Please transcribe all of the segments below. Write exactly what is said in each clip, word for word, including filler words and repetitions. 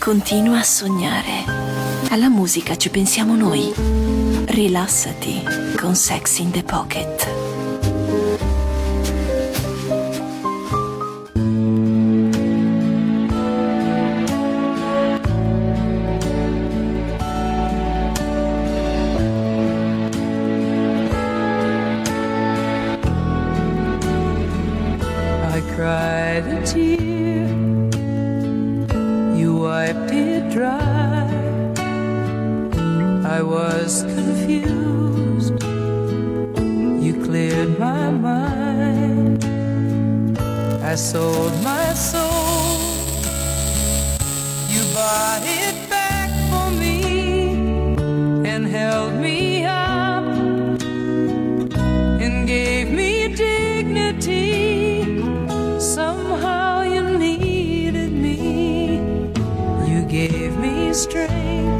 Continua a sognare. Alla musica ci pensiamo noi. Rilassati con Sex in the Pocket. I cried a tear, you wiped it dry. I was confused, you cleared my mind. I sold my soul, you bought it back for me and held me up and gave me dignity. Somehow you needed me, you gave me strength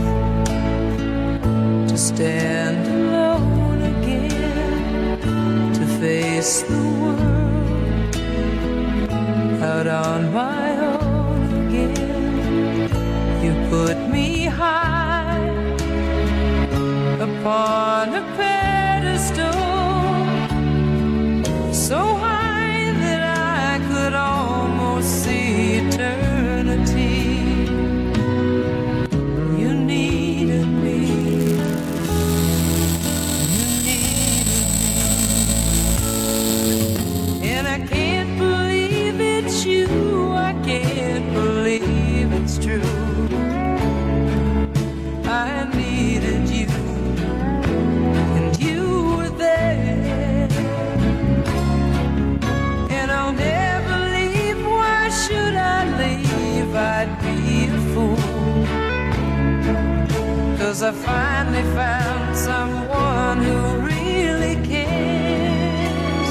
to stand alone again, to face the world out on my own again. You put me high upon a pedestal, so high that I could almost see eternity. You needed me, you needed me, and I can't believe it's you, I can't believe it's true. I needed you, and you were there, and I'll never leave. Why should I leave? I'd be a fool, 'cause I finally found someone who really cares.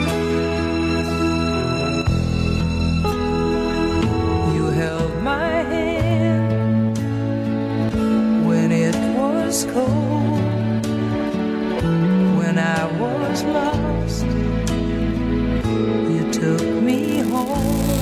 You held my hand when it was cold, when I was lost, you took me home.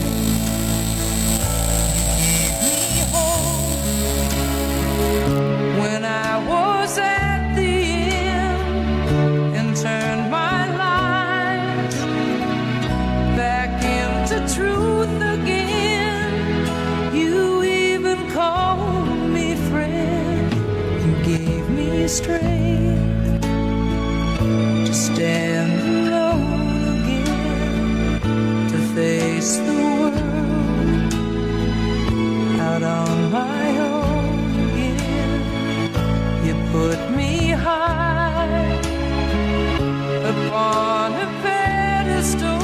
You gave me hope when I was at the end, and turned my life back into truth again. You even called me friend, you gave me strength to stand alone again, to face the world out on my own again. You put me high upon a pedestal,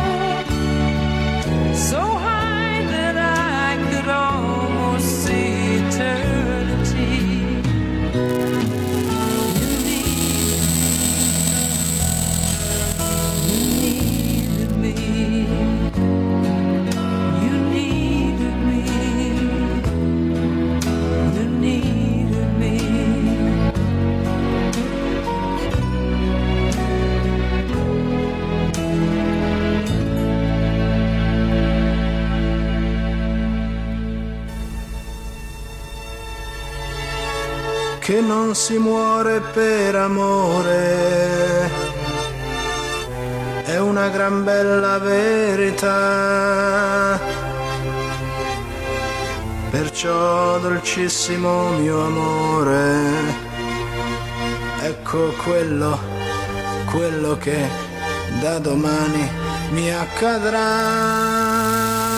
so high that I could almost see eternity. You needed me, you needed me, you needed me. Che non si muore per amore, è una gran bella verità. Perciò, dolcissimo mio amore, ecco quello, quello che da domani mi accadrà.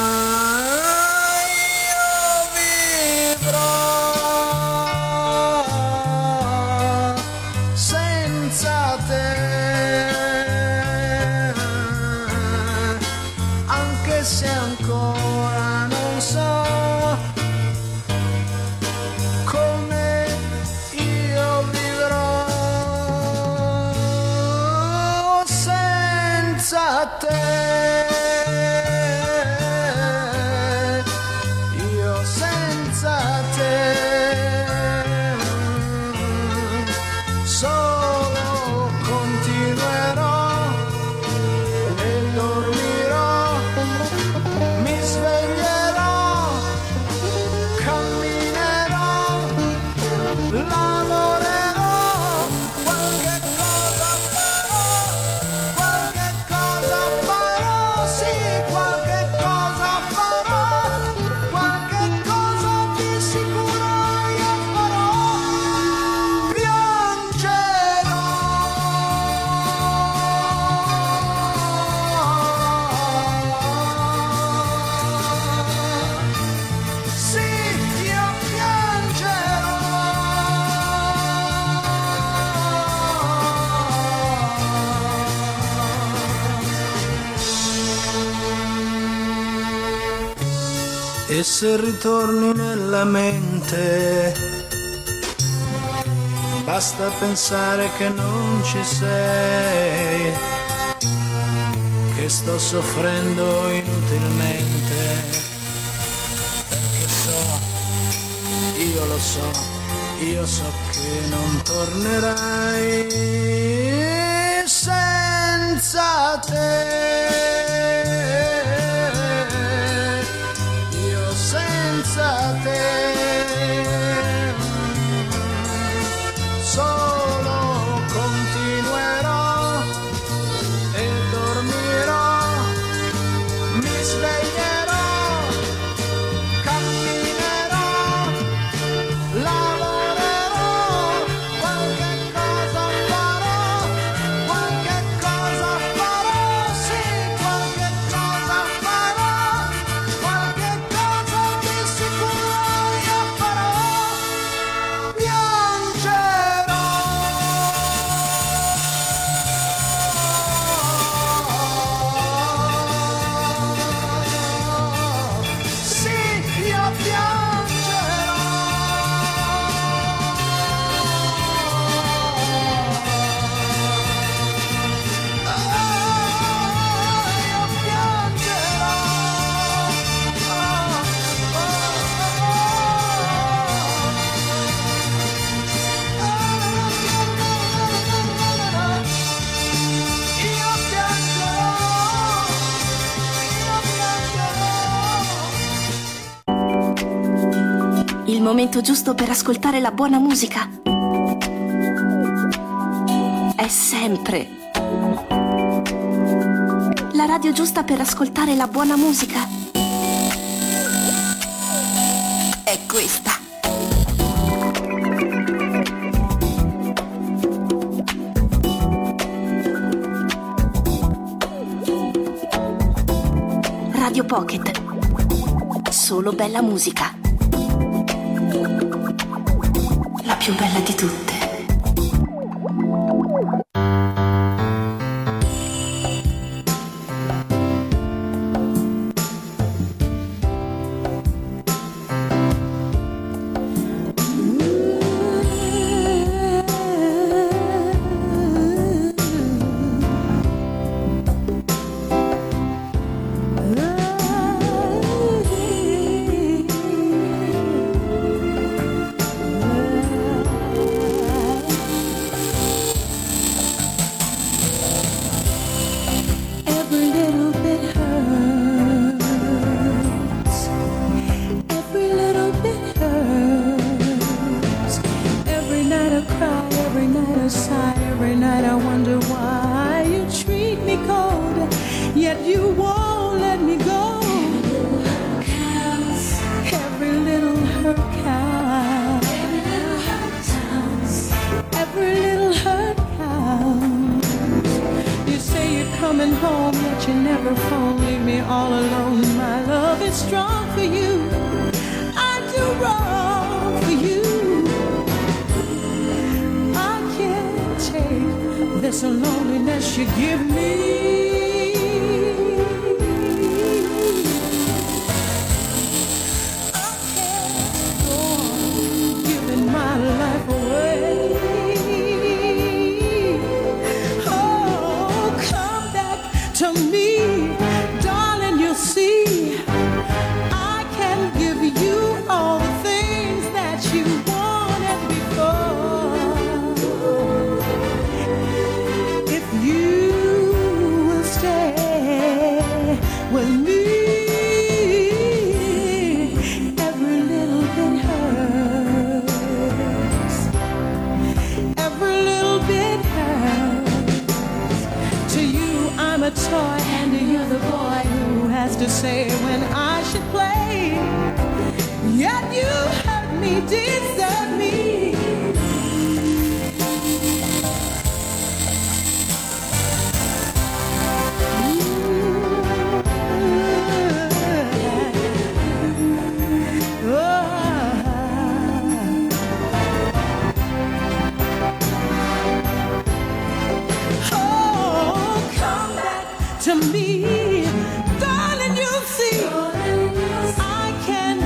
Se ancora non so come io vivrò senza te. se ritorni nella mente, basta pensare che non ci sei, che sto soffrendo inutilmente, perché so, io lo so, io so che non tornerai senza te. Senza te solo continuerò e dormirò, mi sveglierò, camminerò, lavorerò, qualche cosa farò, qualche cosa farò, sì, qualche cosa farò, qualche Il momento giusto per ascoltare la buona musica è sempre la radio giusta per ascoltare la buona musica è questa. Radio Pocket. Solo bella musica. La più bella di tutte. To me, darling, you'll see I can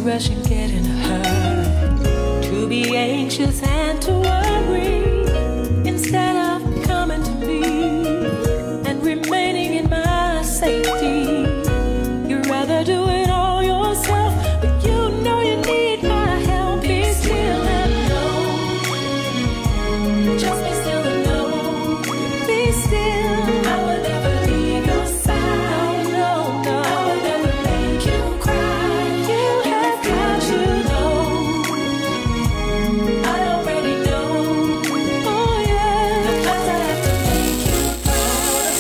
rush and get in a hurry, to be anxious and to worry, instead of coming to me and remaining in my safety. You'd rather do it all yourself, but you know you need my help. Be still and know, just be still and know, be still. I will never leave your side. No, no, I will never make you cry. You have got to know, I already know. Oh yeah, the times I have to make you proud,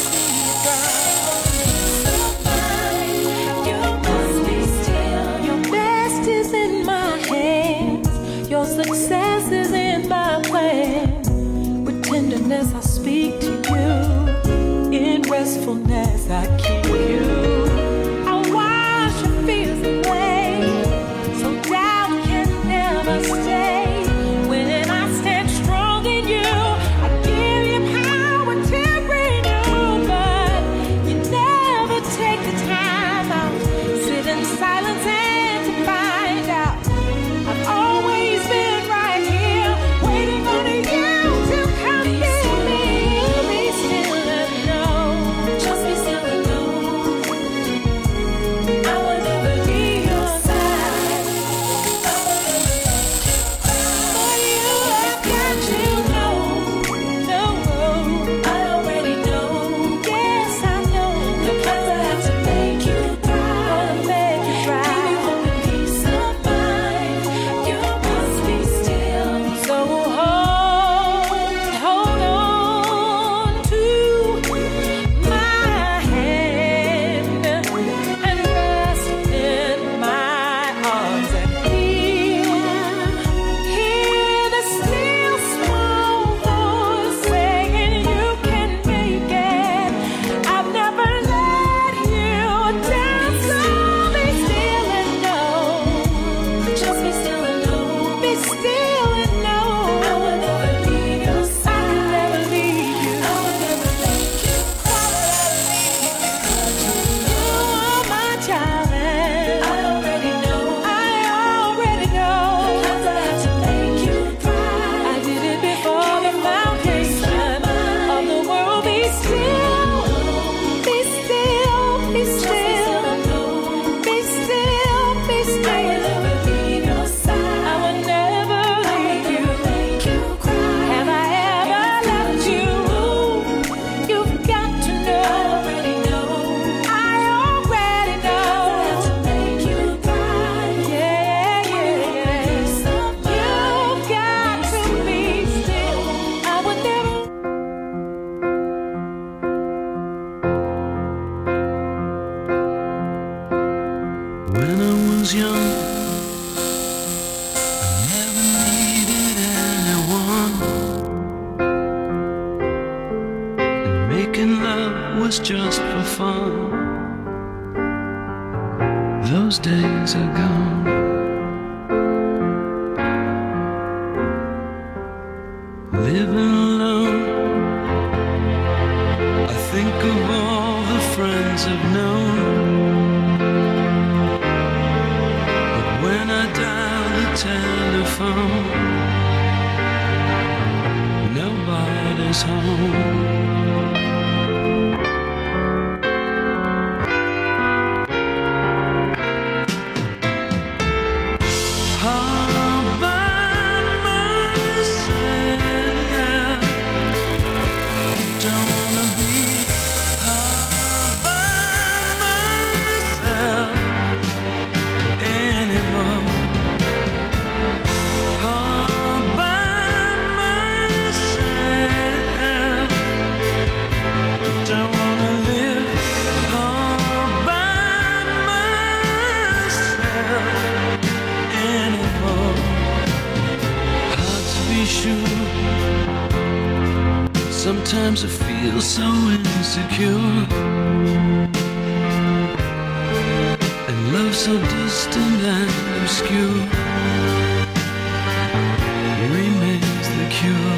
to see you proud. You must be still. Your best is in my hands, your success is in my plan. With tenderness I speak to you, in restfulness I keep you. I wash your fears away, so doubt can never stay. When I stand strong in you, I give you power to renew. But you never take the time out, sit in silence and to find out. I've always been right here, waiting on you to come fill me. Be still and know, just be still and know, I will never leave your side. I will never for you. I've got to know, no, I already know. Yes, I know the plans I have to make you proud, make you proud. Give you hope and peace of mind. You must be still. So hold, hold on to my hand and rest in my arms and hear, hear the still small voice saying you can make it. I've never let you down, so be still and know, just be still and know, be still and know, I will never leave your side. I can never leave you. I will never make you cry. You are my child, and I already know, I already know the plans I have to make you cry. I did it before the foundation of the world. Be still, be still, be still, be still, be still. I will never leave your side. I will never leave you. Make you cry. Have I ever left you? You've got to know. I already know. I already know. I have to make you cry. Yeah, yeah, yeah. You've got to be still. I would never. When I was young, I never needed anyone, and making love was just for fun. Those days are gone. Living alone, I think of all the friends I've known. But when I dial the telephone, nobody's home. All by myself, don't wanna be all by myself anymore. All by myself, don't wanna live all by myself anymore. Hard to be sure. Sometimes I feel so insecure, and love so distant and obscure remains the cure.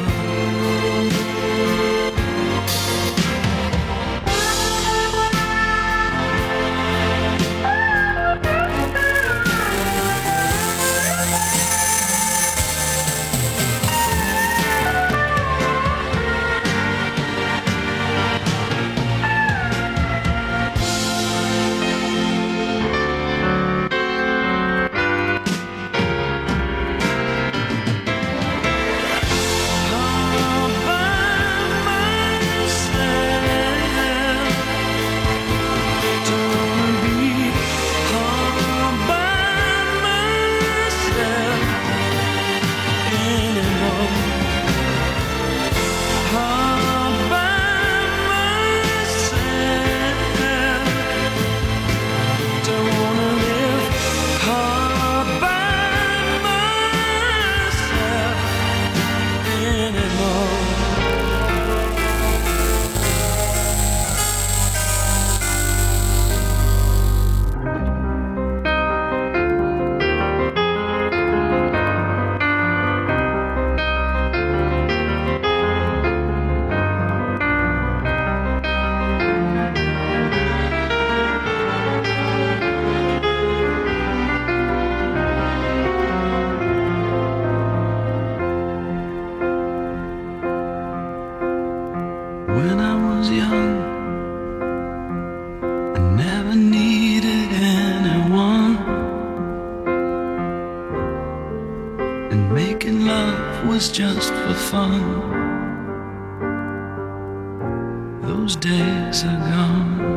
was just for fun. Those days are gone.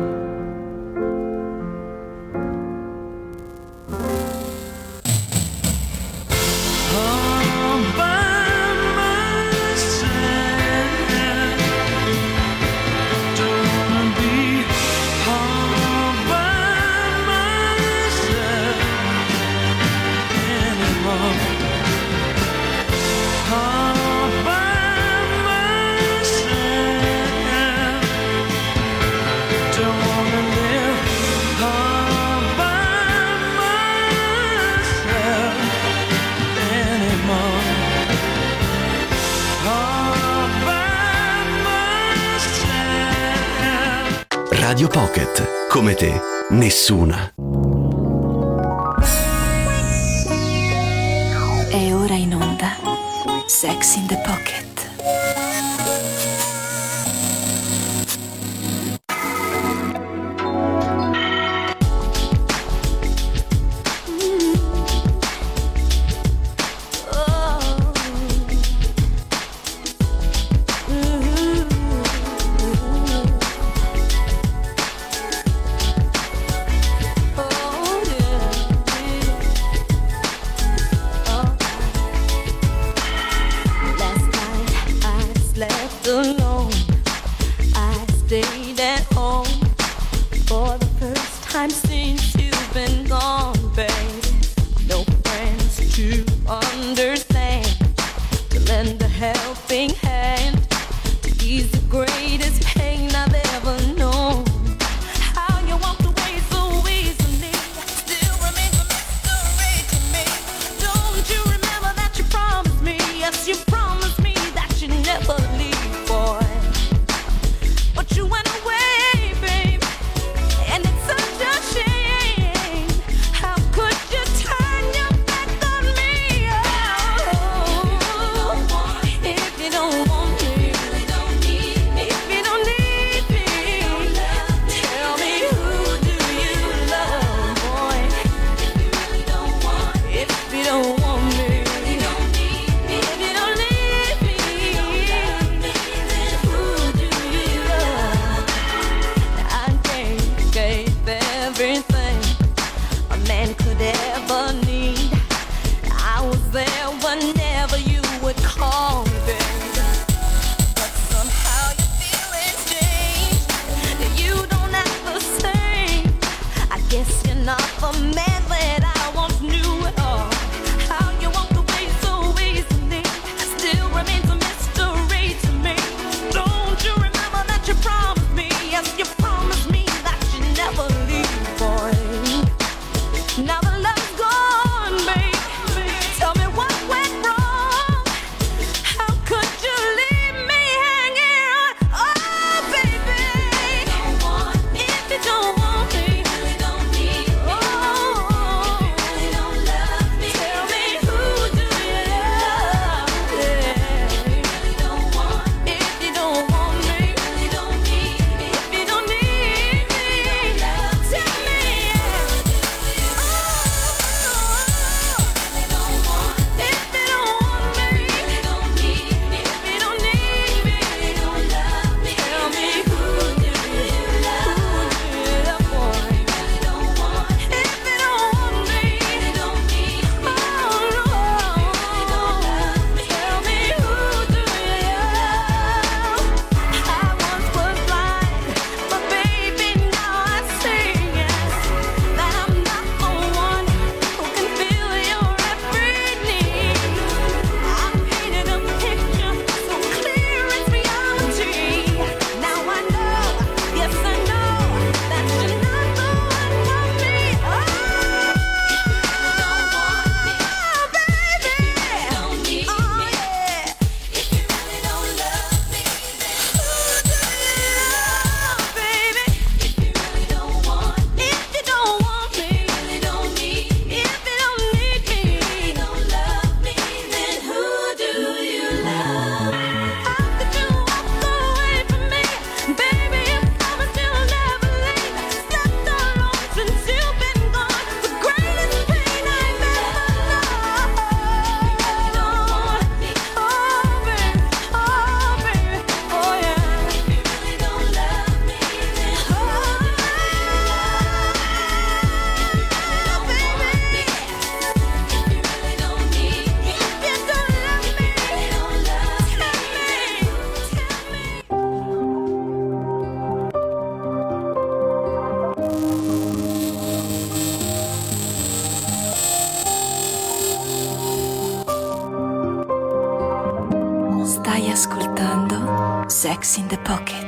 Radio Pocket, come te, nessuna. È ora in onda Sex in the Pocket. Last night Sex in the Pocket.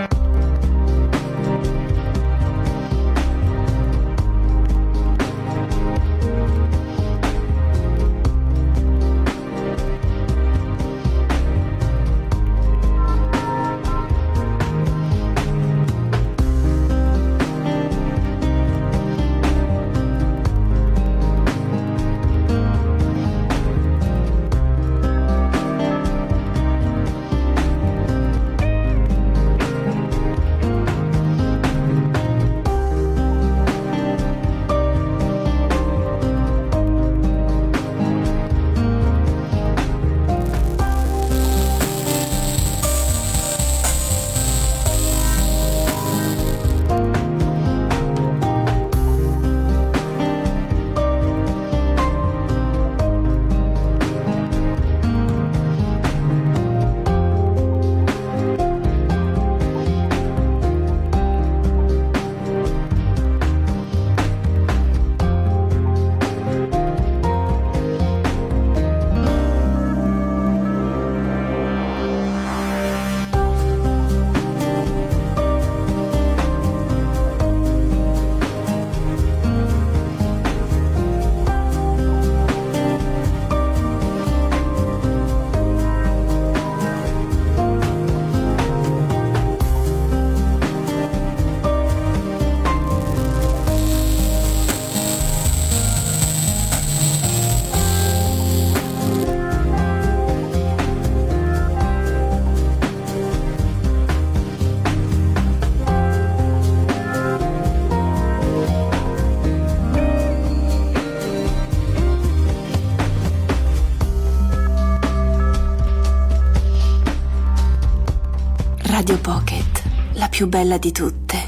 Radio Pocket, la più bella di tutte.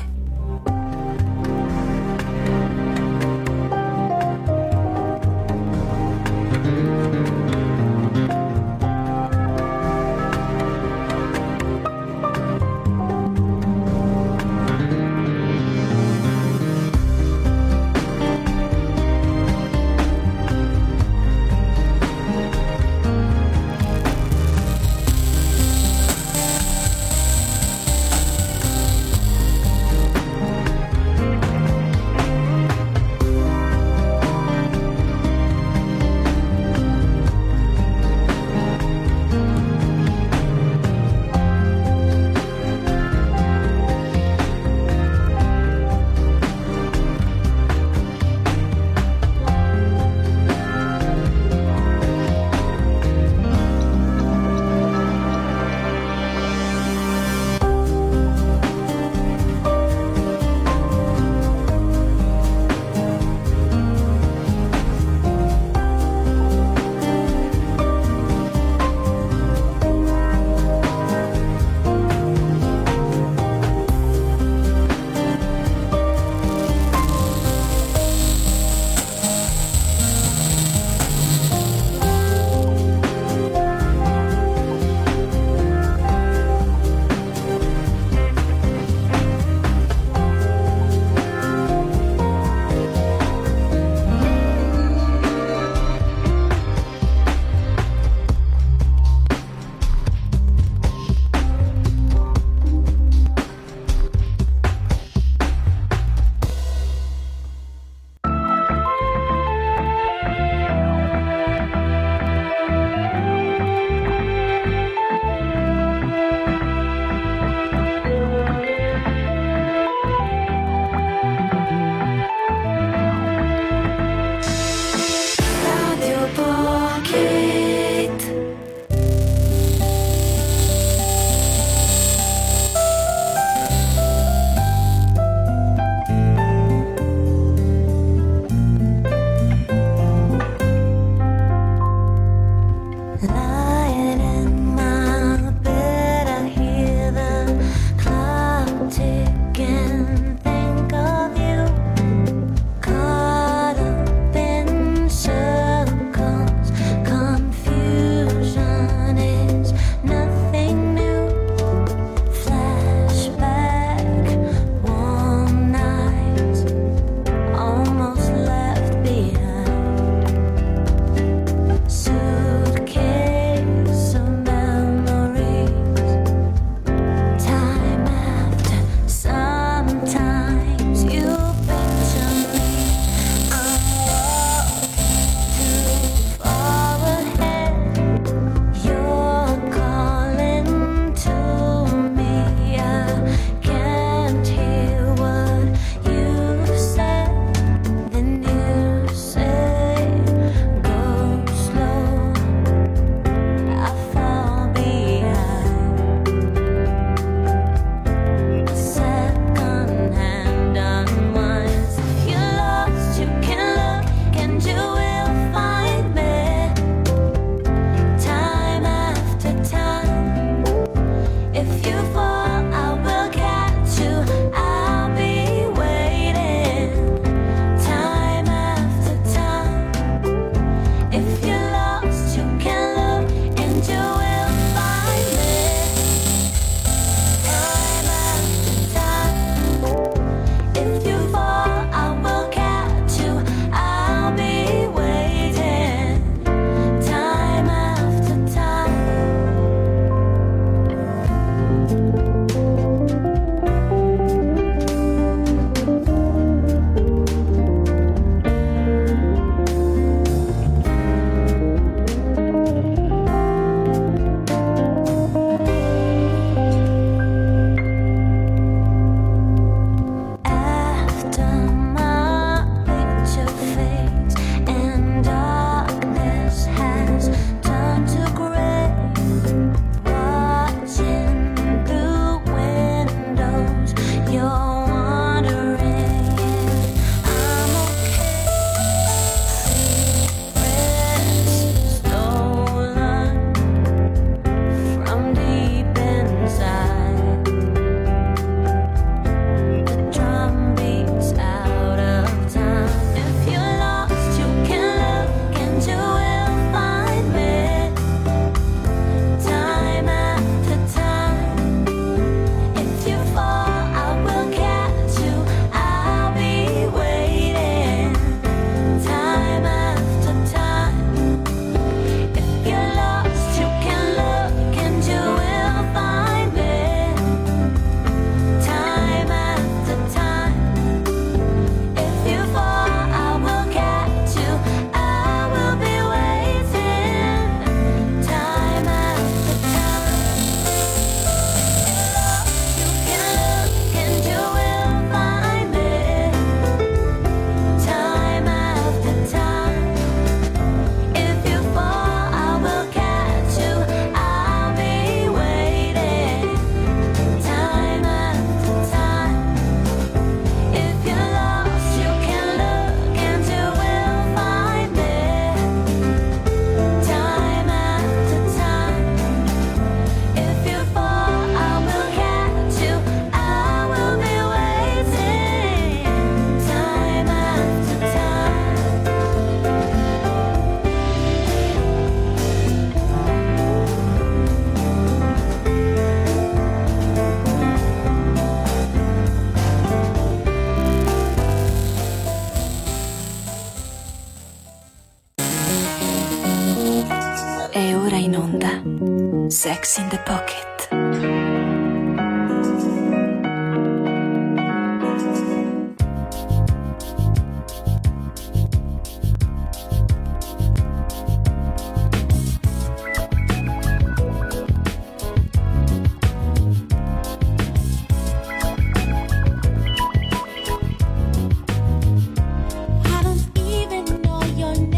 ora in onda Sex in the Pocket.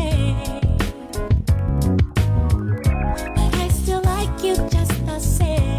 Say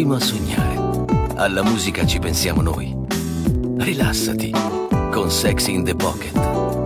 continua a sognare. Alla musica ci pensiamo noi. Rilassati con Sex in the Pocket.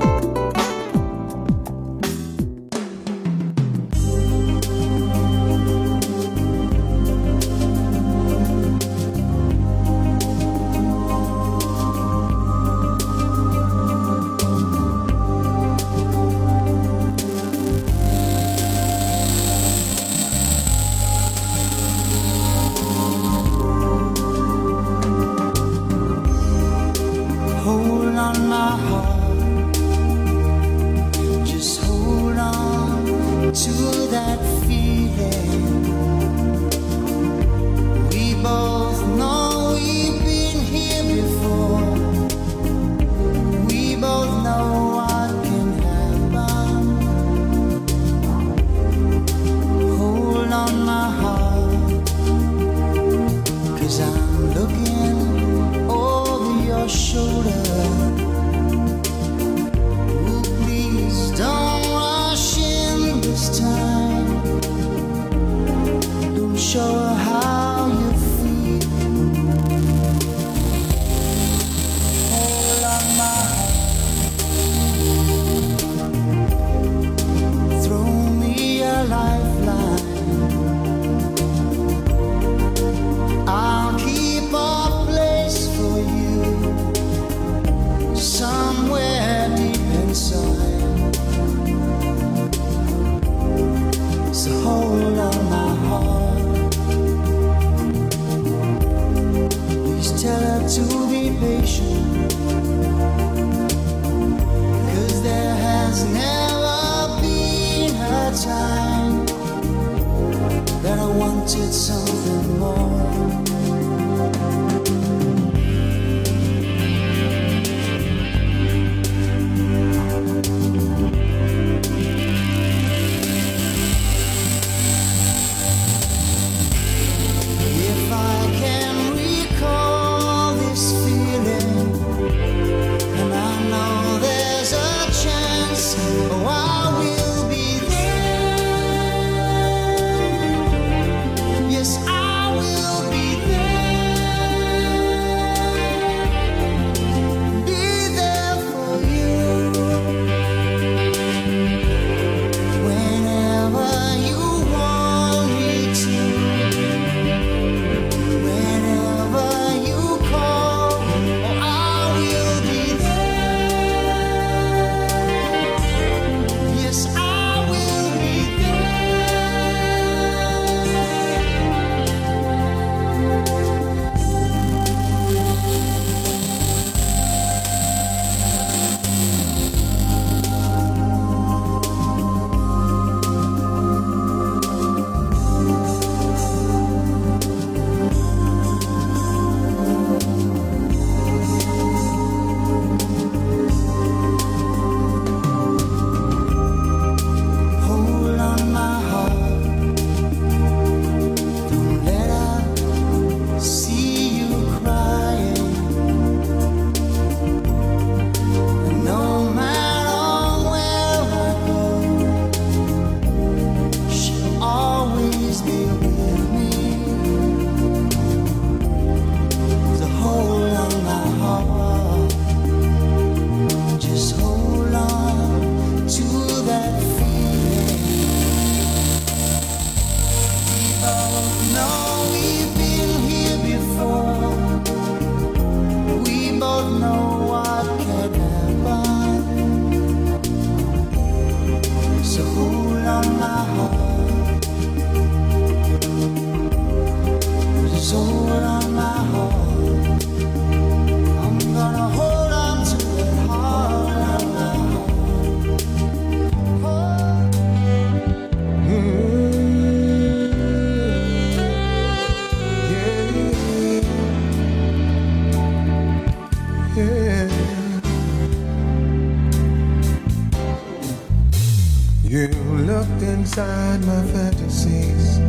Inside my fantasies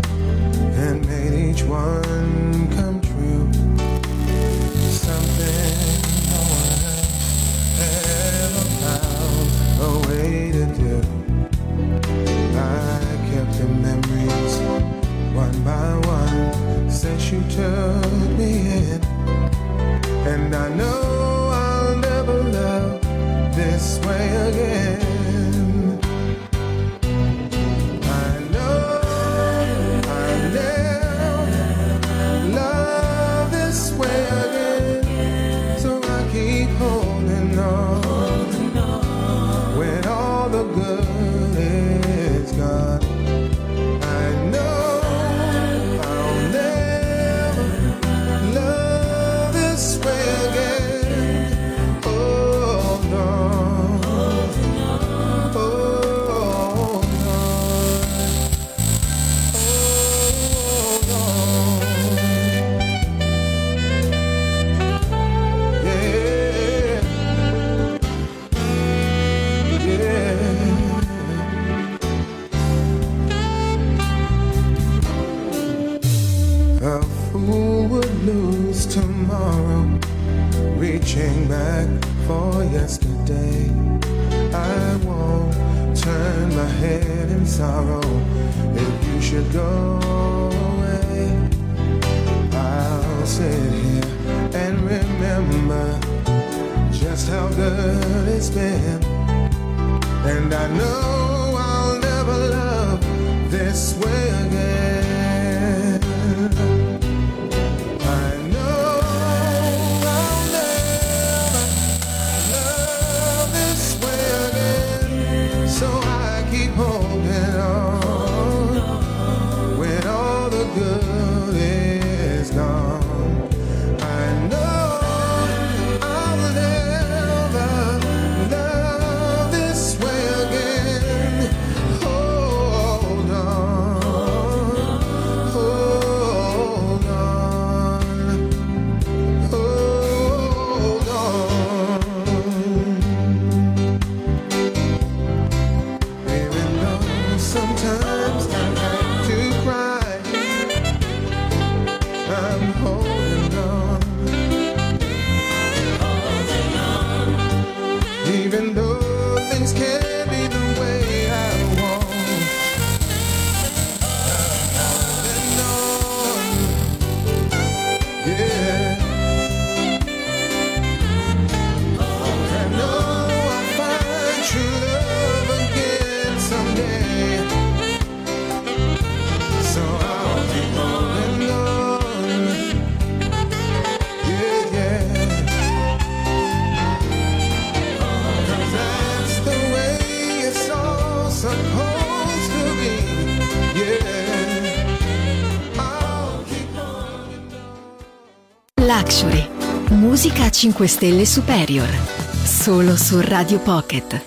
and made each one come true. Something no one else ever found a way to do. I kept the memories one by one since you took And I know I'll never love this way again. I know I'll never love this way again. So I keep holding on when all the good is gone. I know I'll never love this way again. Oh no, oh no, oh no, yeah, yeah. A fool would lose tomorrow, reaching back for yesterday. I won't turn my head in sorrow if you should go away. I'll sit here and remember just how good it's been. And I know I'll never love this way again. I know I'll never love this way again. So I keep holding on when all the good is gone. I know I'll never love this way again. Hold on, hold on, hold on. Even though sometimes I like to cry, I'm holding on. Even though things can't be the way I want, holding on, yeah. I know I'll find true love again someday. So I'll keep holding on, yeah, yeah. 'Cause that's the way it's all supposed to be, yeah. I'll keep holding on. Luxury. Musica a cinque stelle superior. Solo su Radio Pocket.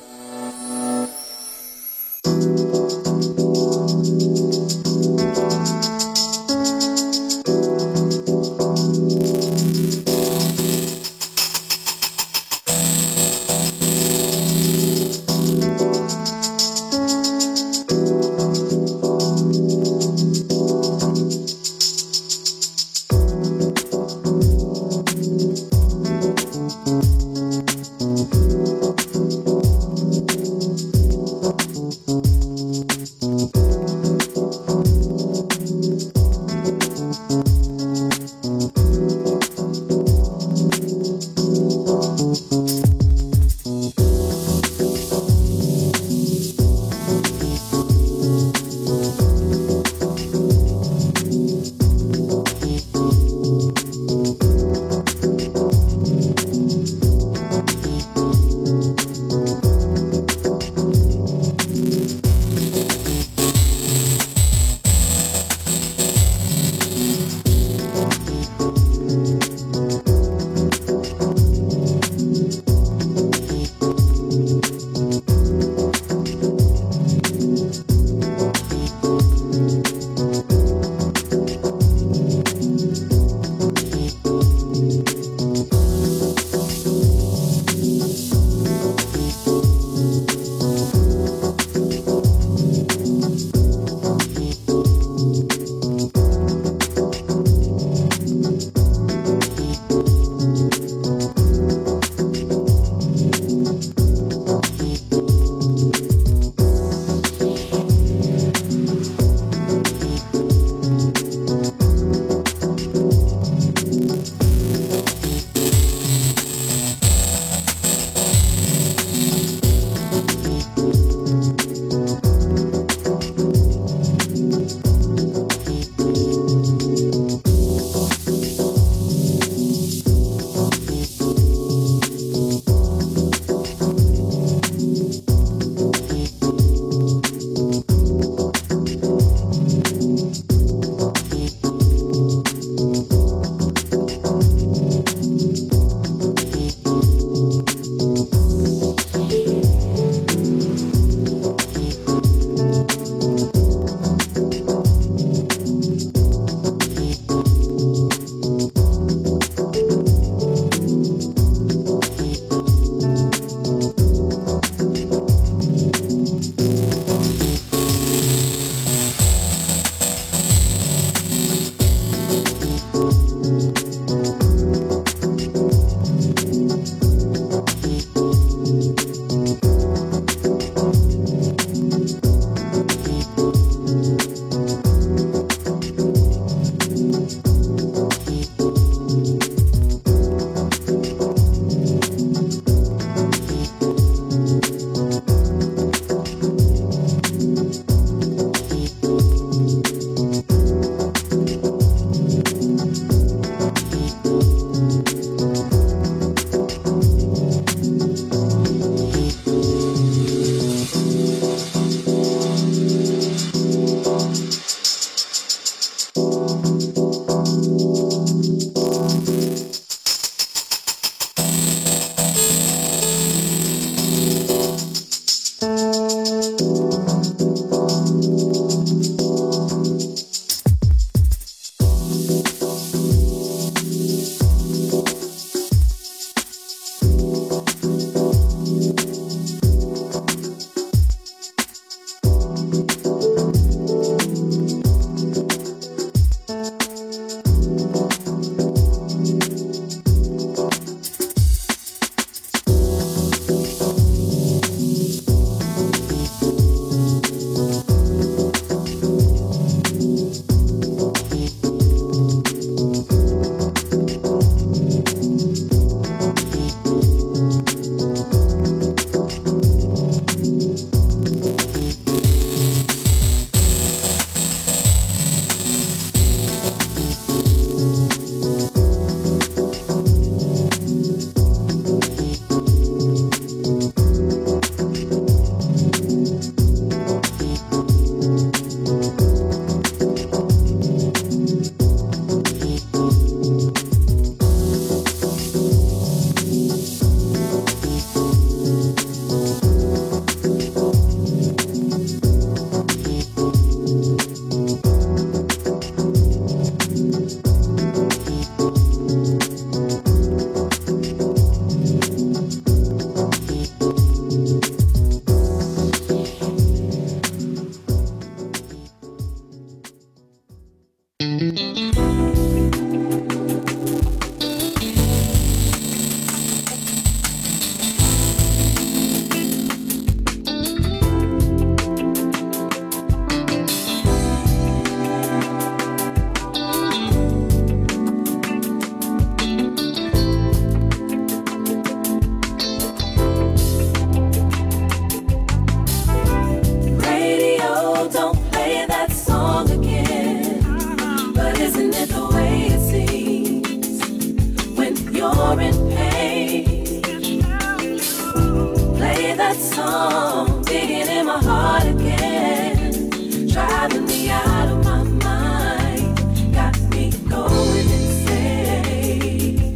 that song, digging in my heart again, driving me out of my mind, got me going insane.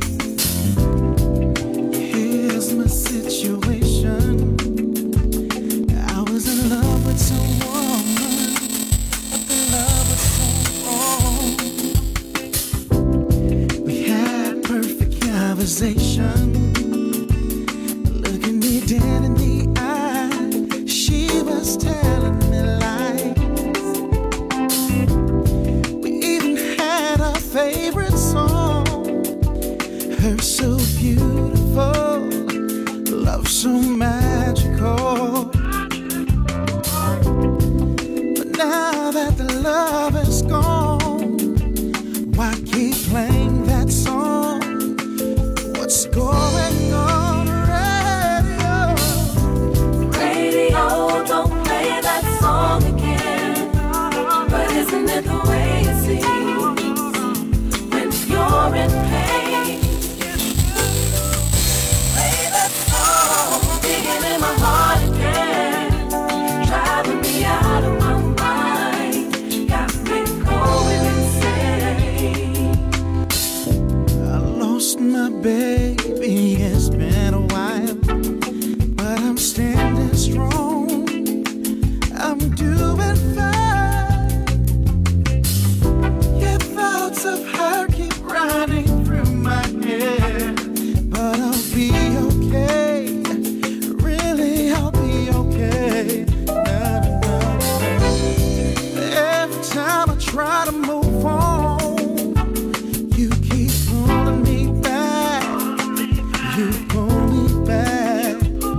Here's my situation. I was in love with someone, but the love was so wrong. We had perfect conversation, looking me dead in the eye. She was telling me lies. We even had our favorite song, her so beautiful, love so magical. But now that the love is gone, why keep playing that song? What's going on radio? Radio, don't play that song again. But isn't it the way it seems when you're in pain? Play that song, digging in my heart again, driving me out of my mind, got me going insane. I lost my baby, it's been a while, but I'm standing strong, I'm doing fine. Your thoughts of her keep running through my head, but I'll be okay, really I'll be okay. No, no, no. Every time I try to move on, you keep pulling me back. You pull me back.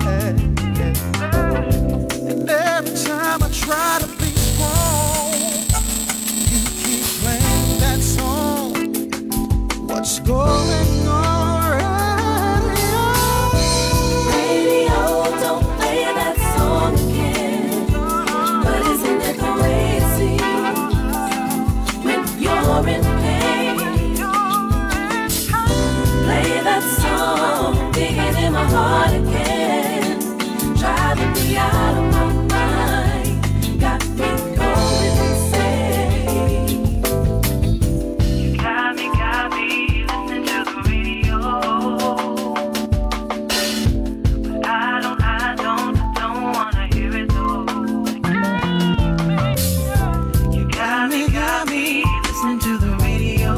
And every time I try to be strong, you keep playing that song. What's going on, radio? Radio, don't play that song again. But isn't it the way it seems when you're in pain? Play that song, digging in my heart again, driving me out of my mind, got me going insane. You got me, got me listening to the radio, but I don't, I don't, don't wanna hear it though. You got me, got me listening to the radio.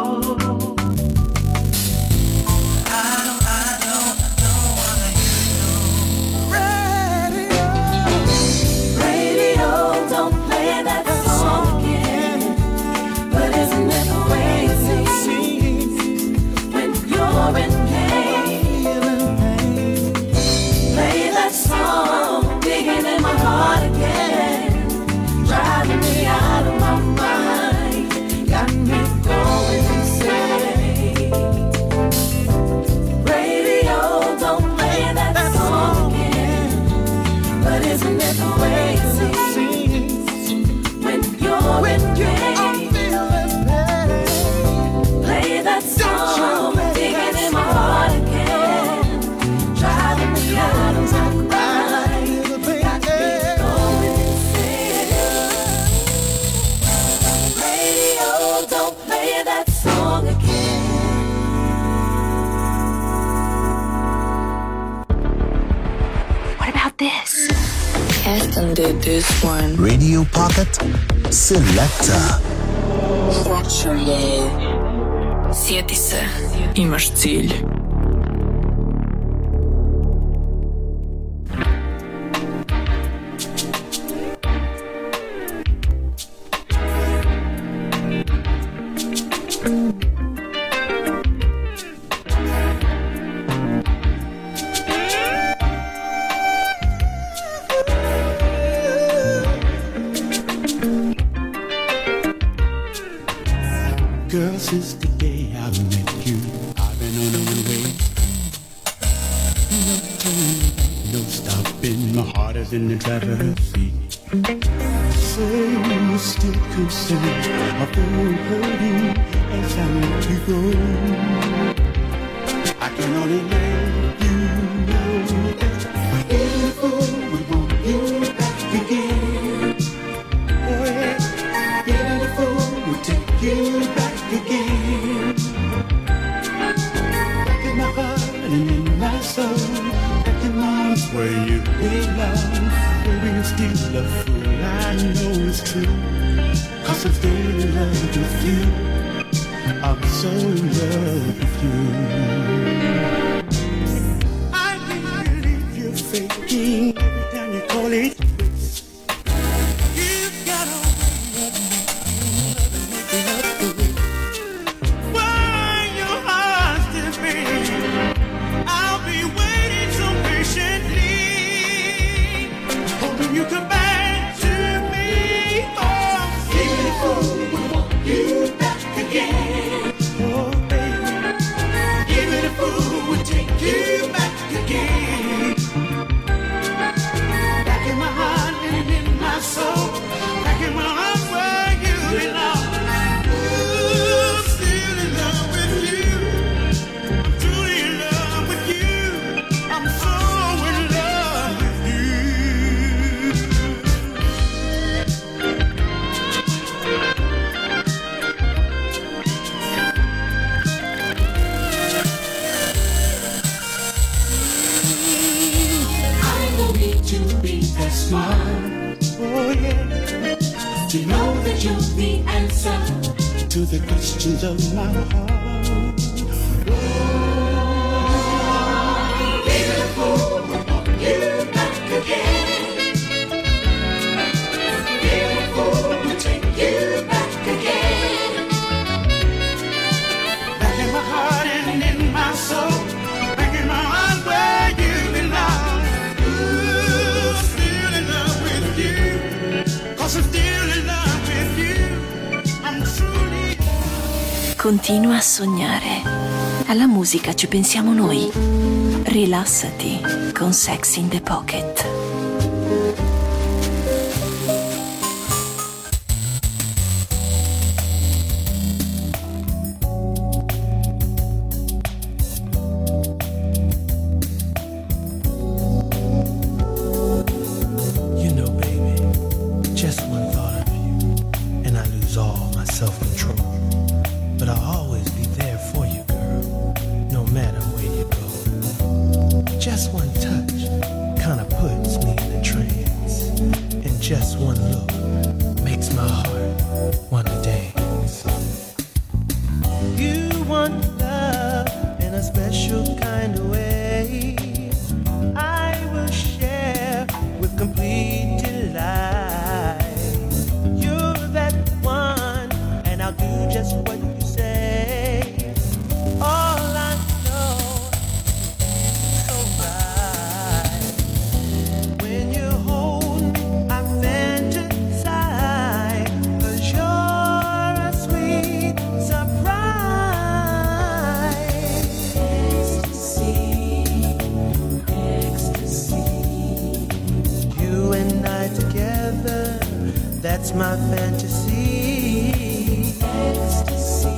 I don't, I don't, I don't wanna hear it Radio. though. Radio, don't play that song again. But isn't it the way it seems when you're in pain? Feeling pain. Play that song, digging in my heart again, driving me out of my mind, got me going insane. Radio, don't play that song again. But isn't it the way it seems when you're in pain? Play that song, digging in my heart again, driving me out of my mind, got me going insane. Radio, don't play that song again. What about this? Aston did this one. Radio Pocket Selector. Sjeti se, imaš cilj. Girl, since the day I met you, I've been on my way. No turning, no stopping, my heart is in the driver's seat. Say you're still concerned, I feel hurting as I let you go. I can only let you know that even for soul, back in my arms where you belong. Baby, you're still a fool, I know it's true, 'cause I'm still in love with you. I'm so in love with you. I can't believe you're faking every time you call it. You've got a way of making up the way. Why your heart still beating? I'll be waiting so patiently, hoping you come back to me. Oh, beautiful, we want you back again. Oh, baby, give it a fool, we'll take you back again. Back in my heart and in my soul, back in my heart where you belong. Ooh, still in love with you, truly in love with you. I'm so in love with you. I don't need to be that smart, oh yeah, to know that you're the answer to the questions of my heart. Beautiful, we want you back again. Beautiful, we'll take you back again. Back in my heart and in my soul, back in my heart where you belong. Ooh, still in love with you, 'cause I'm still in love with you. I'm truly. Continua a sognare. Alla musica ci pensiamo noi. Rilassati con Sex in the Pocket. You know, baby, just one thought of you, and I lose all my self-control. But I'll always be there for you, girl, no matter where you go. Just one touch kinda puts me in a trance, and just one look makes my heart wanna dance. You want love in a special kind of way. I will share with complete delight. You're that one, and I'll do just what you say. All I know is so right. When you hold me, I fantasize, 'cause you're a sweet surprise. Ecstasy, ecstasy. You and I together, that's my fantasy. Ecstasy,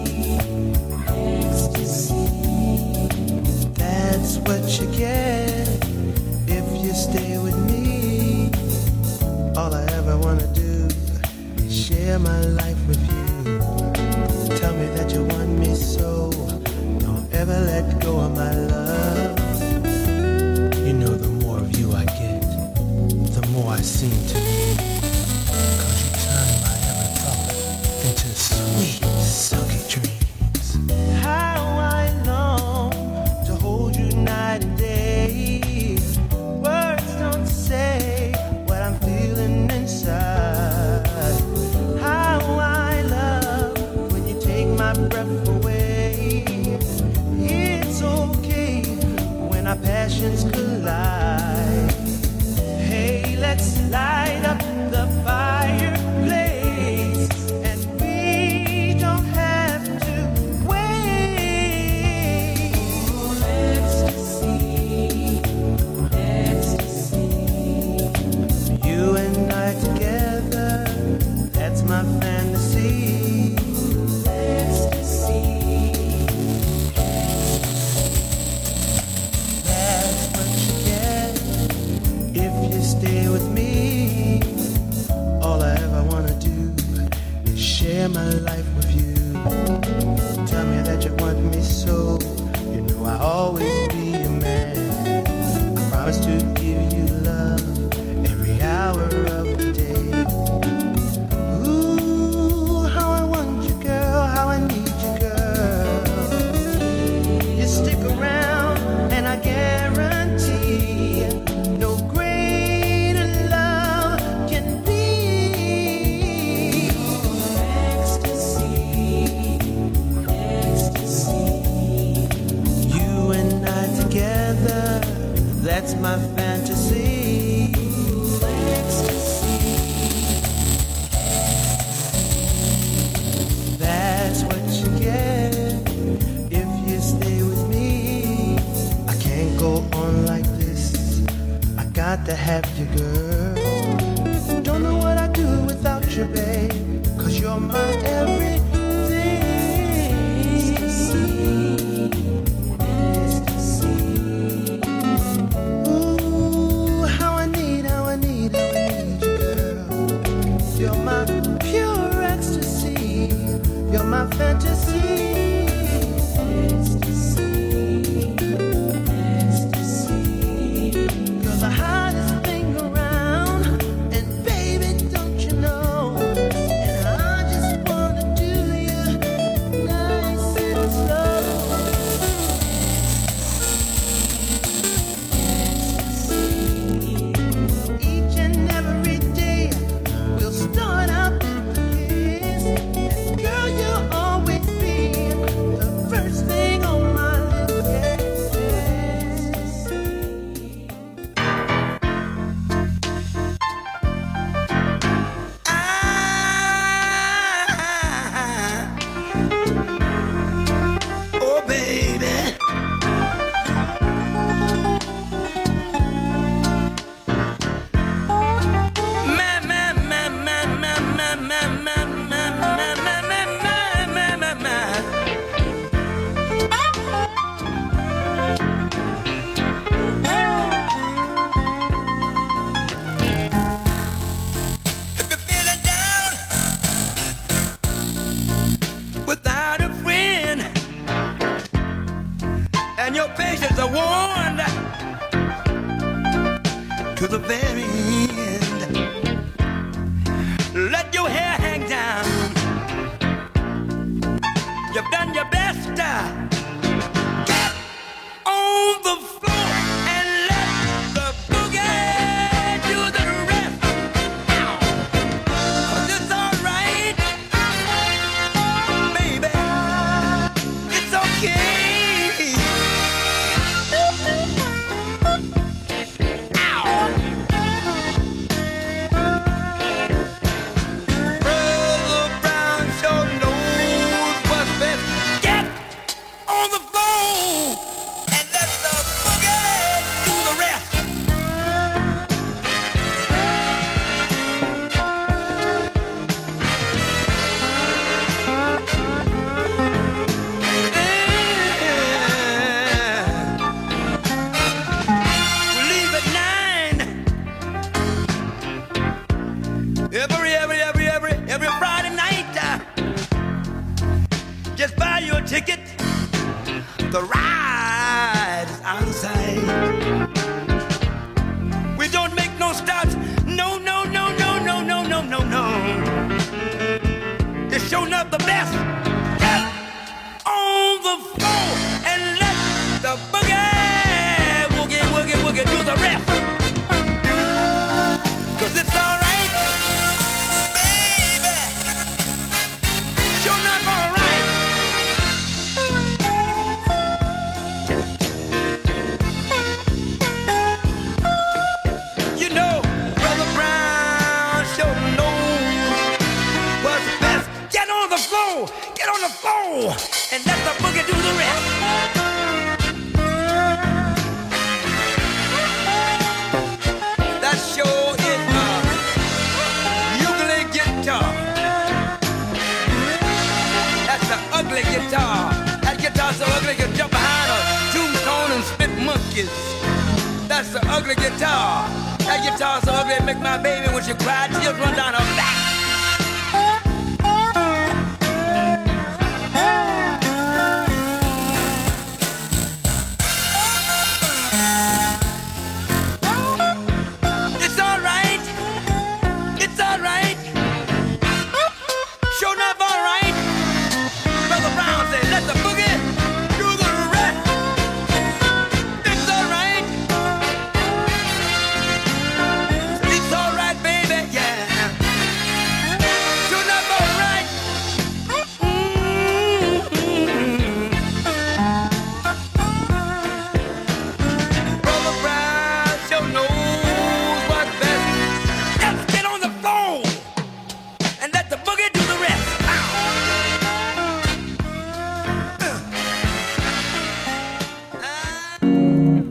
ecstasy. That's what you get if you stay with me. All I ever wanna do is share my life with you. Tell me that you want me so, don't ever let go of my love. You know, the more of you I get, the more I seem to need. 'Cause you turn my every thought into sweet, silky dreams. How I long to hold you night and day. Words don't say what I'm feeling inside. How I love when you take my breath away. It's okay when our passions collide. Hey, let's light up the fireplace, and we don't have to wait. Oh, ecstasy, ecstasy. You and I together, that's my fantasy. Ecstasy, that's what you get if you stay with me. All I ever wanna do is share my life with you. Tell me that you want me so, you know I'll always be your man. that's my fantasy. Ecstasy. That's what you get if you stay with me. I can't go on like this. I got to have you, girl. Don't know what I'd do without you, babe. Cause you're my everything. Ooh, how I need, how I need, how I need you, girl. You're my pure ecstasy. You're my fantasy.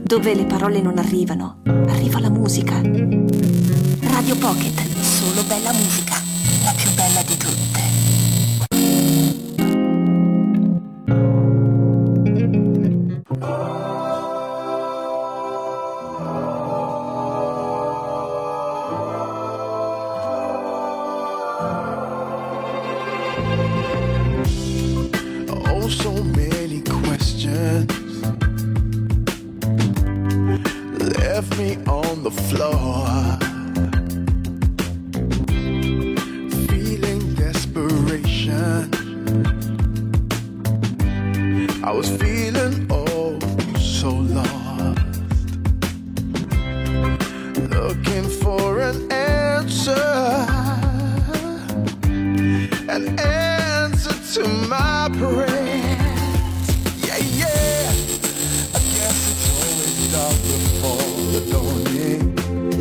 Dove le parole non arrivano, arriva la musica. Radio Pocket, solo bella musica, la più bella di tutte. Oh, so many questions left me on the floor, feeling desperation. I was feeling oh so lost, looking for an answer, an answer to my prayer. Yeah, yeah, I guess it's always dark before the dawning.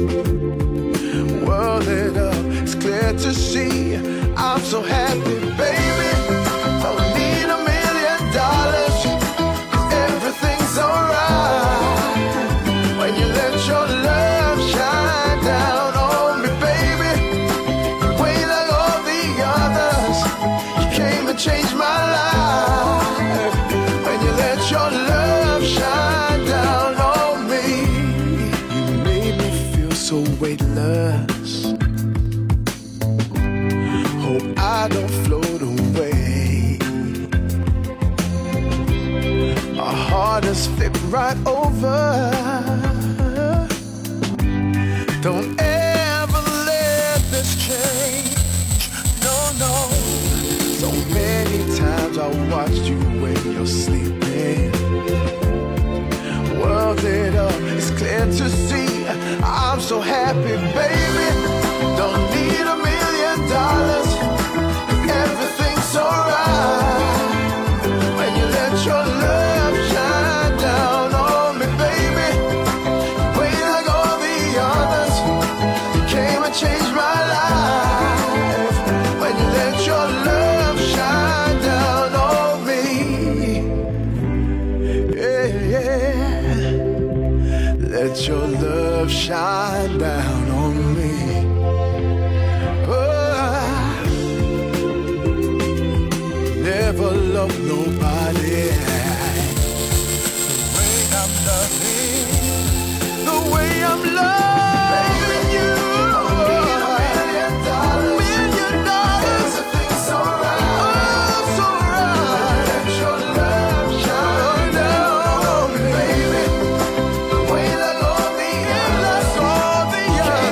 World lit up, it's clear to see. I'm so happy, baby. Don't need a million dollars, 'cause everything's alright when you let your love shine down on me, baby. You ain't like all the others. You came and changed my life when you let your love shine down on me. You made me feel so weightless. Hope I don't float away. My heart is flipped right over. Don't ever let this change. No, no. So many times I watched you when you're sleeping. World lit up, it's clear to see. I'm so happy, baby. Don't need a million dollars. Everything's alright when you let your love shine down on me, baby. You ain't like all the others. You came and changed my life when you let your love shine down on me. Yeah, yeah. Let your love shine down on me. Never love nobody the way I'm loving, the way I'm loving you. Don't need a million dollars, million dollars. Everything's alright, oh, it's alright. Let your love shine down on me, baby. The way like all the others, all the others.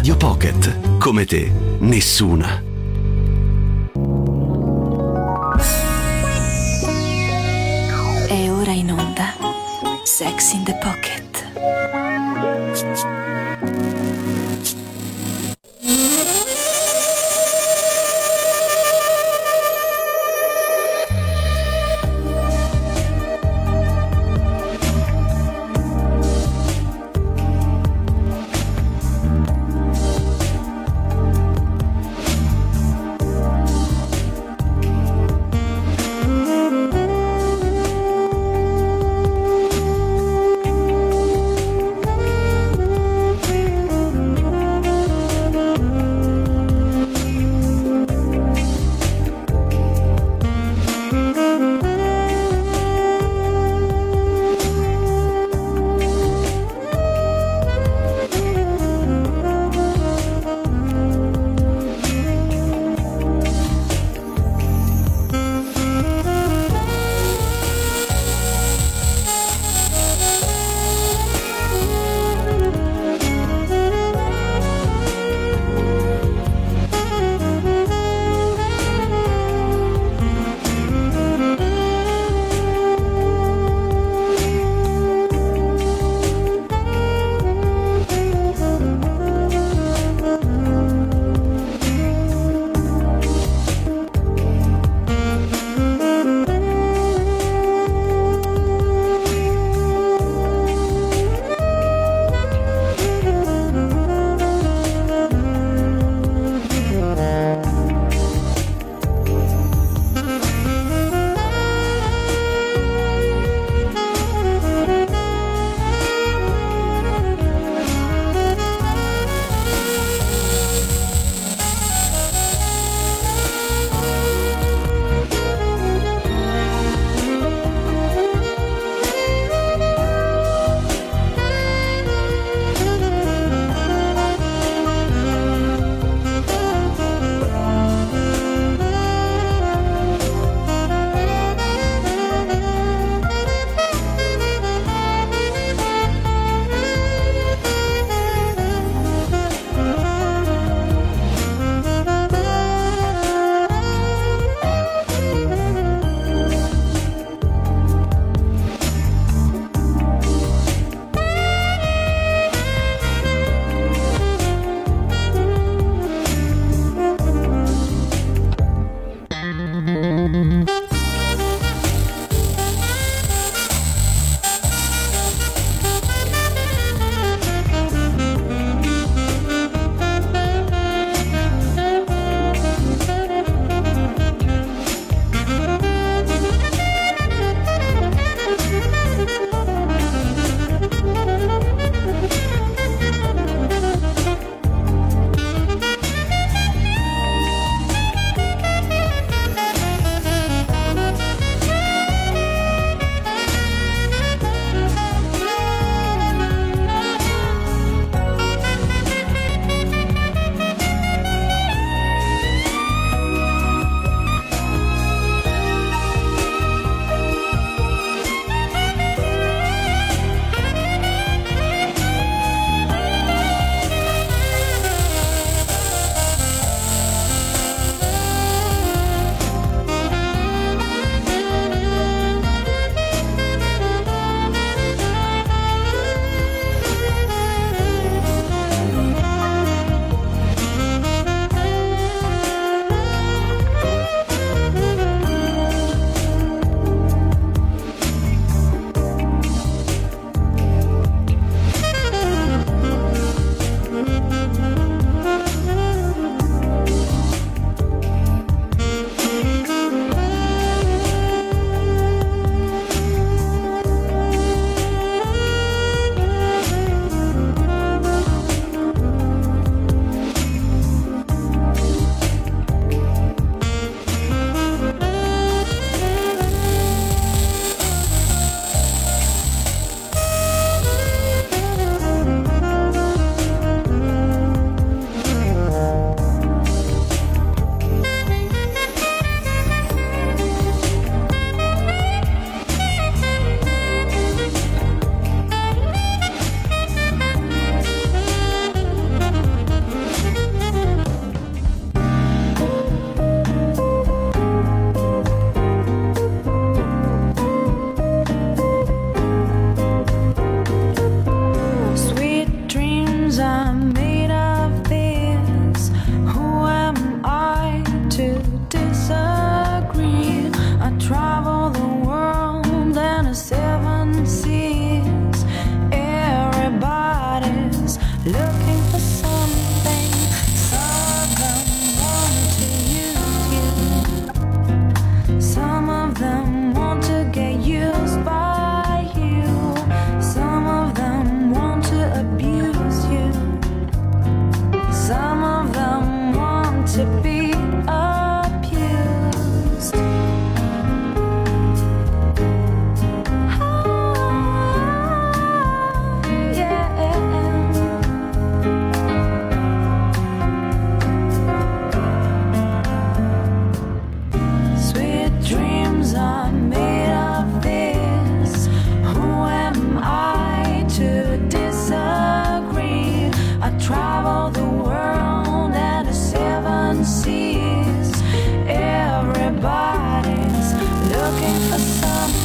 Radio Pocket. Come te, nessuna. È ora in onda Sex in the Pocket. travel the world and the seven seas. Everybody's looking for something.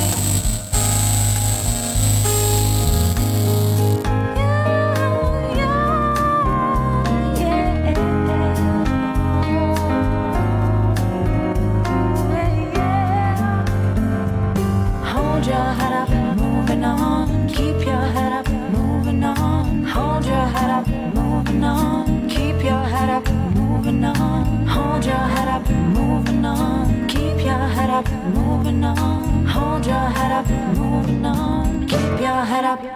Moving on, hold your head up, moving on, keep your head up.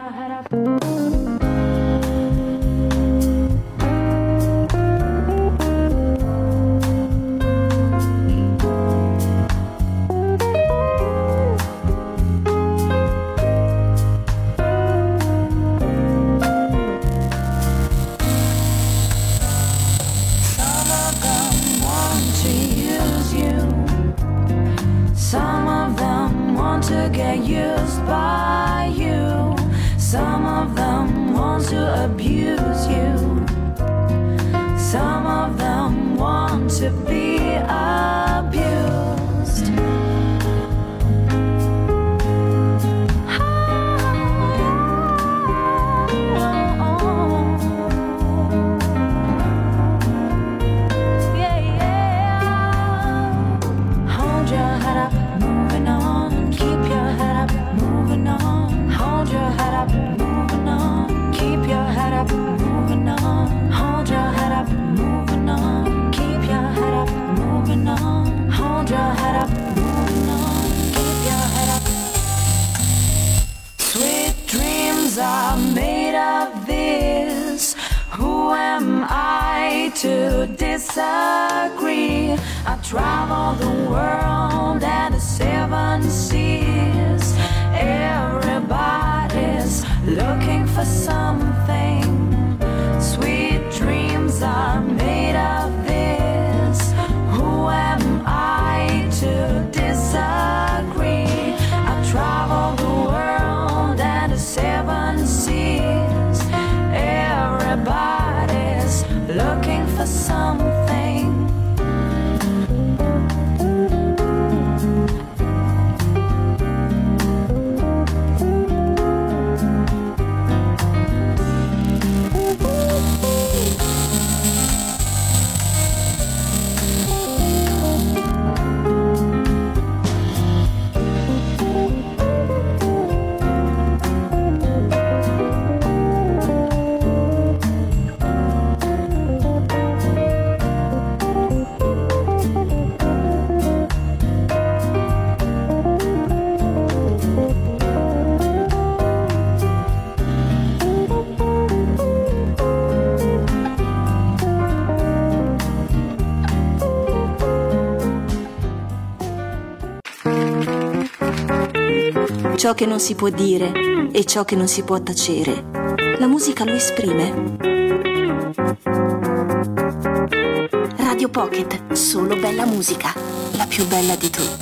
To get used by you, some of them want to abuse you, some of them want to be abused. Yeah, yeah. Hold your head up, moving on. Keep your head up, moving on. Hold your head up, moving on. Keep your head up, moving on. Hold your head up, moving on. Keep your head up, moving on. Hold your head up, moving on. Keep your head up. Sweet dreams are made of this. Who am I to disagree? I travel the world and the seven seas. Everybody's looking for something. Sweet dreams are made of this. Who am I to disagree? I travel the world and the seven seas. Everybody's looking for something. Ciò che non si può dire e ciò che non si può tacere, la musica lo esprime. Radio Pocket, solo bella musica, la più bella di tutte.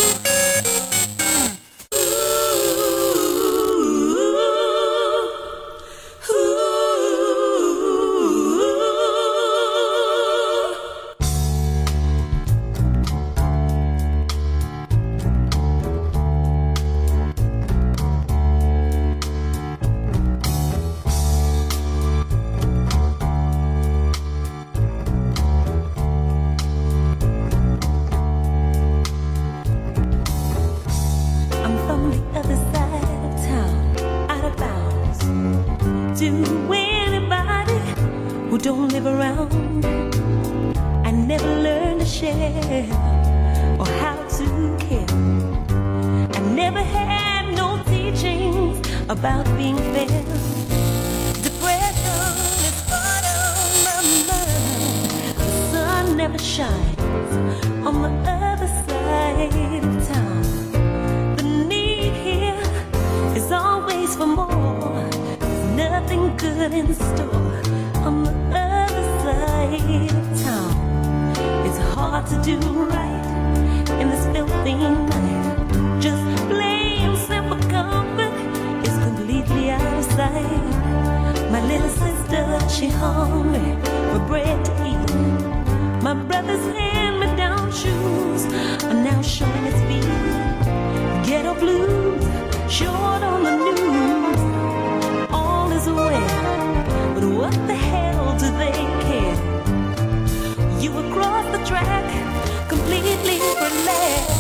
About being fair, depression is part of my mind. The sun never shines on the other side of town. The need here is always for more. There's nothing good in store on the other side of town. It's hard to do right in this filthy night. Just plain simple comfort completely out of sight. My little sister she hungry for bread to eat. My brother's hand-me-down shoes are now showing its feet. Ghetto blues, short on the news. All is well, but what the hell do they care? You across the track, completely relaxed.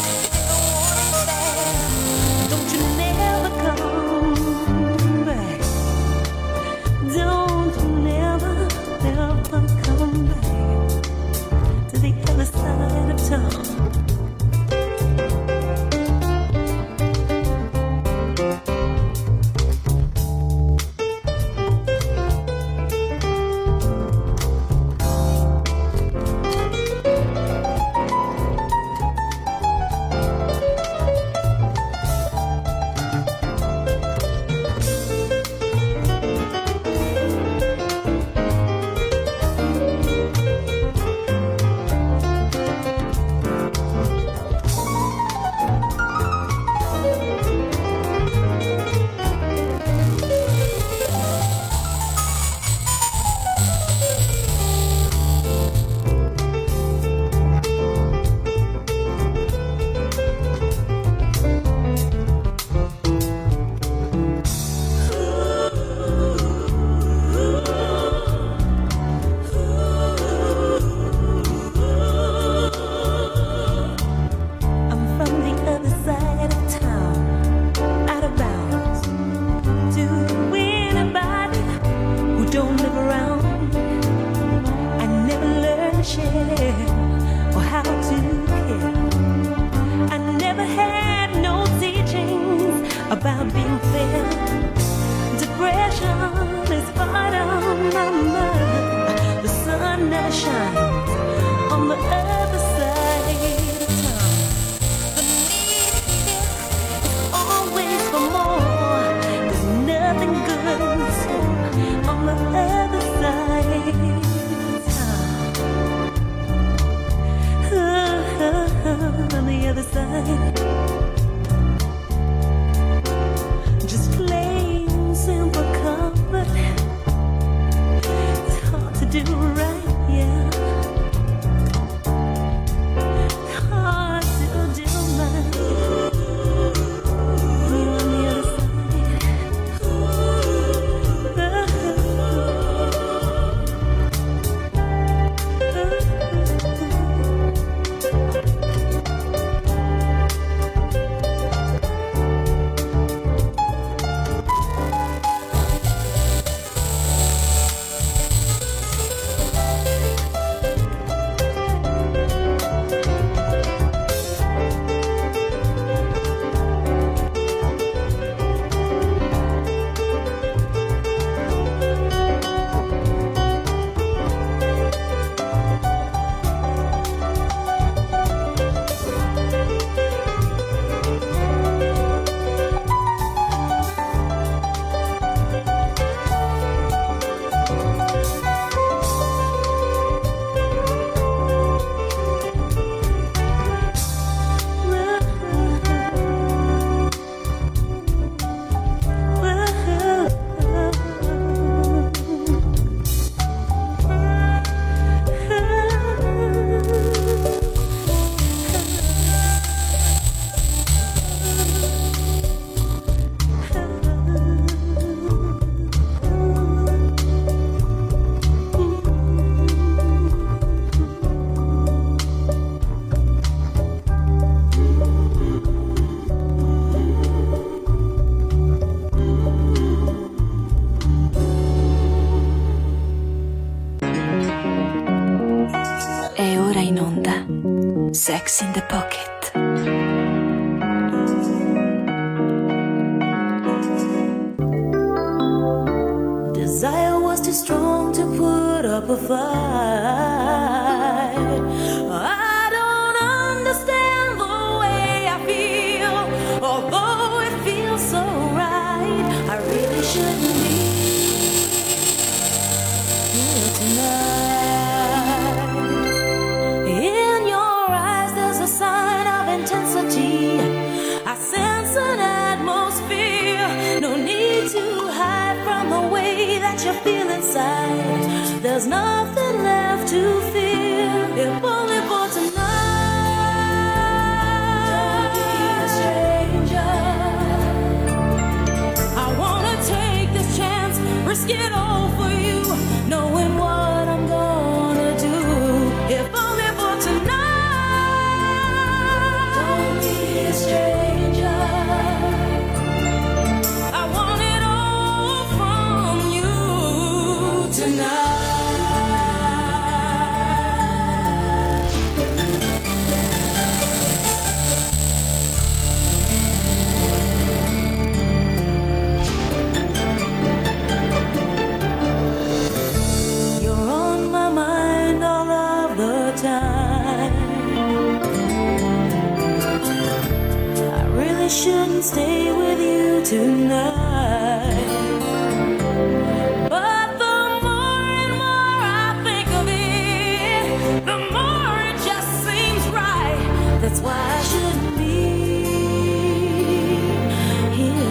Don't you never come back. Don't you never, never come back to the other side of town. Sex in the Pocket. Desire was too strong to put up a fight. I don't understand the way I feel, although it feels so right. I really shouldn't be here tonight. In your eyes there's a sign of intensity. I sense an atmosphere. No need to hide from the way that you're feeling. inside. There's nothing left to fear, if only for tonight. Don't be a stranger. I wanna take this chance, risk it all for you, knowing what I'm gonna do, if only for tonight. Don't be a stranger. I want it all from you tonight. You're on my mind all of the time. I really shouldn't stay with you tonight, but the more and more I think of it, the more it just seems right. That's why I shouldn't be here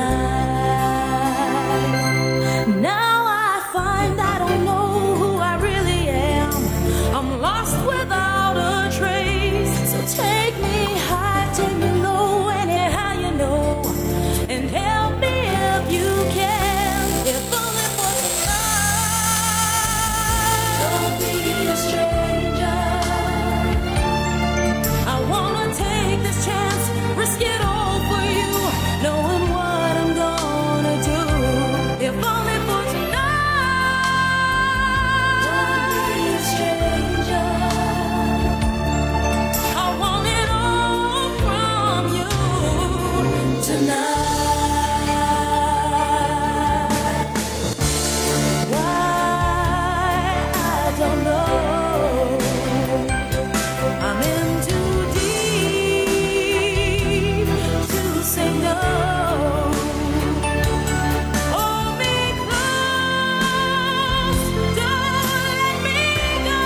tonight. Now I find I don't know who I really am. I'm lost without a trace. So take me high, take me low, anyhow you know, and help me if you can, if only for tonight. Don't be a stranger. I wanna take this chance, risk it all for you, knowing what I'm gonna do, if only for tonight. Don't be a stranger. I want it all from you tonight. Why, I don't know. I'm in too deep to say no. Hold me close, don't let me go.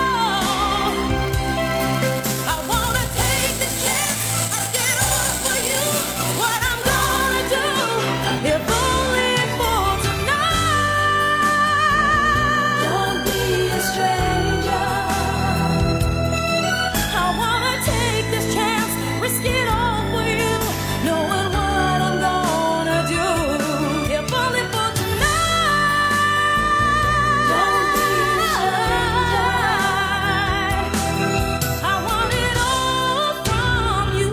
I wanna take this chance, risk it all for you, what I'm gonna do, if only for tonight. Don't be a stranger. I wanna take this chance, risk it all for you, knowing what I'm gonna do, if only for tonight. Don't be a stranger. I want it all from you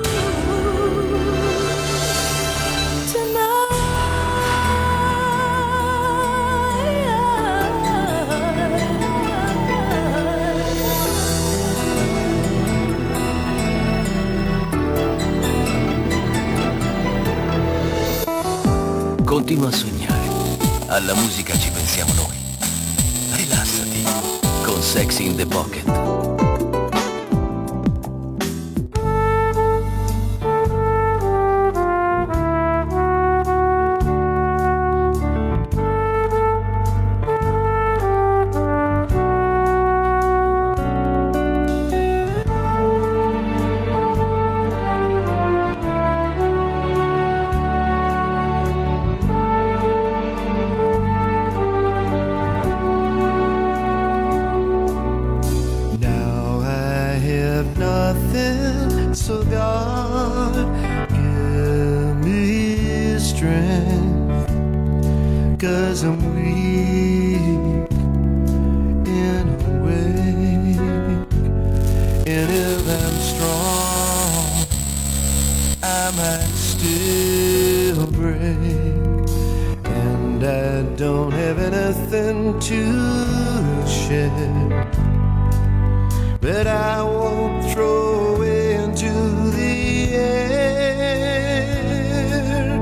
tonight. Continua a sognare. Alla musica ci pensiamo noi. Rilassati con Sexy in the Pocket. Now I have nothing, so God give me strength, 'cause I'm weak in a way, and if I'm strong, I might still break, and I don't have anything to share, but I won't throw away into the air.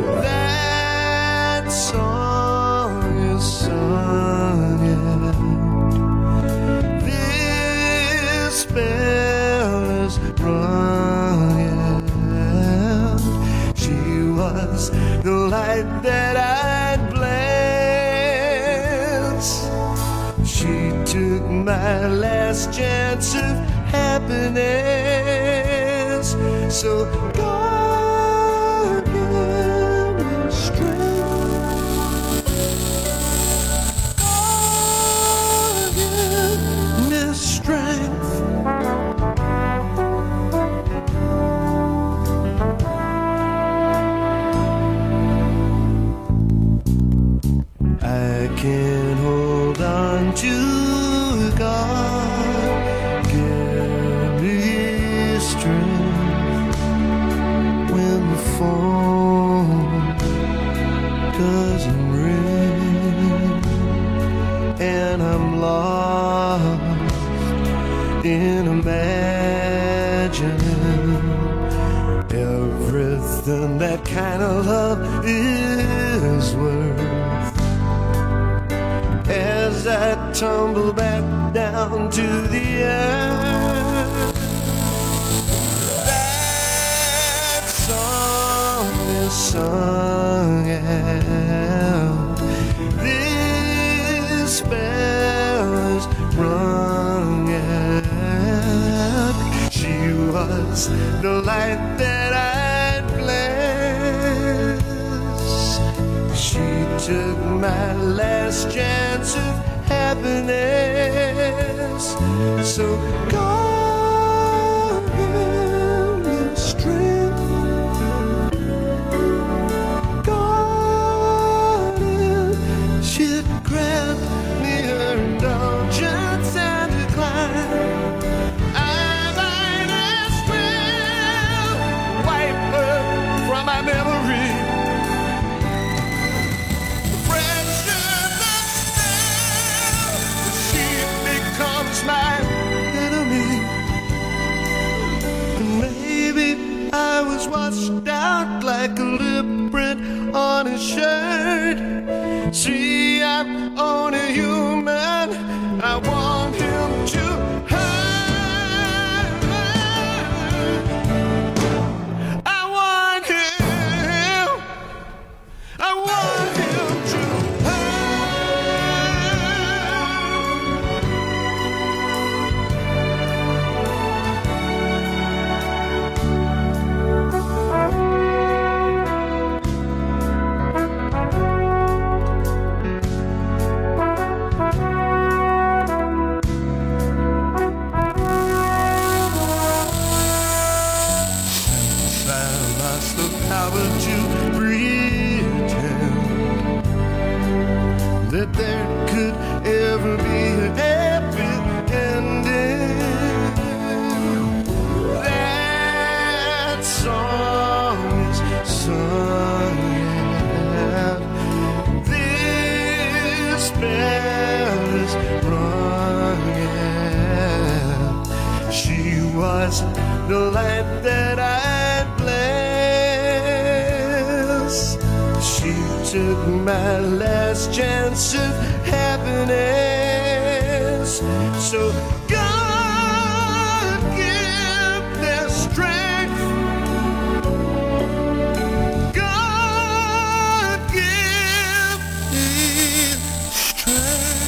That song is sung yet. This spell is rung yet. She was the light that I'd glance. She took my last chance of happiness. So God give me strength. God I can hold on to God. Give me strength when the phone doesn't ring and I'm lost in imagining everything that kind of love is worth. As I tumble back down to the earth, that song is sung out, this spell is rung out. She was the light that I'd bless. She took my last chance of happiness. So God give me strength. God, if she'd grant me her indulgence and decline, I might as well wipe her from my memory. My enemy, and maybe I was washed out like a lip print on his shirt. See, I'm only human. I want him to hurt. I want him. I want him to hurt. That there could ever be a happy ending. That song is sung out, this bell is rung out. She was the light that I'd bless. She took my last chance of happiness. So God give their strength. God give me strength.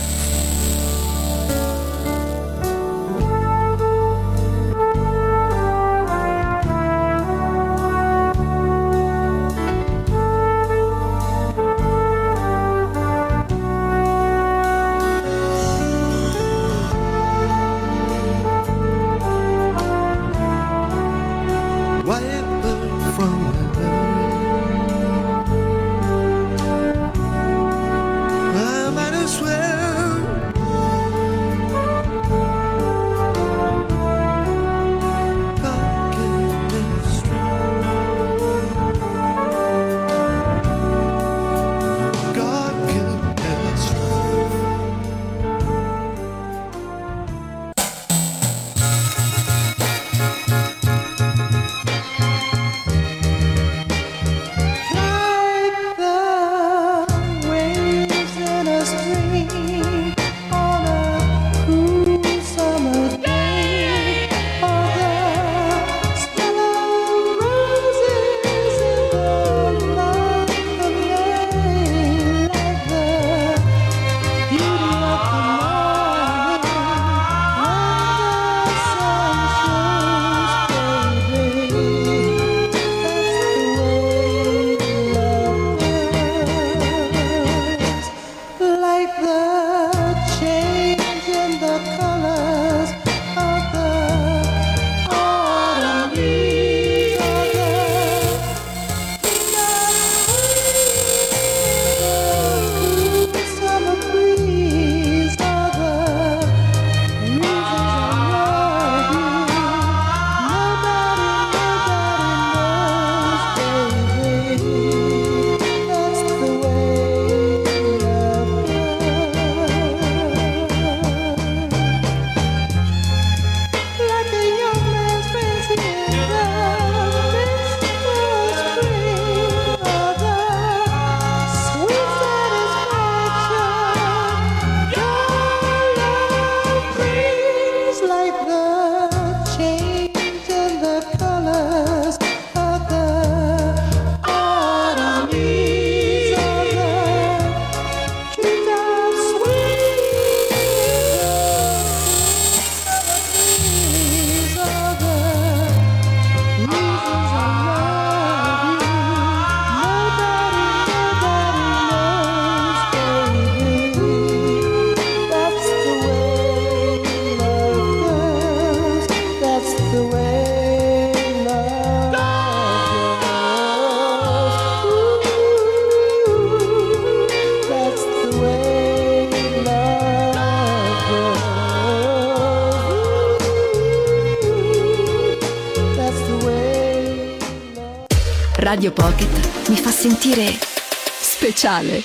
Radio Pocket mi fa sentire speciale.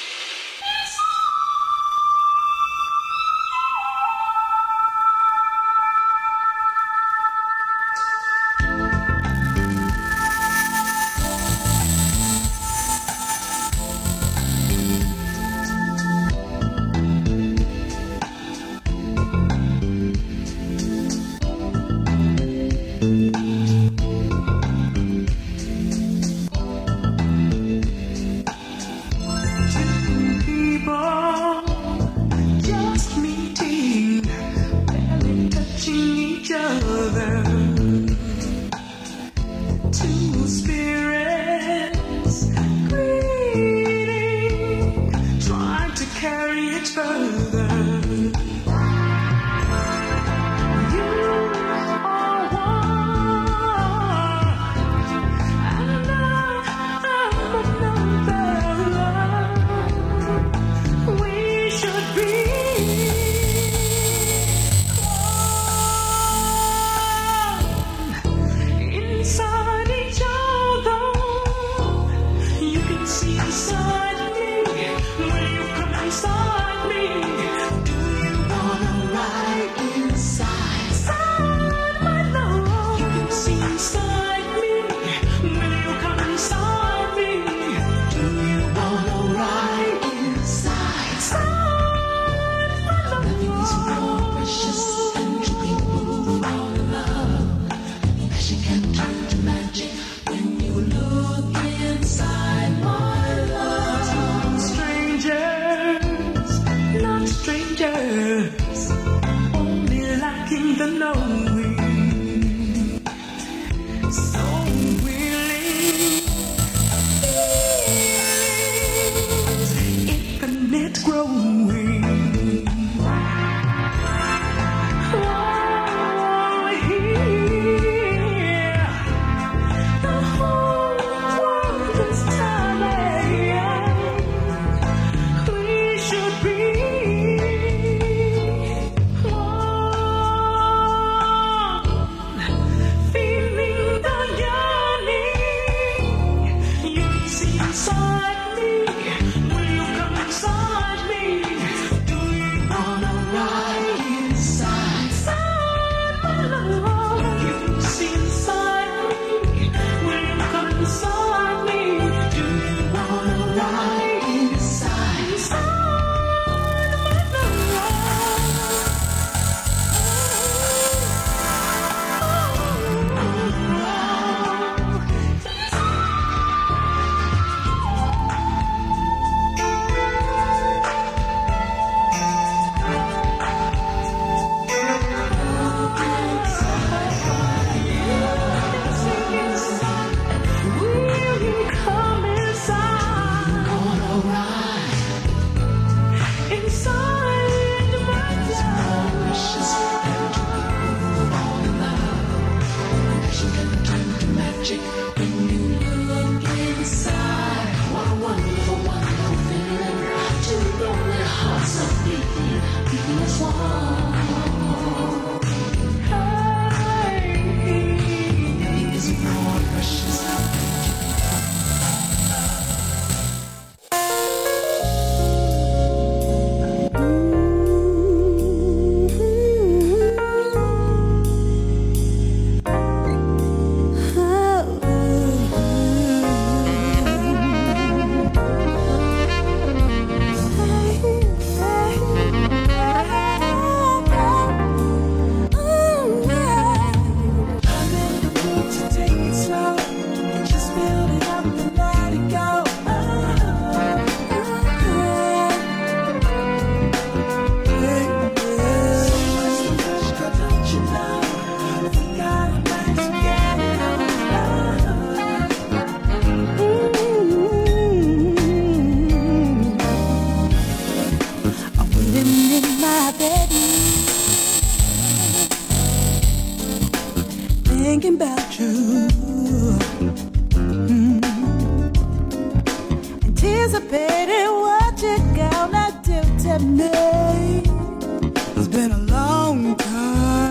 Anticipating what you're gonna do to me. It's been a long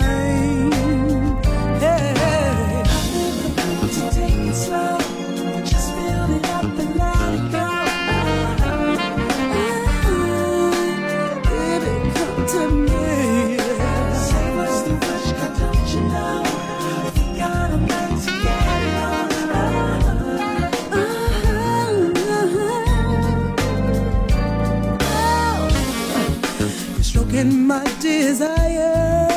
time. Hey, to take it slow. in my desire.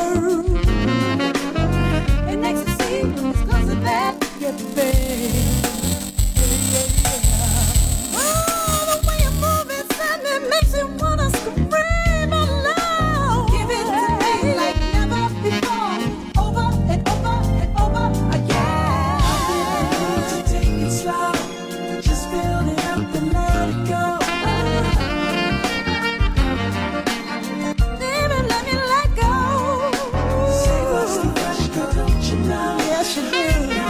And ecstasy is cause of that, yeah, babe. Oh, the way you move it, son, it makes you wanna scream aloud. Give it to me like never before, over and over and over again. So take it slow, just build it up and let it go. Baby, let me let go. Say what's the rush, girl, don't you know? Yes, you do.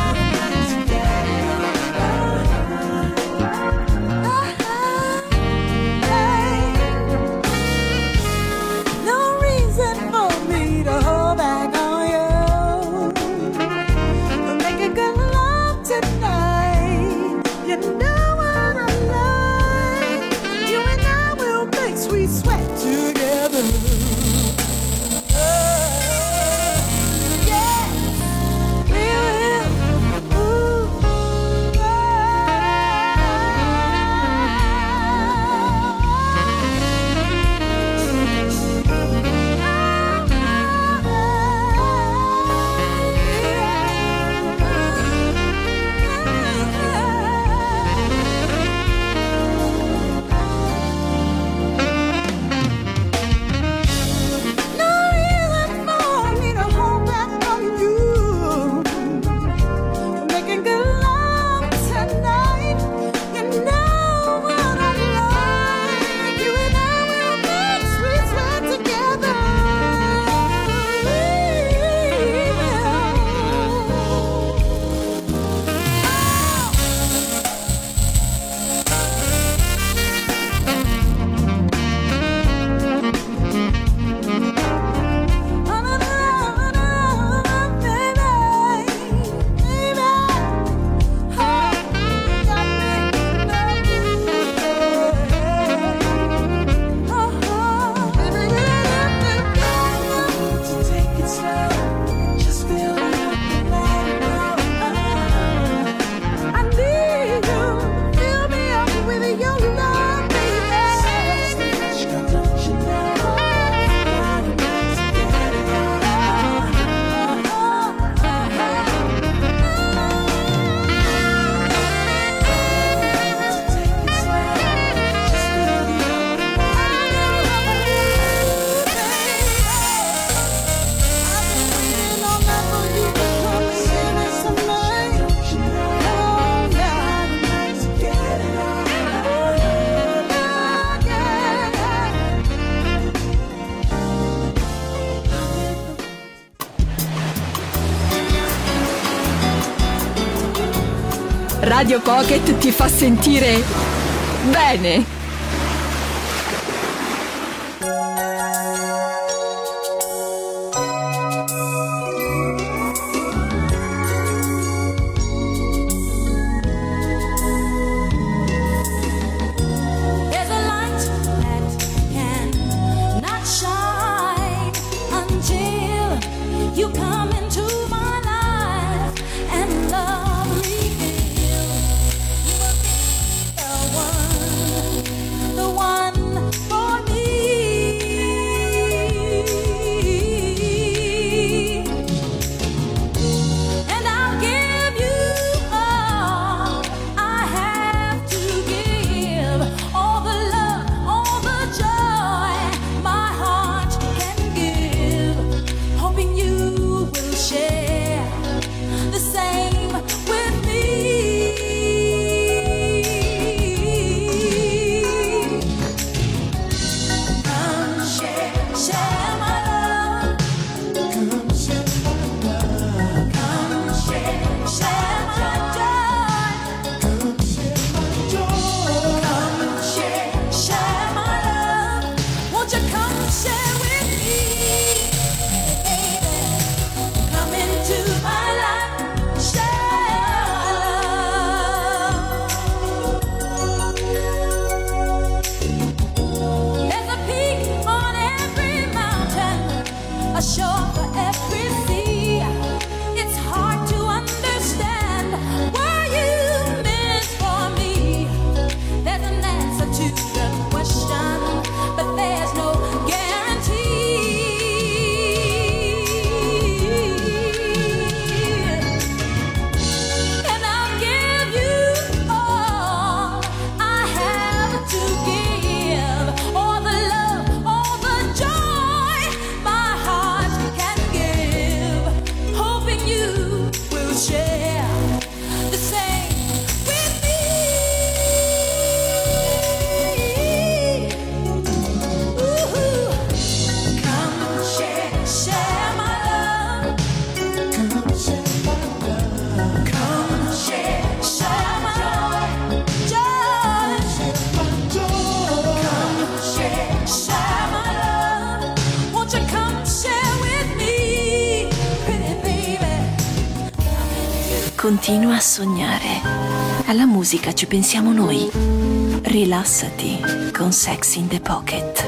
Radio Pocket ti fa sentire bene. One Continua a sognare. Alla musica ci pensiamo noi. Rilassati con Sex in the Pocket.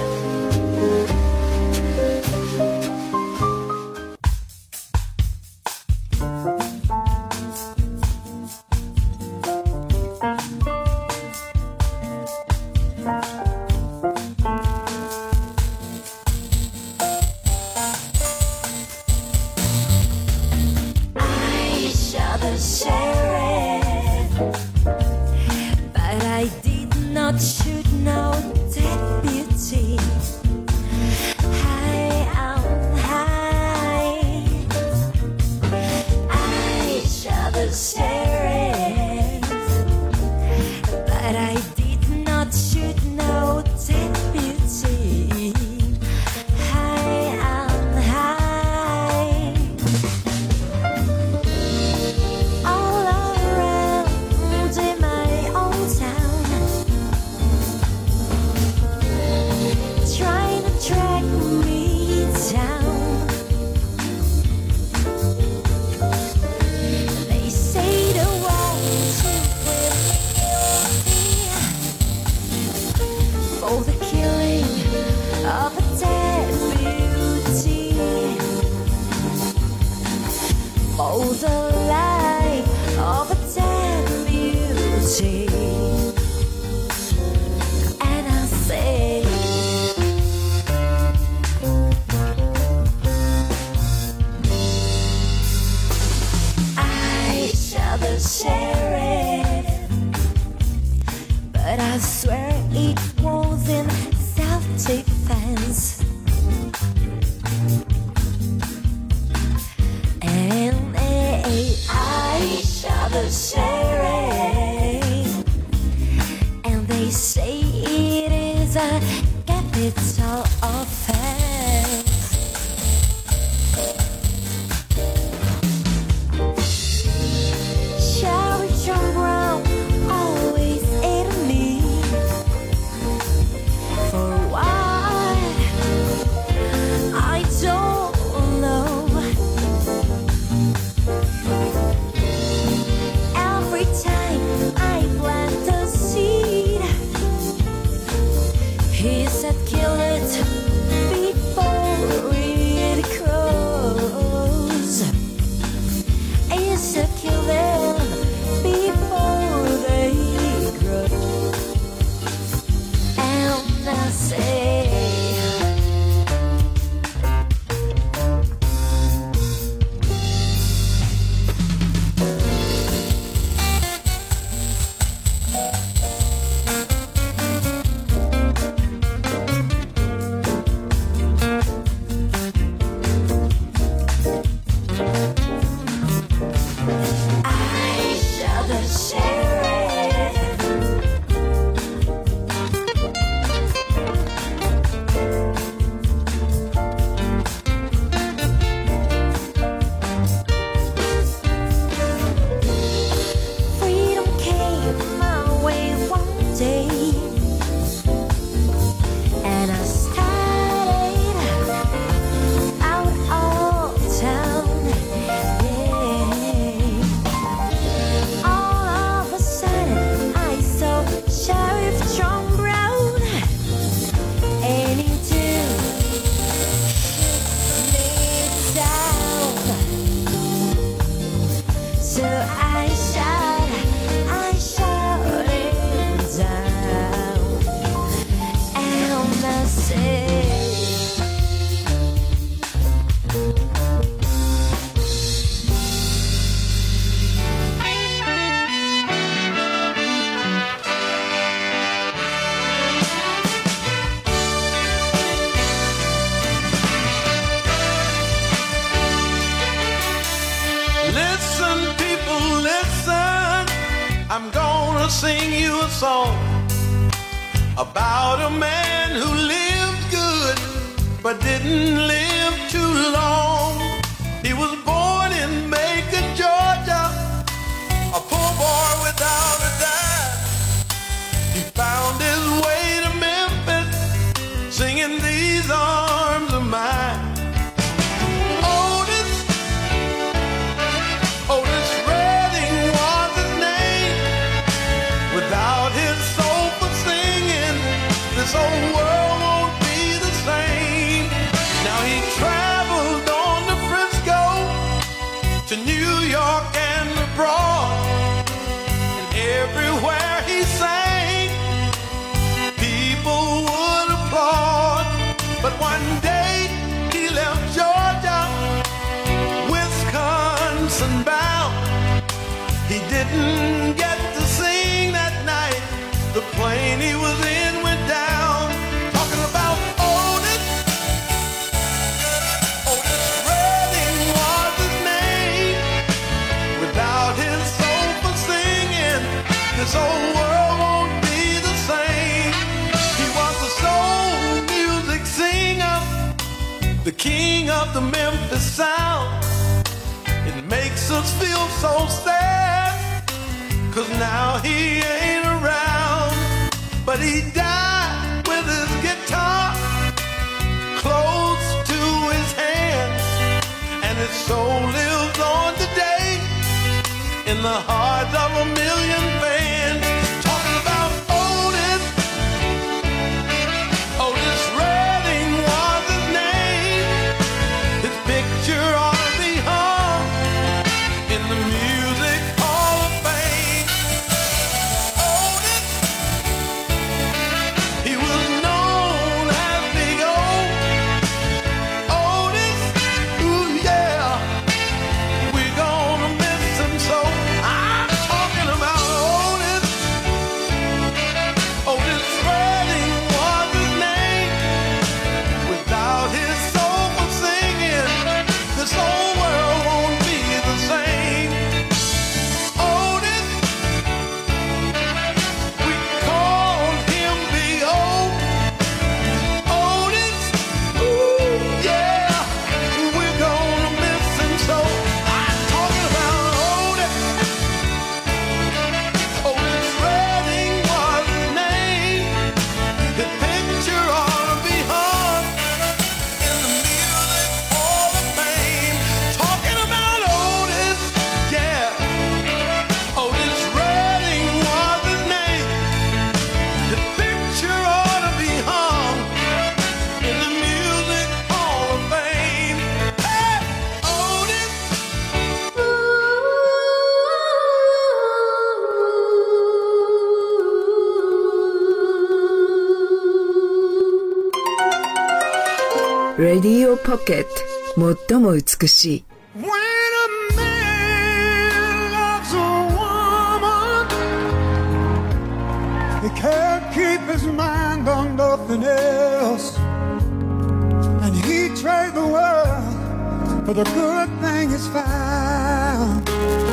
Sing you a song about a man who lived good but didn't live too long. He was born in Macon, Georgia, a poor boy without a dime. He found his way to Memphis, singing These Arms of Mine. Otis, Otis Redding the king of the Memphis sound. It makes us feel so sad, 'cause now he ain't around. But he died with his guitar close to his hands, and his soul lives on today in the hearts of a million fans. Talking about Otis, Otis Redding was his name. His picture ought to be hung in the Music Hall of Fame. Otis, he was known as Big O. Otis, ooh yeah, we're gonna miss him so. I'm talking about Otis. Otis Redding was his name. Without his soulful singing, this whole world won't be the same. Otis, we called him Big O. Otis, ooh yeah, we're gonna miss him so. I'm talking about Otis. Otis Redding was his name. His picture ought to be hung in the Music Hall of Fame. Talking about Otis, yeah. Otis Redding was his name. His picture ought to be hung in the Music Hall of Fame. Hey, Otis. Radio Pocket 最も美しい When a man loves a woman, he can't keep his mind on nothing else, and he trade the world for the good thing he's found.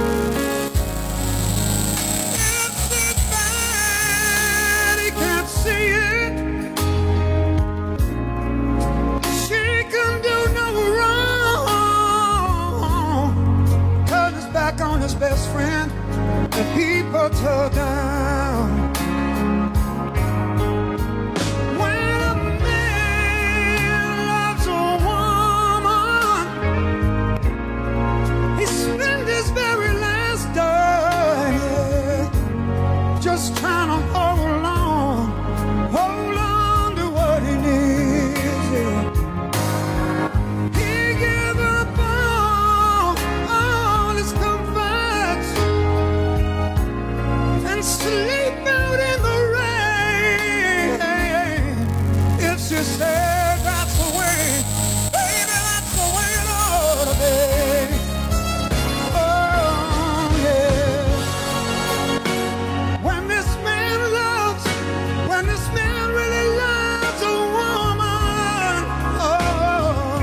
It's so bad he can't see it. She can do no wrong. Turn his back on his best friend, the people tore down. When a man loves a woman, he spends his very last day, yeah, just trying to hold on, hold on to what he needs, yeah. He gave up all, all his comforts and sleep out in the rain. If she said that's the way, baby, that's the way it ought to be. Oh, yeah. When this man loves, when this man really loves a woman, oh,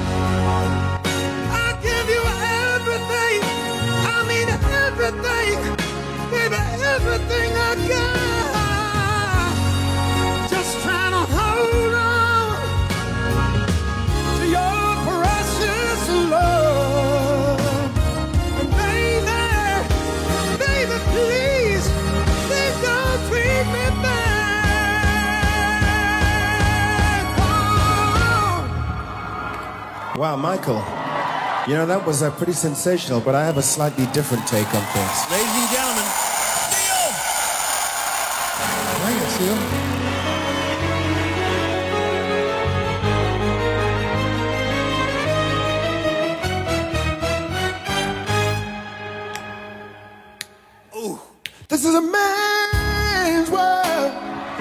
I give you everything. I mean everything, baby, everything I got. Just trying to hold on to your precious love. And baby, baby, please, please don't treat me bad. Oh. Wow, Michael. You know, that was uh, pretty sensational, but I have a slightly different take on things. Ladies and gentlemen, Neil! Thanks, Neil. Ooh. This is a man's world.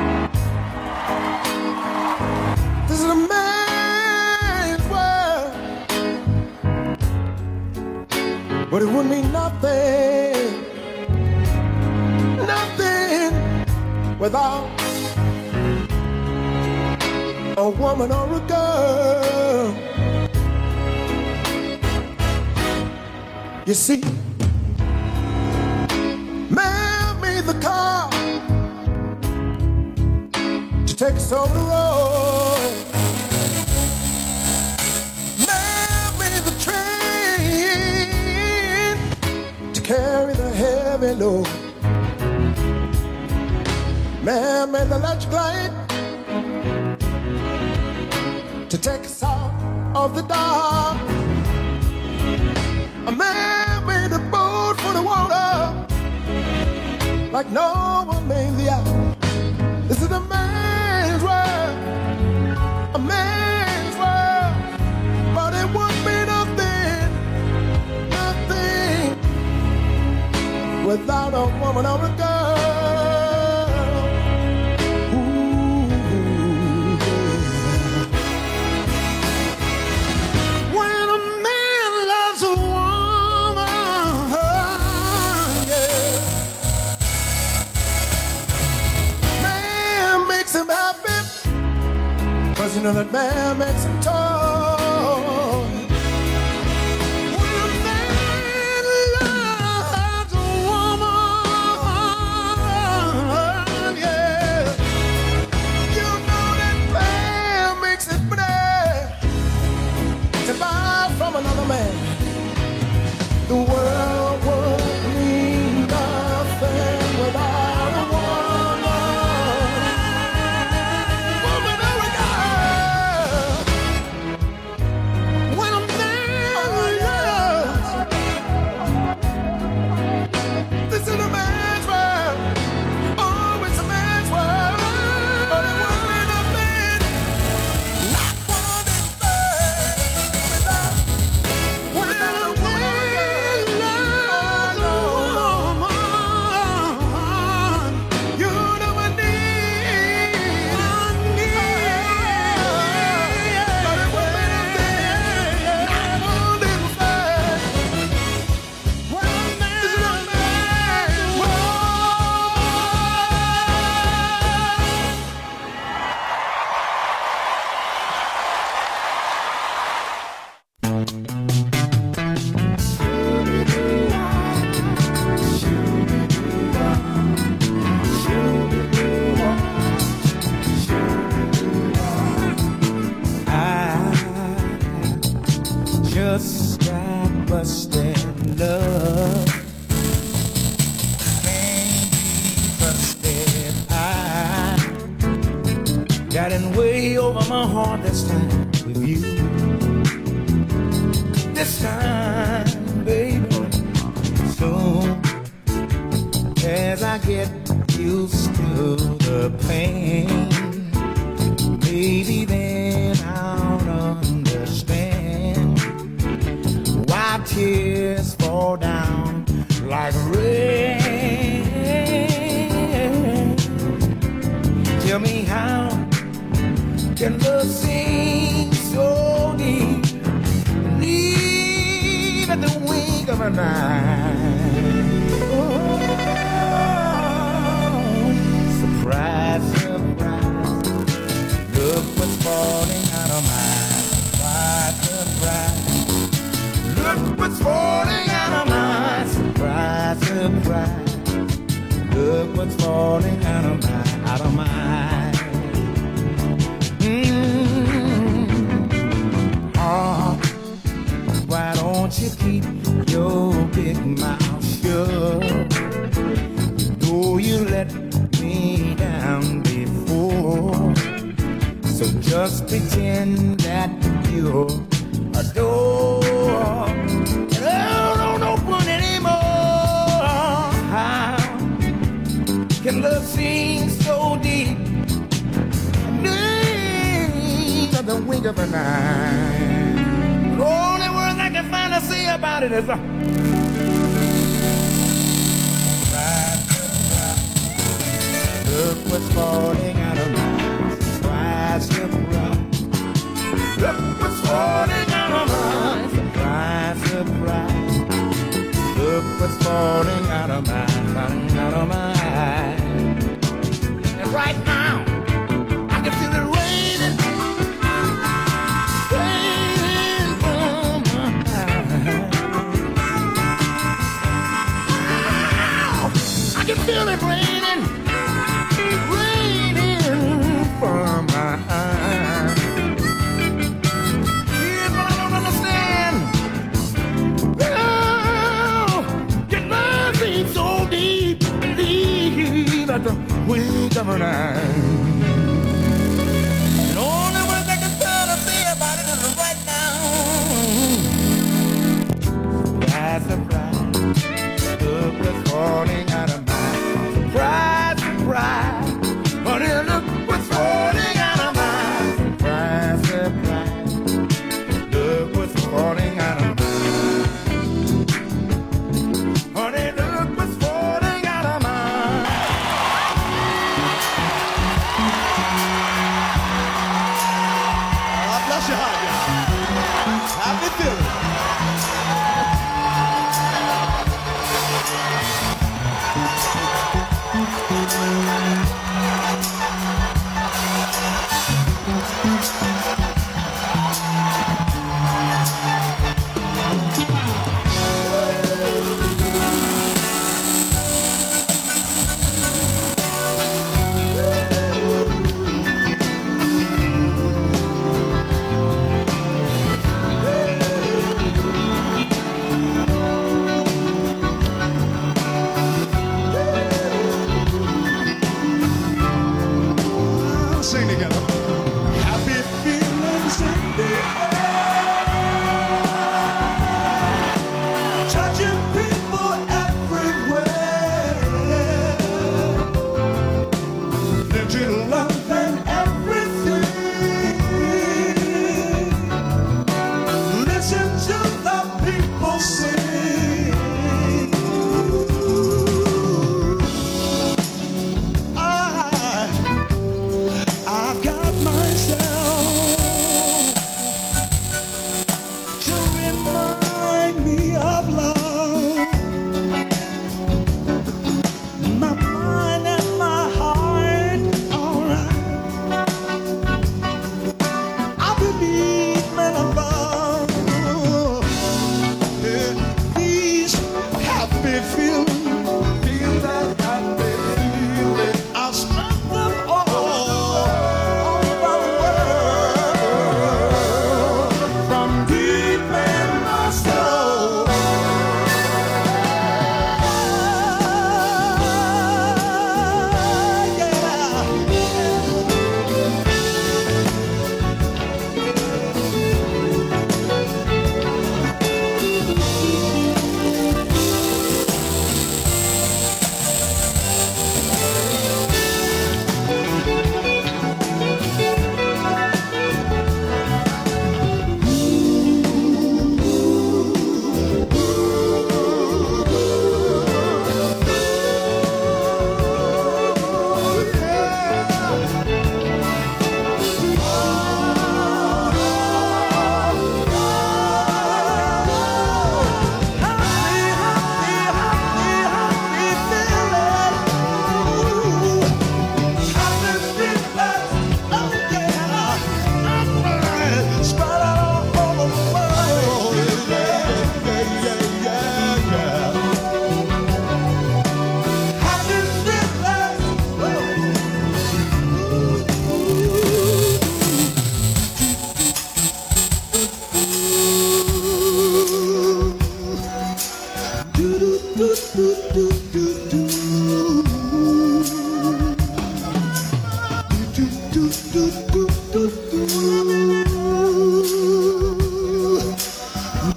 This is a man's world. But it would mean nothing, nothing without a woman or a girl. You see, man made the car to take us over the road. the electric light to take us out of the dark. A man made a boat for the water like no one made the eye. This is a man's world, a man's world, but it won't be nothing, nothing without a woman or a girl. You know that man makes him tall. When a man loves a woman, yeah, you know that man makes it better to buy from another man. The world would mean nothing without a feel it raining, raining from my eyes. Here's what I don't understand. Oh, your love ain't so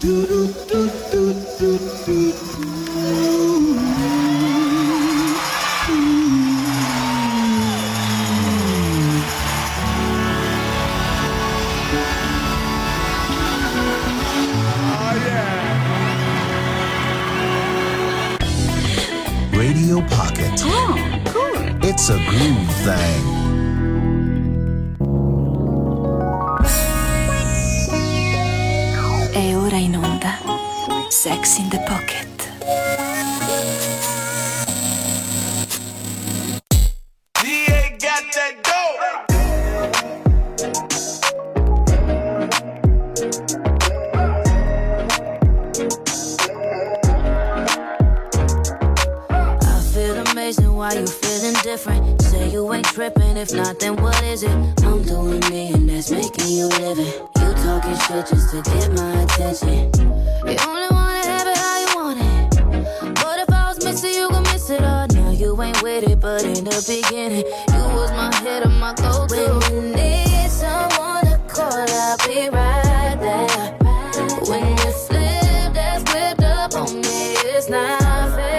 Radio Pocket. Oh, cool. It's a groove thing. E ora in onda Sex in the Pocket. Why you feeling different? Say you ain't tripping. If not, then what is it? I'm doing me and that's making you living. You talking shit just to get my attention. You only wanna have it how you want it. But if I was missing, you gon' miss it all. Now you ain't with it, but in the beginning, you was my hit or my go-to. When you need someone to call, I'll be right there. When you flip that script up on me, it's not fair.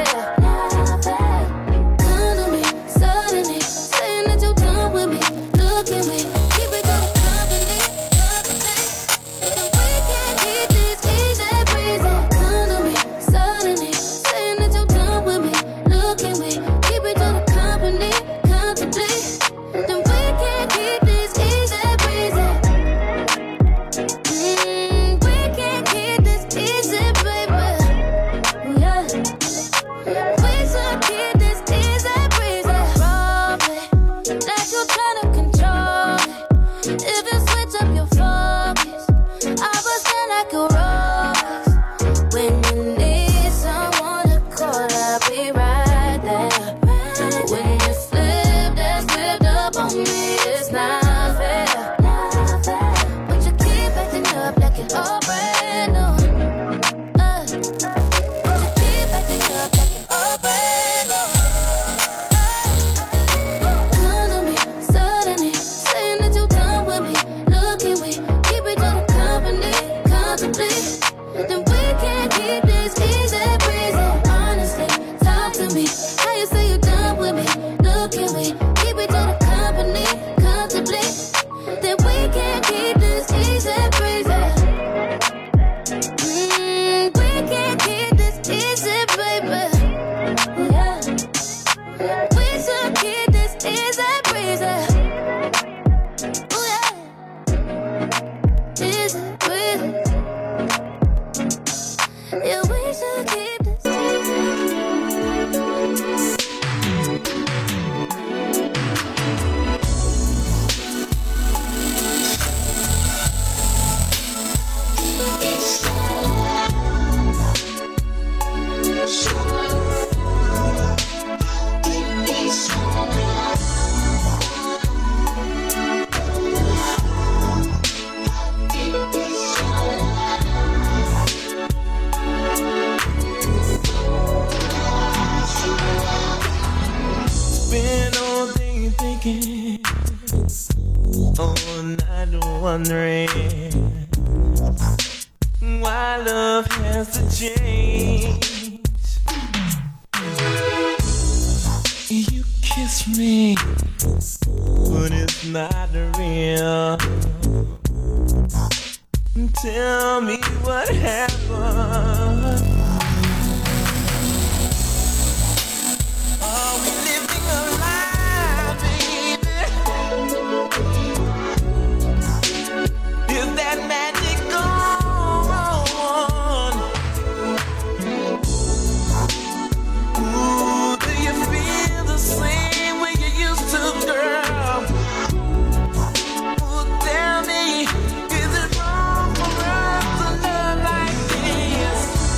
Tell me, is it wrong for us to love like this?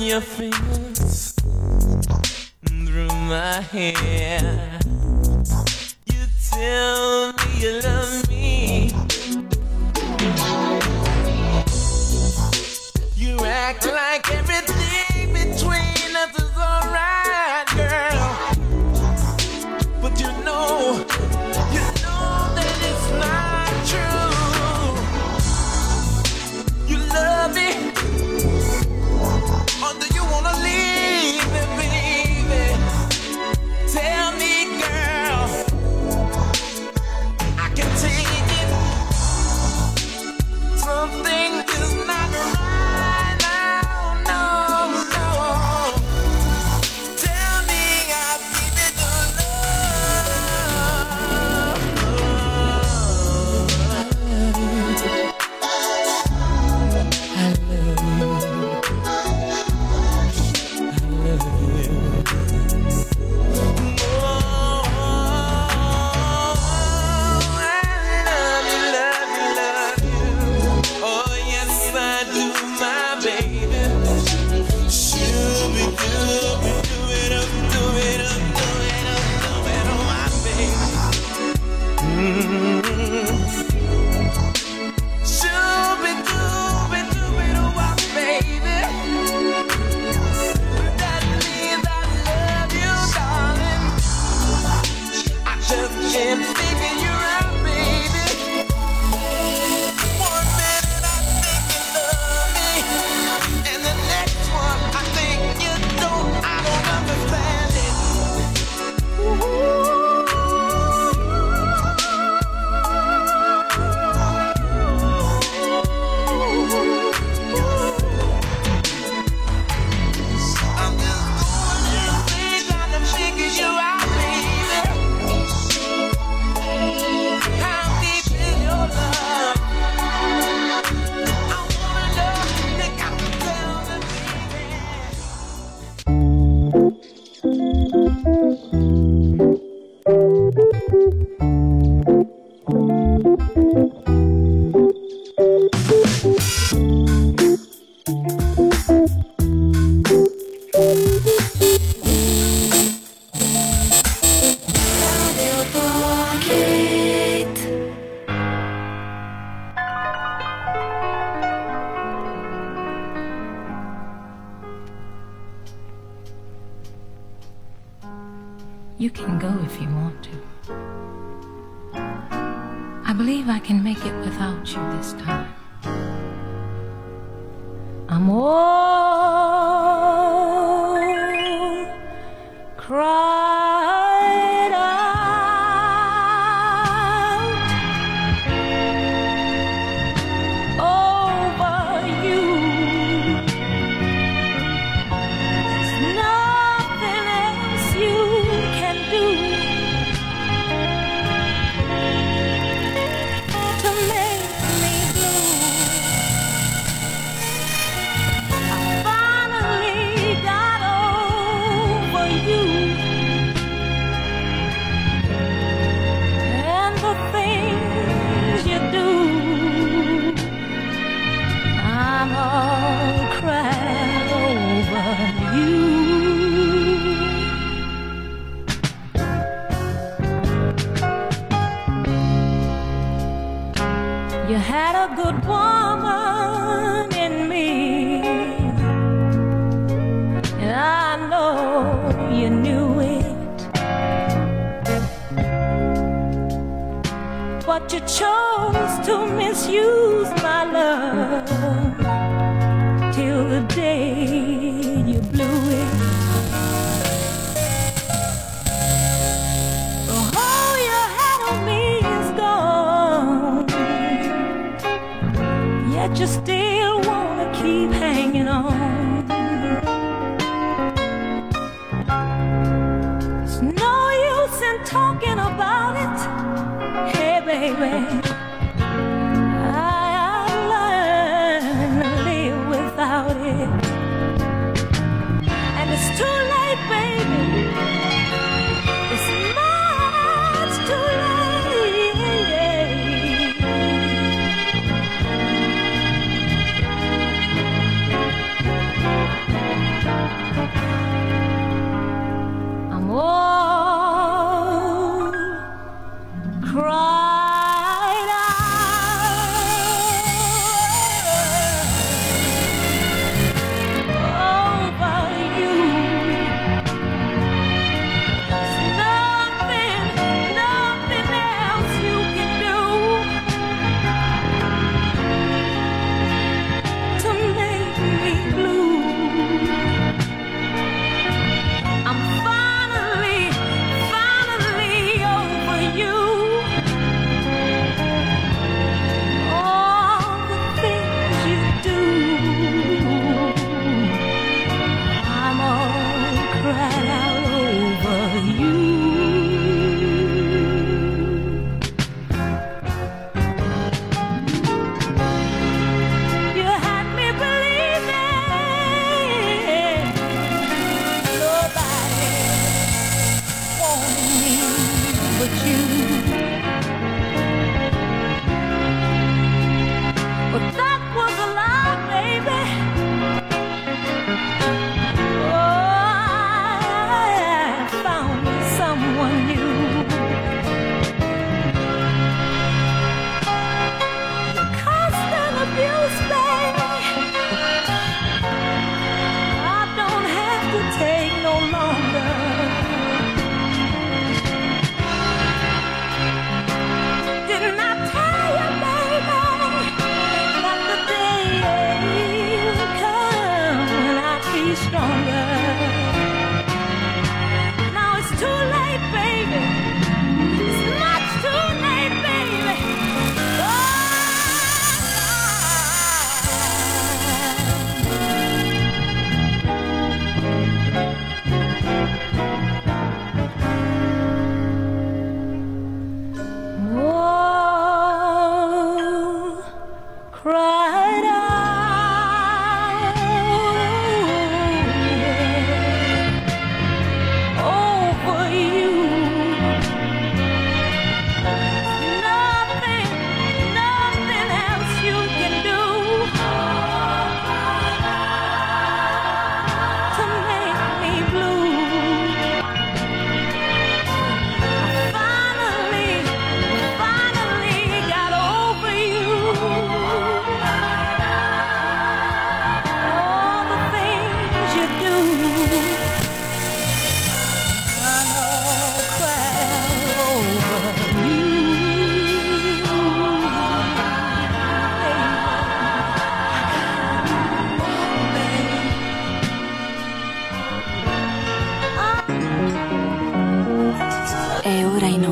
your fingers through my hair. You tell me you love me. You act like everything between us is alright, girl. But you know, you know that it's not true. You love me, or do you wanna leave me, baby? Tell me, girl, I can take it. Something is not right now, no, no. Tell me I'll give it the love. I love you. I love you. Oh, I love you, love you, love you. Oh, yes, I do, my baby. Shooby dooby, do it up, do it up, do it up, do it up, my baby. Mm-hmm. Shooby dooby, do it up, my baby. That means I love you, darling. I just can't figure you out, baby. One minute I think you love me, and the next one I think you don't. I don't understand it. I'm just going crazy trying to figure you out, baby. How deep is your love? I wanna know, think I can tell me, baby. You can go if you want to. I believe I can make it without you this time. I'm all cried out over you. There's nothing else you can do to make me blue. I finally got over you and the things you do. I'm all cried over you. You had a good woman in me, and I know you knew it, but you chose to misuse my love till the day you blew it. All you had on me is gone, yet you still wanna keep hanging on. It's no use in talking about it, hey baby. I, I learned to live without it, and it's too late, baby. It's much too late.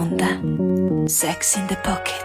onda Sex in the Pocket.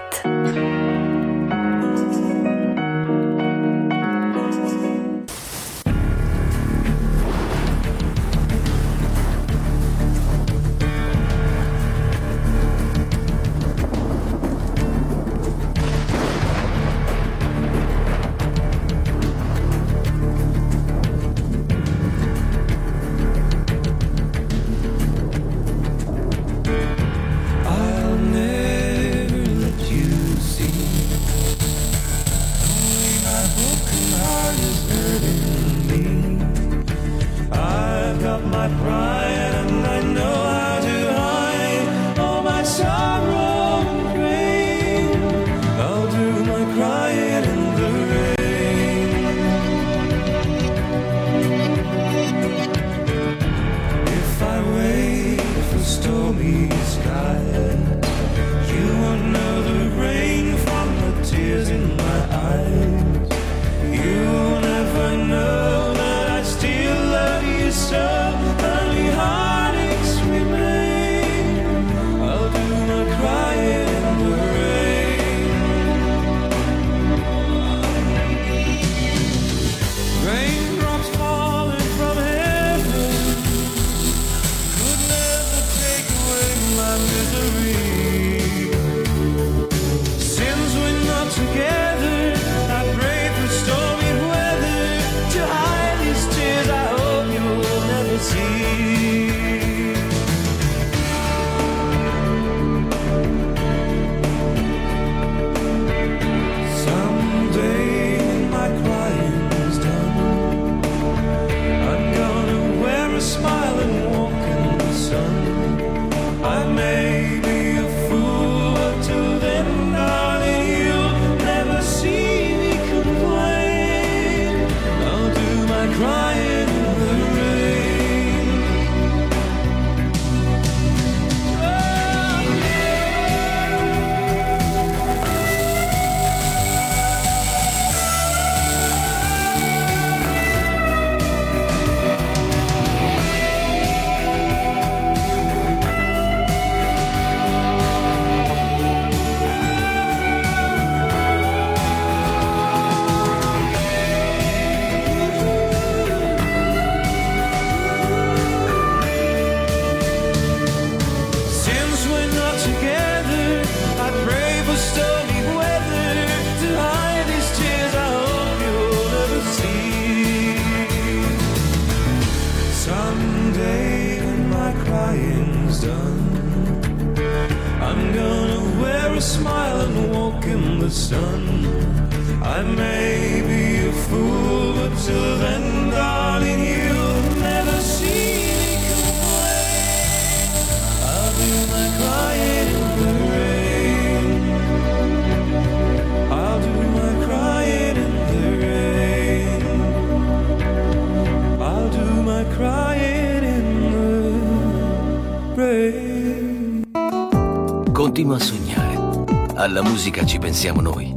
Continua a sognare. Alla musica ci pensiamo noi.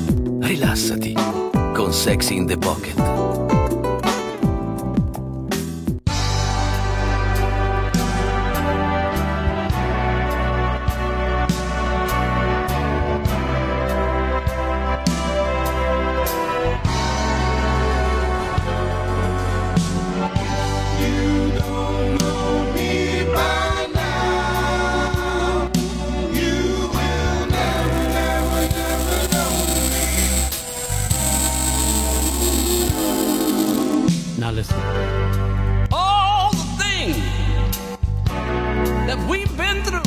Rilassati con Sex in the Pocket. All the things that we've been through,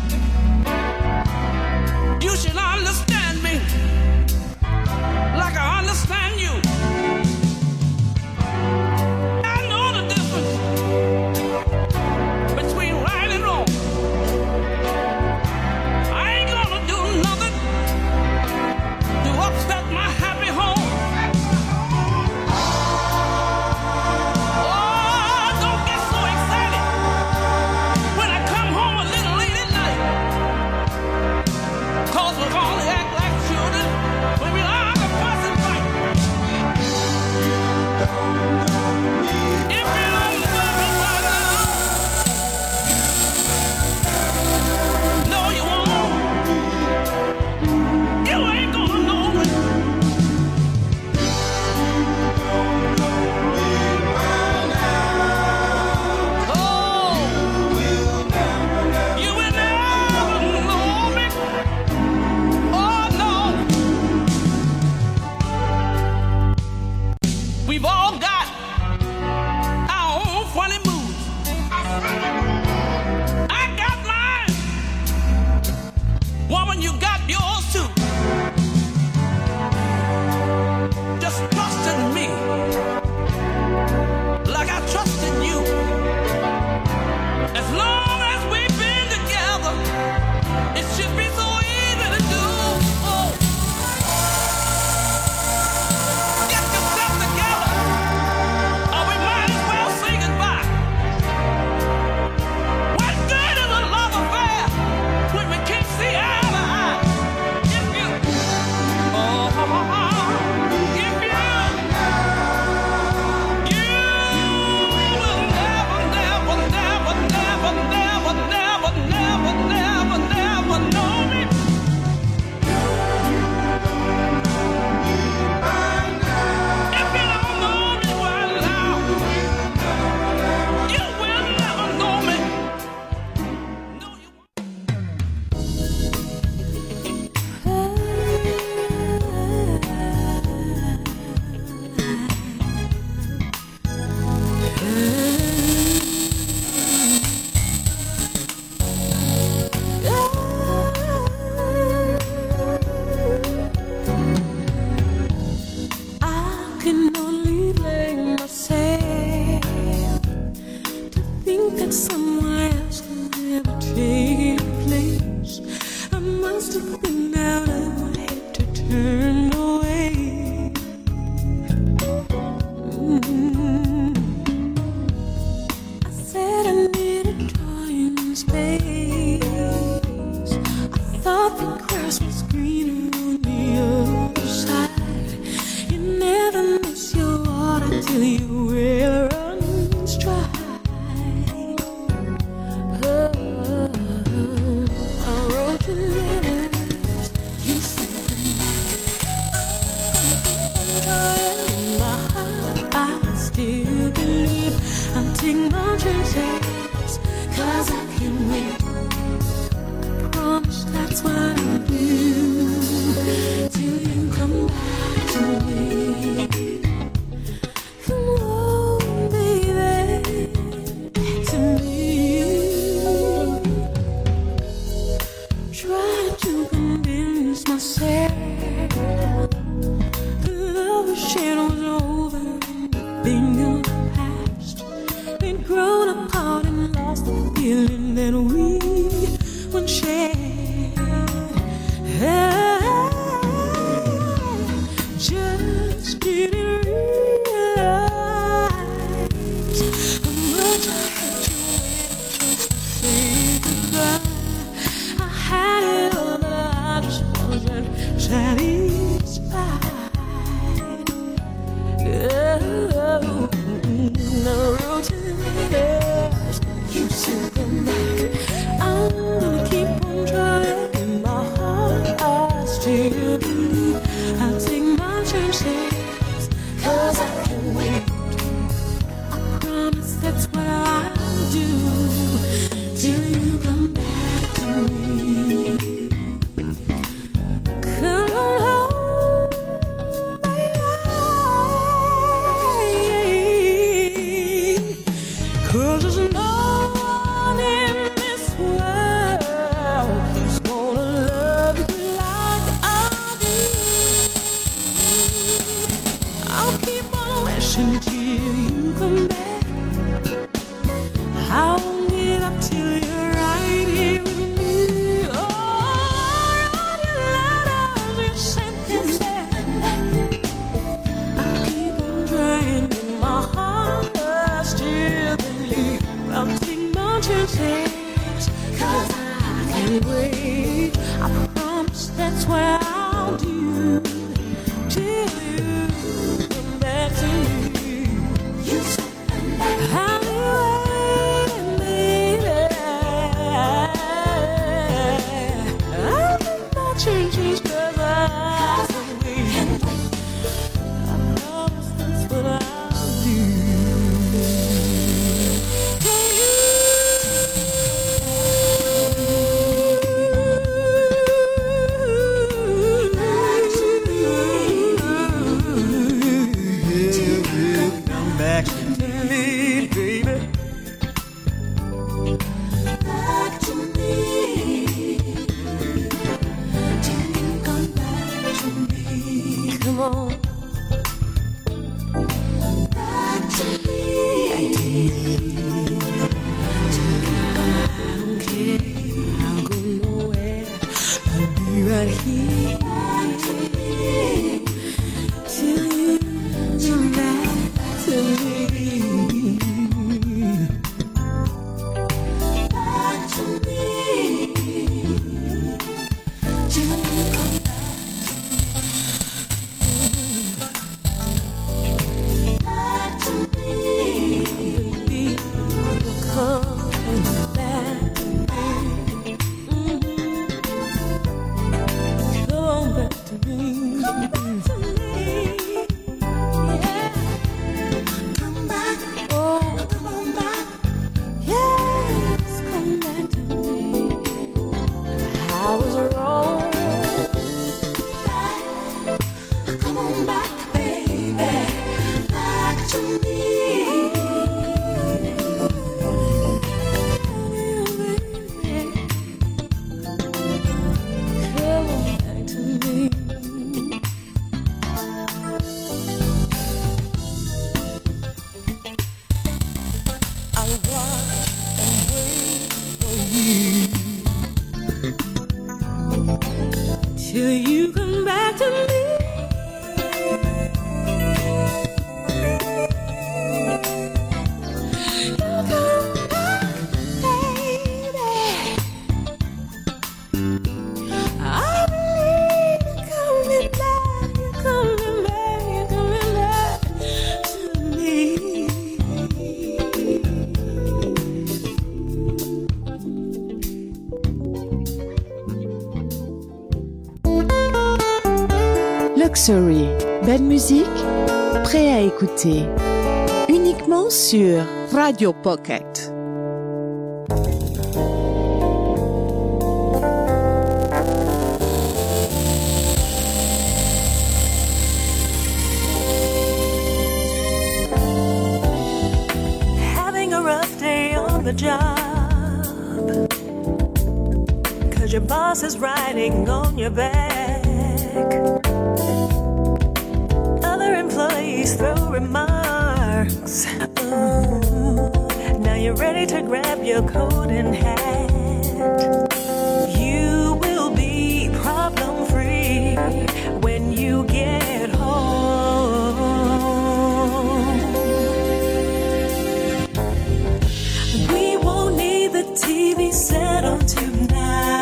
you should understand me like I understand you. I know the difference between right and wrong. I ain't gonna do nothing to upset my happy home. When I come home a little late We've all got our own funny moves. I got mine. Woman, you got yours too. Just trust in me like I trust in you. As long as we've been together, it should be so easy to do. Oh. Get yourself together, or we might as well say goodbye. What good is a love affair when we can't see eye to eye? If you, oh, if you, you will never, never, never, never, never, never, never, never, never know me. If you don't know me well now, you will never know me. No, you won't. I can only blame myself to think that someone else could never take your place. I must have been out of my head to turn away. Mm. I said I needed time and space. I thought the grass was greener on the other side. You never miss your water till your well runs dry. Oh, I wrote you letters. You said in my heart, I still believe I'll take my chances, 'cause I can't wait. Promise that's what I'll do till you come back to me. Come on, baby, back to me. Try to convince myself the love we shared was over, being in the past. We'd grown apart and lost the feeling that we once shared. Just didn't realize how much I had to wait just to say goodbye. I had it all, but I just wasn't satisfied. Oh, I wrote you letters. You said them back. I'm gonna keep on trying. In my heart, I still believe I'll take my chances, 'cause I can't wait. I promise that's what I'll do till you come back to me. Come on home, baby, 'cause there's no one in this world who's gonna love you like I do. I'll keep on wishing till you come back. I won't give up till you're right here with me. Oh, all your letters you sent them back. I'll keep on trying in my heart. I still believe I'll take my chances, 'cause I can't wait. I promise that's what I'll do till you come back to me. You said I'll be waiting, baby. I'll take my chances, 'cause I can't wait. I promise that's what I'll do. Till you Luxury, belle musique, prêt à écouter, uniquement sur Radio Pocket. Having a rough day on the job, 'cause your boss is riding on your back. Other employees throw remarks. Ooh, now you're ready to grab your coat and hat. You will be problem free when you get home. We won't need the T V set on tonight.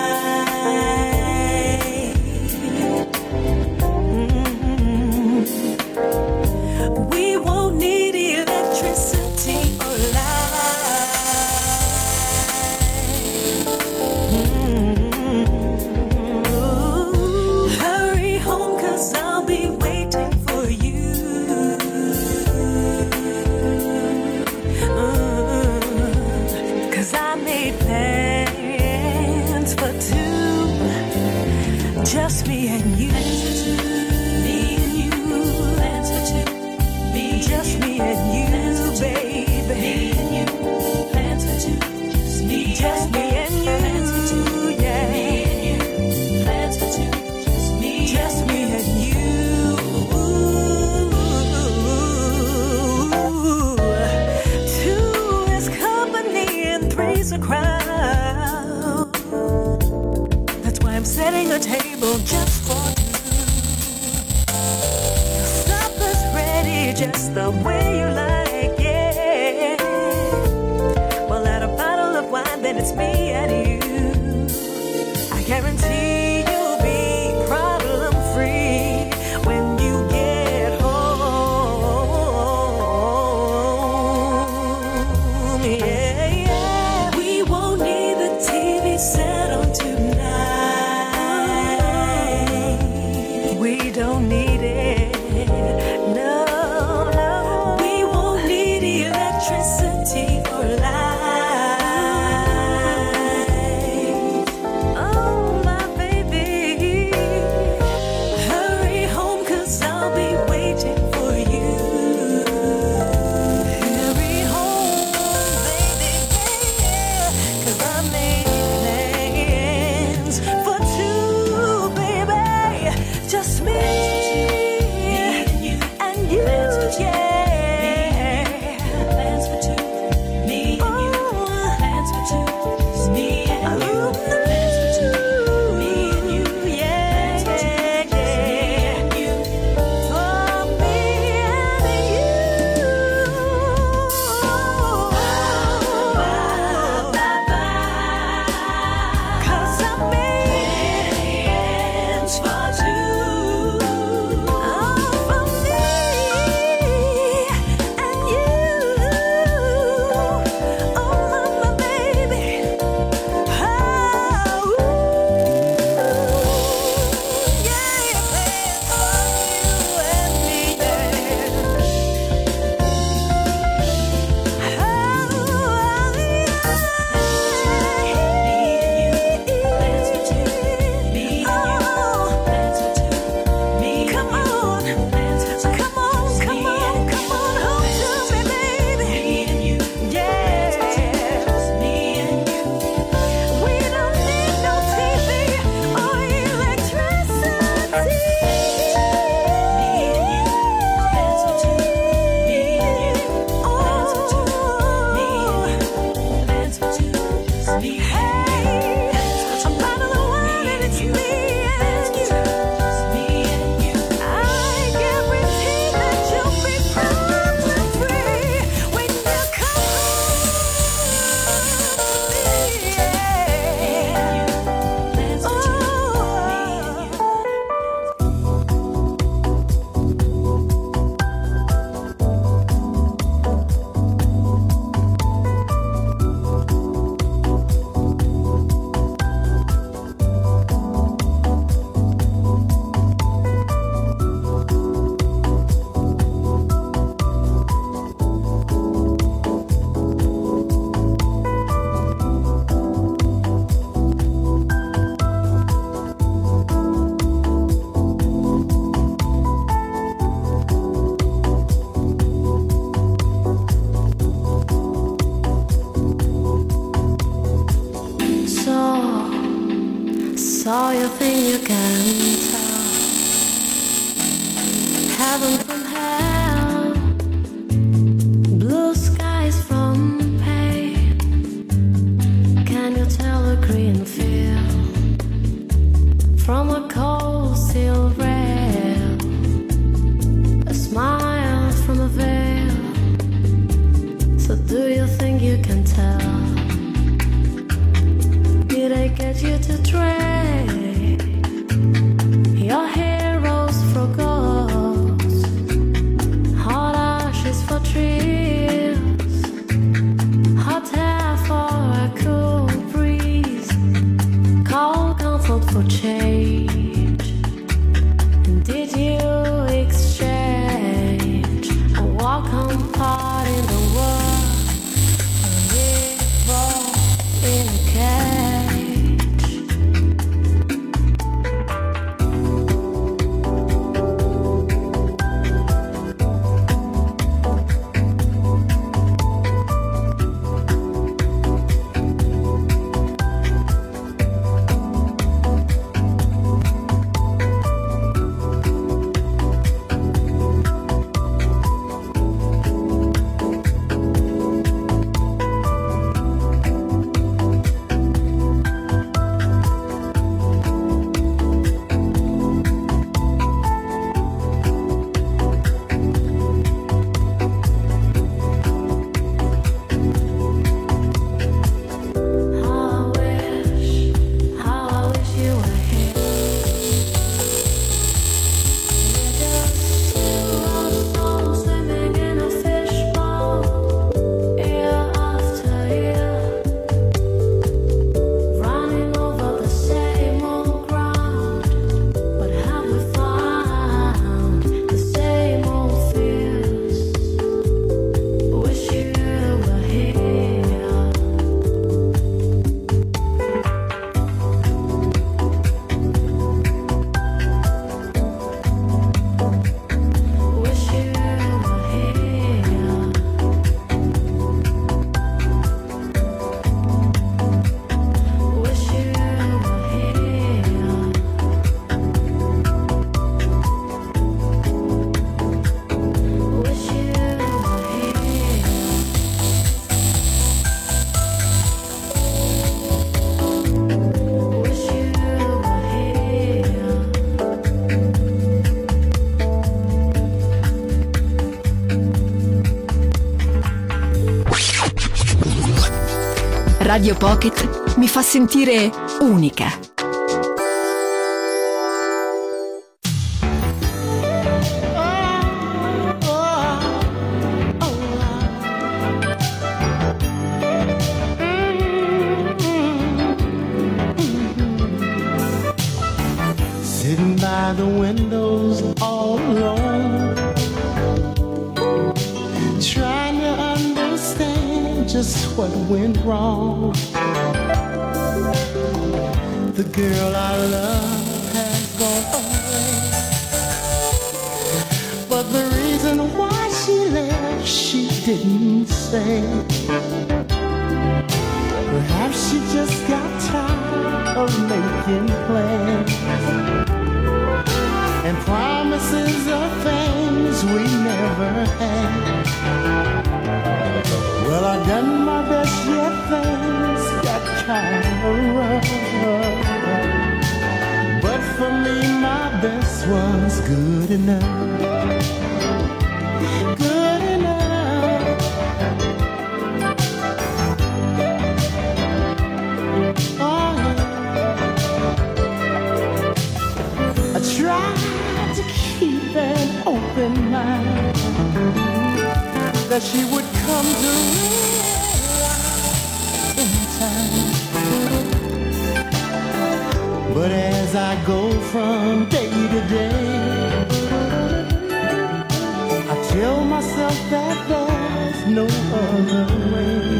Just me and you. Me and you. Plans for two. Me just me and you, baby. Me and you. Plans for two. Just me, just me and you. Plans for two. Yeah. Me and you. Plans for two. Just me, just me and you. Two is company and three's a crowd. That's why I'm setting a table just for two. Supper's ready just the way you like, yeah. We'll add a bottle of wine, then it's me and you. I guarantee you'll be problem free when you get home. Yeah, yeah. We won't need the T V set on tonight. We don't need it. No, no. We won't need electricity or light. Oh, my baby. Oh, you think you can tell heaven from hell, blue skies from pain? Can you tell a green field from a cold steel rail? A smile from a veil. So do you think you can tell? Did I get you to trade your heroes for ghosts, hot ashes for trees, hot air for a cool breeze, cold comfort for change? And did you exchange a welcome part in the world, a river in a cage? Radio Pocket mi fa sentire unica. Sitting by the windows all alone, trying to understand just what went wrong. The girl I love has gone away, but the reason why she left she didn't say. Perhaps she just got tired of making plans and promises of things we never had. Well, I done my best, yet things got kind of rough. But for me, my best was good enough. Good enough. Oh, yeah. I tried to keep an open mind that she would come to realize in time. But as I go from day to day, I tell myself that there's no other way.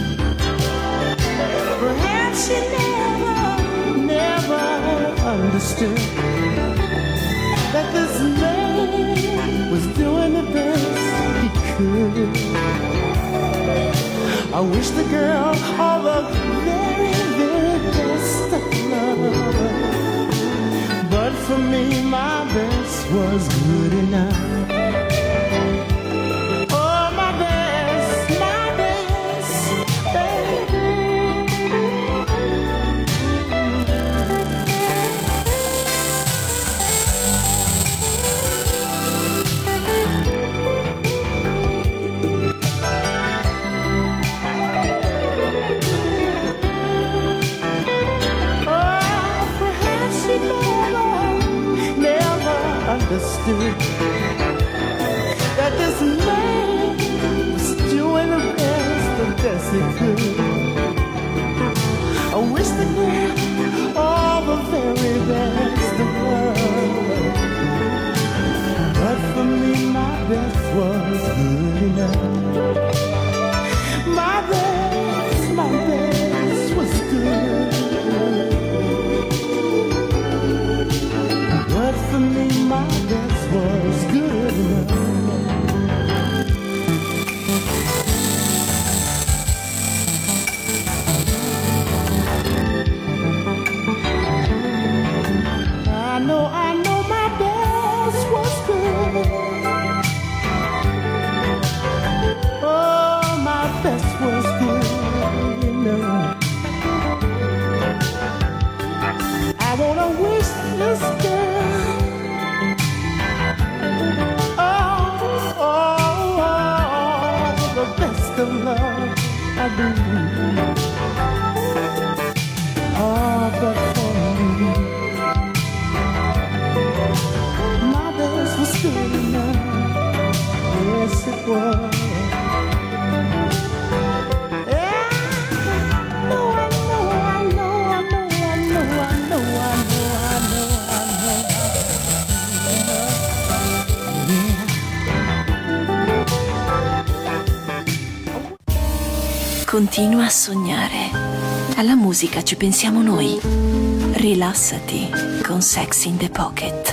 Perhaps she never, never understood that this man was doing the best he could. I wish the girl all the very, very best of love. for me, my best was good enough. Oh, my best, my best, baby. Understood that this man was doing the best, the best he could. I wish that he had all the very best of love, but for me my best was good enough. My best, my best was good, but for me my best was good enough. I know, I know my best was good. Oh, my best was good enough. I wanna wish this girl of love I do. Oh, but for me, my best was good enough. Yes, it was. Yeah, I know, I know, I know, I know, I know, I know, I know, I know, I know. Yeah. Continua a sognare. Alla musica ci pensiamo noi. Rilassati con Sex in the Pocket.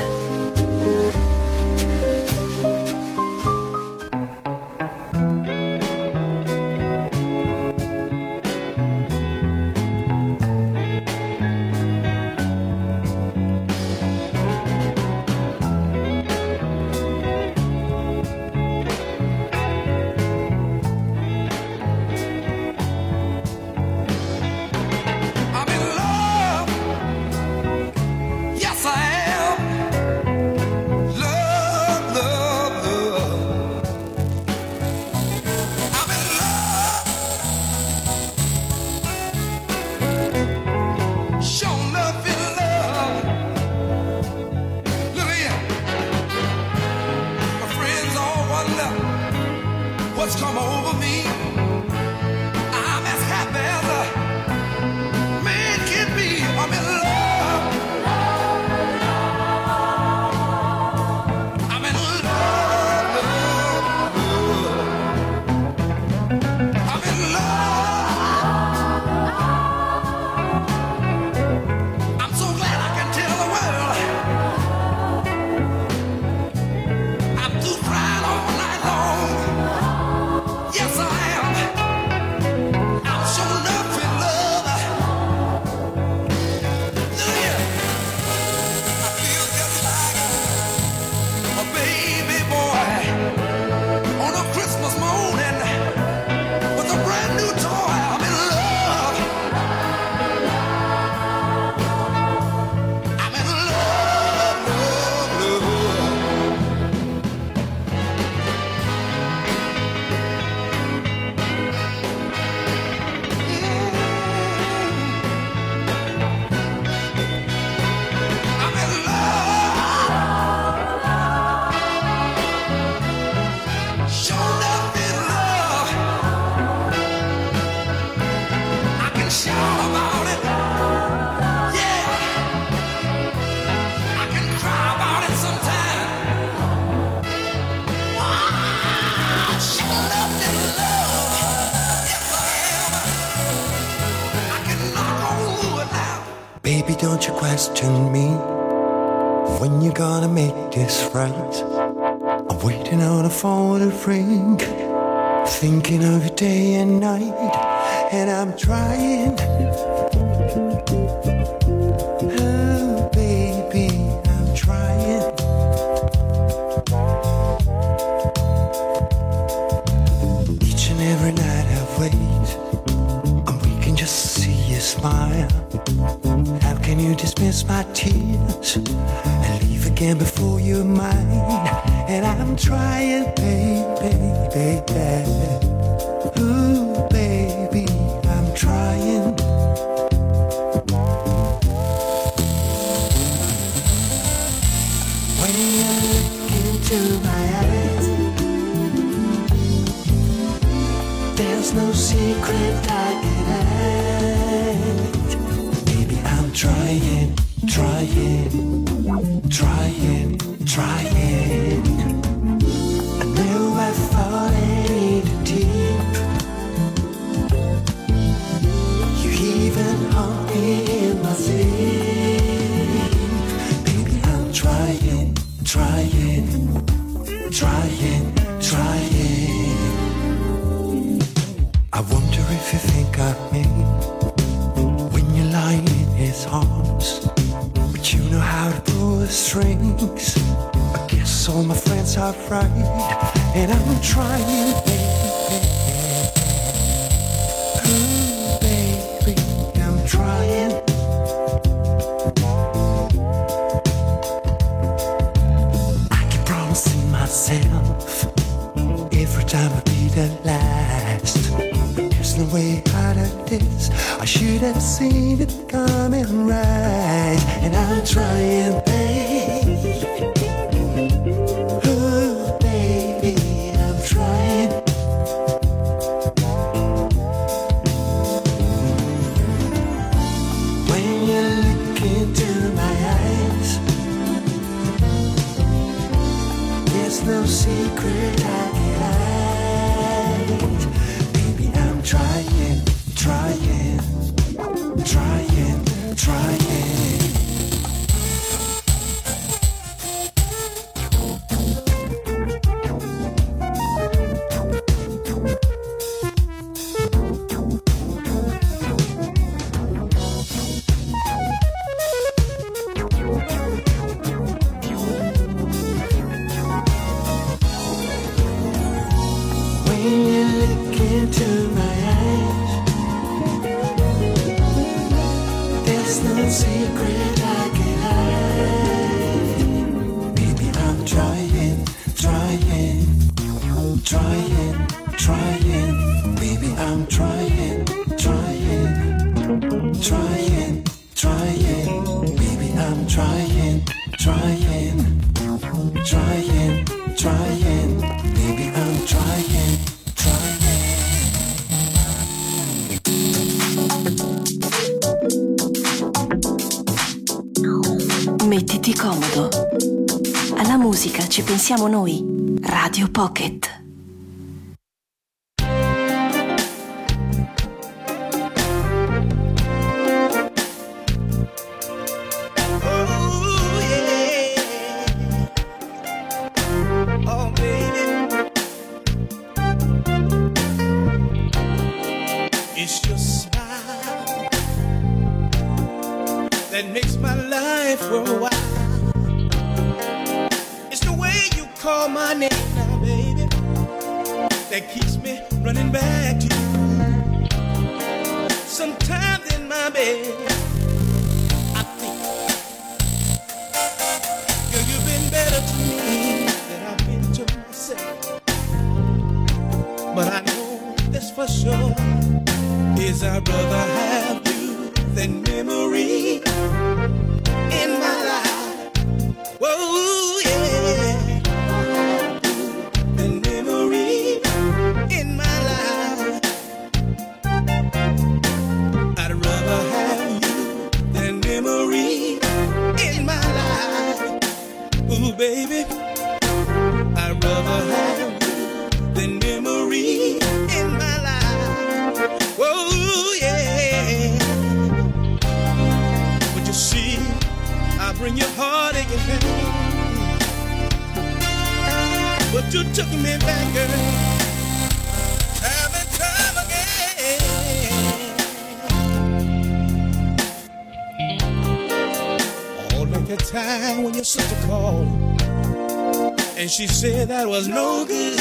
Baby, don't you question me when you're gonna make this right. I'm waiting on a phone to ring, thinking of you day and night, and I'm trying. Oh, baby, I'm thinking before you're mine, and I'm trying, baby, baby. Ooh, baby, I'm trying. When you look into my eyes, there's no secret I can hide. Baby, I'm trying, trying, trying, trying. I know I fallen too deep. You even haunt me in my sleep. Baby, I'm trying, trying, trying, trying. I wonder if you think of me when you're lying in his arms. But you know how to pull the strings. I guess all my friends are right, and I'm trying, baby. Ooh, baby, I'm trying. I keep promising myself every time I be the last. There's no way out of this. I should have seen it coming right, and I'm trying, babe. Oh, baby, I'm trying. When you look into my eyes, there's no secret I can hide. Baby, I'm trying, trying, trying, trying. Mettiti comodo. Alla musica ci pensiamo noi. Radio Pocket. That makes my life worthwhile. It's the way you call my name now, baby, that keeps me running back to you. Sometimes in my bed, I think, girl, you've been better to me than I've been to myself. But I know this for sure is I'd rather have you than memory in my life. Whoa, yeah. Than memory in my life. I'd rather have you than memory in my life. Ooh, baby, I'd rather have you than memory in my life. Whoa, yeah. But you see, I bring your heart and your pain, but you took me back, girl, time and time again. All like a time when your sister called and she said that was no good,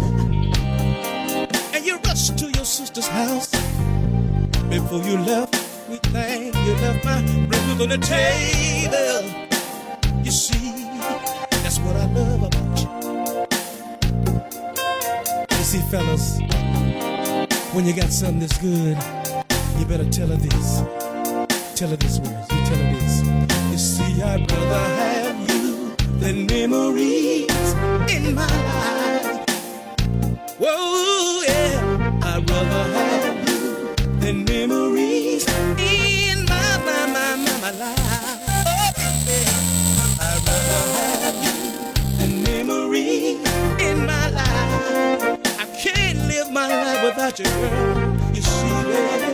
and you rushed to your sister's house. Before you left, we think you left my breakfast on the table. You see, love about you. You see, fellas, when you got something that's good, you better tell her this. Tell her this words. You tell her this. You see, I'd rather have you than memories in my life. Whoa, yeah. I'd rather have you than memories in my, my, my, my, my life. Oh, yeah. I'd rather have you than memories in my life. I can't live my life without you, girl. You see that?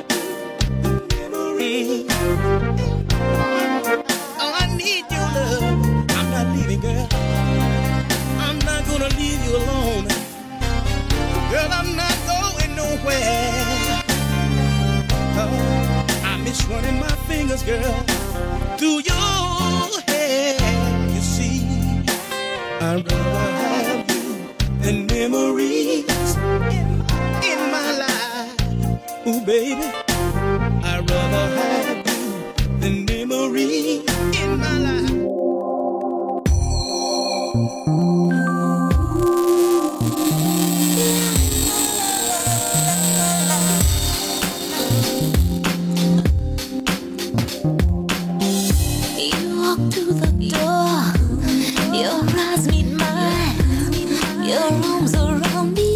Oh, I need your love. I'm not leaving, girl. I'm not gonna leave you alone. Girl, I'm not going nowhere. Oh, I miss running my fingers, girl, through your hair. You see, I'd rather have you than memories in, in my life. Ooh, baby, I'd rather have you than memories in my life. You walk to the door, your eyes meet mine, your arms around me.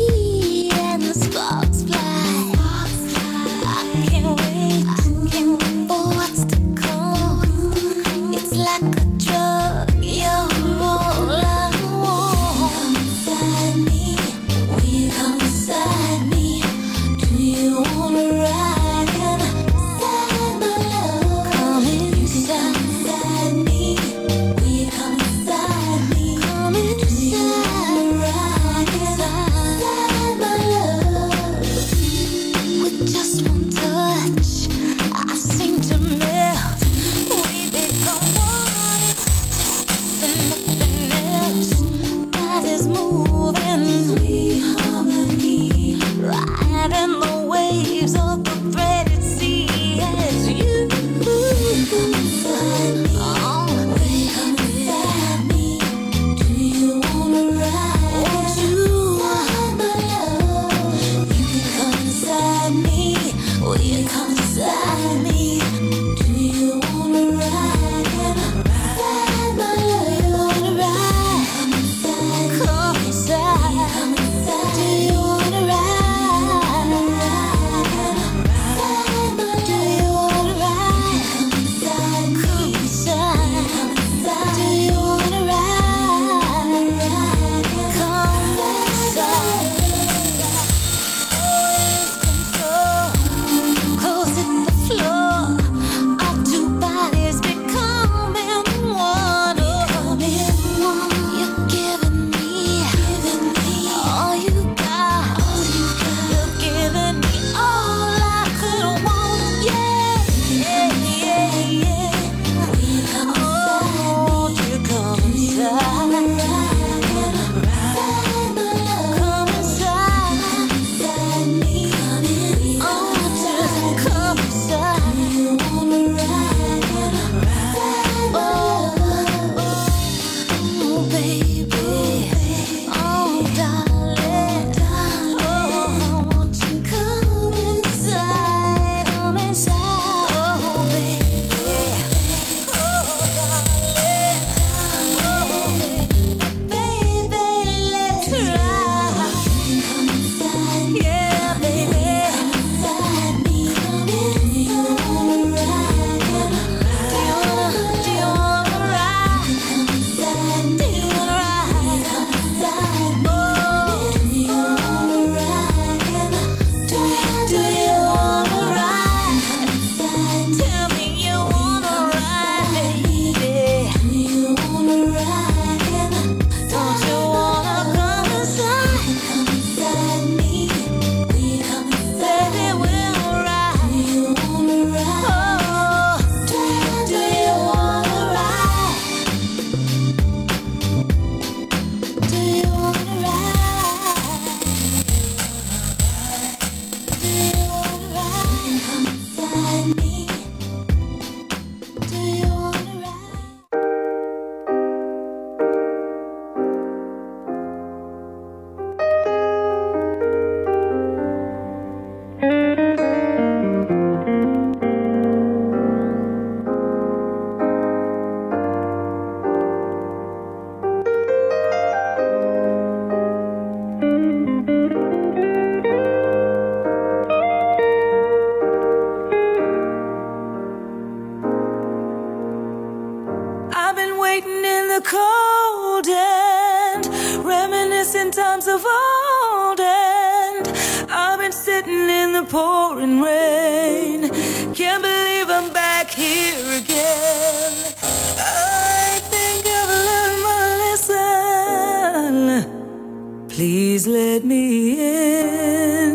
pouring rain. Can't believe I'm back here again. I think I've learned my lesson. Please let me in.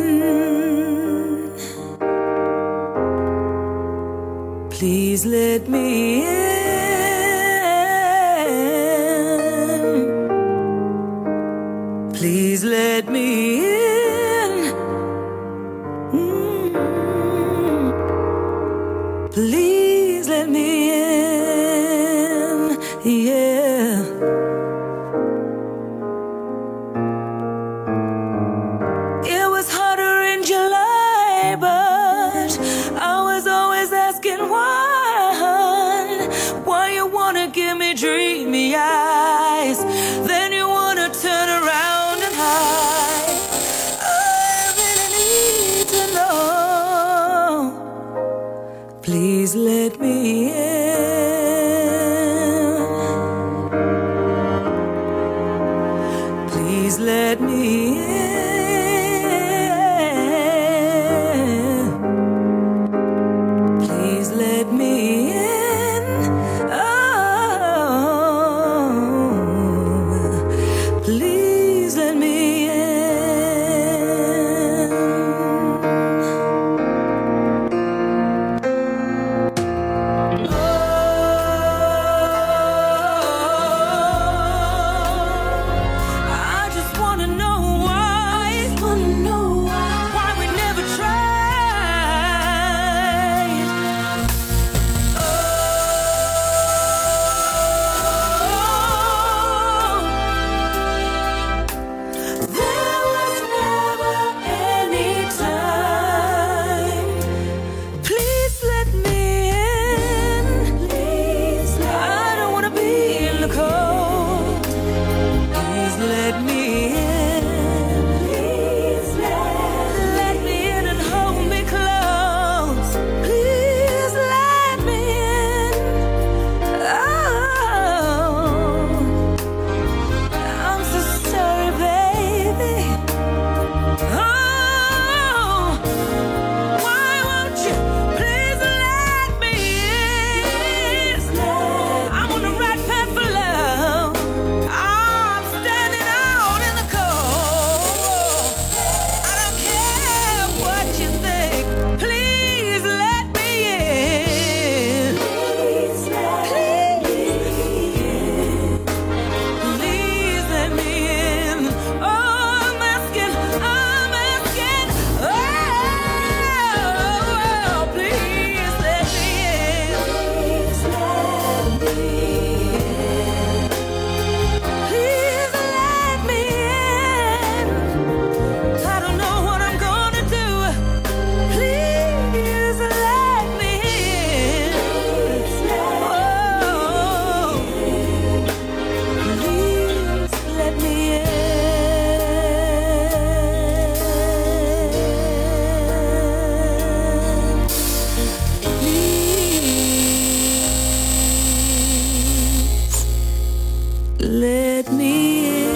Please let me in. Please let me in. Mm. Please let me in. Yeah. It was hotter in July, but I was always asking why. Why you wanna give me dreamy eyes, then you wanna turn around and hide. I really need to know. Please let me in. Please let me in. Please let me in. Oh, please let me in. Oh, I just wanna know why. I just wanna know why. Why we never tried. Oh, there was never any time. Please let me in. Please let I don't wanna be in the cold. Please let me in. Please let, let me in and hold me close. Please let me in. Oh, I'm so sorry, baby. Oh, why won't you please let me in? I'm on the right path for love. I'm standing out in the cold. I don't care what you think. Please let me in. Please let me in. Please let me in. Oh, I'm asking, I'm asking. Oh, please let me in. Please let me in. Please let me in. I don't know what I'm gonna do. Please let me in. Oh, please let me in. Please let me in.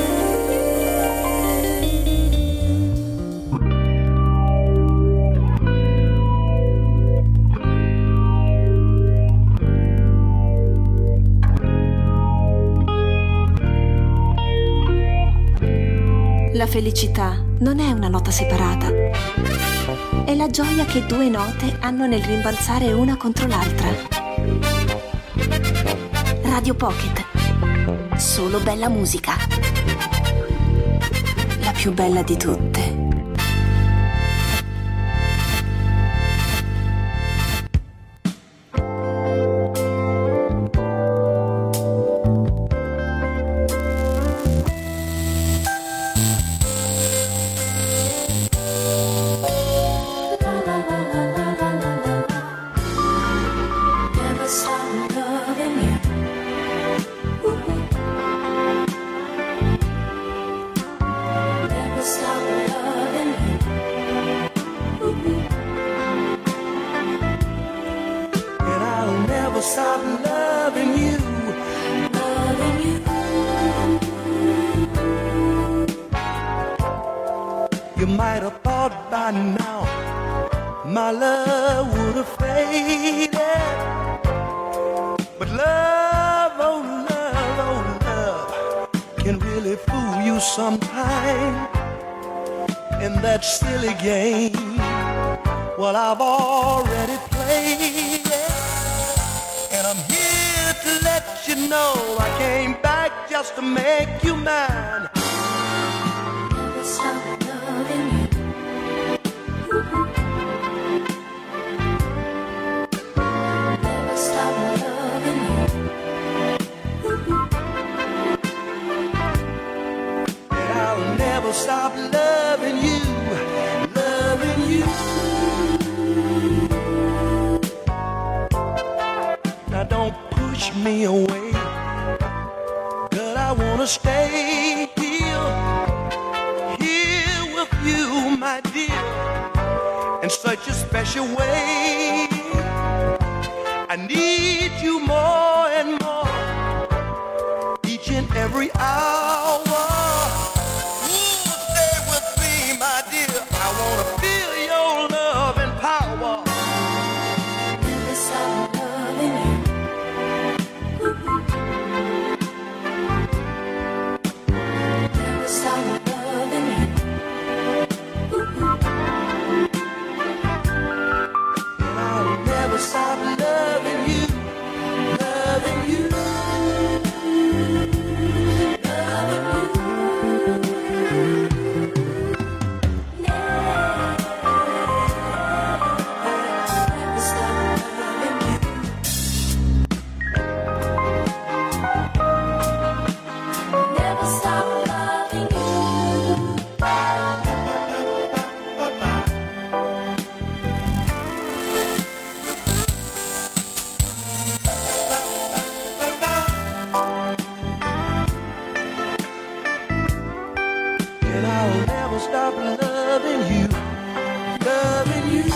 La felicità non è una nota separata, è la gioia che due note hanno nel rimbalzare una contro l'altra. Radio Pocket, solo bella musica, la più bella di tutte. Never stop loving you. Never stop loving you. And I'll never stop loving you. Loving you. You might have thought by now my love would have faded. But love, oh love, oh love, can really fool you sometime in that silly game. Well, I've already played it, and I'm here to let you know I came back just to make you mine. Never stop loving you. Never stop loving you. And I'll never stop loving you, loving you. Now don't push me away, but I wanna stay here, here with you, my dear, in such a special way. I need you more and more, each and every hour. Ooh, stay with me, my dear. I wanna feel your love and power. Never stop loving you. Never stop loving you. And I'll never stop loving you, loving you. Never stop loving you. Never stop loving you. And I'll never stop loving you, loving you.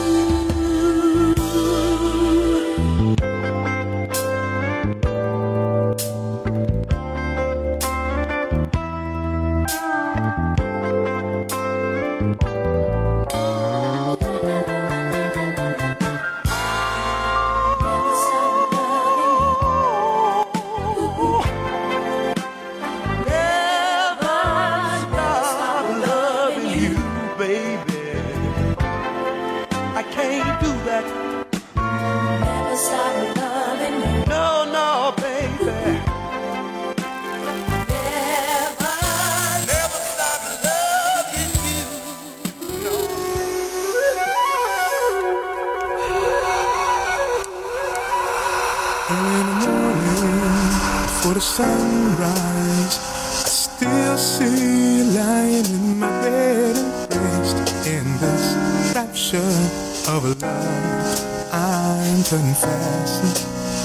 Never stop Never stop loving you, baby. I can't do that. Never stop loving you. No, no, baby. Never. Never stop loving you. Early in the morning, before the sunrise, I still see you lying in my bed, embraced in this rapture of a love I'm confessing.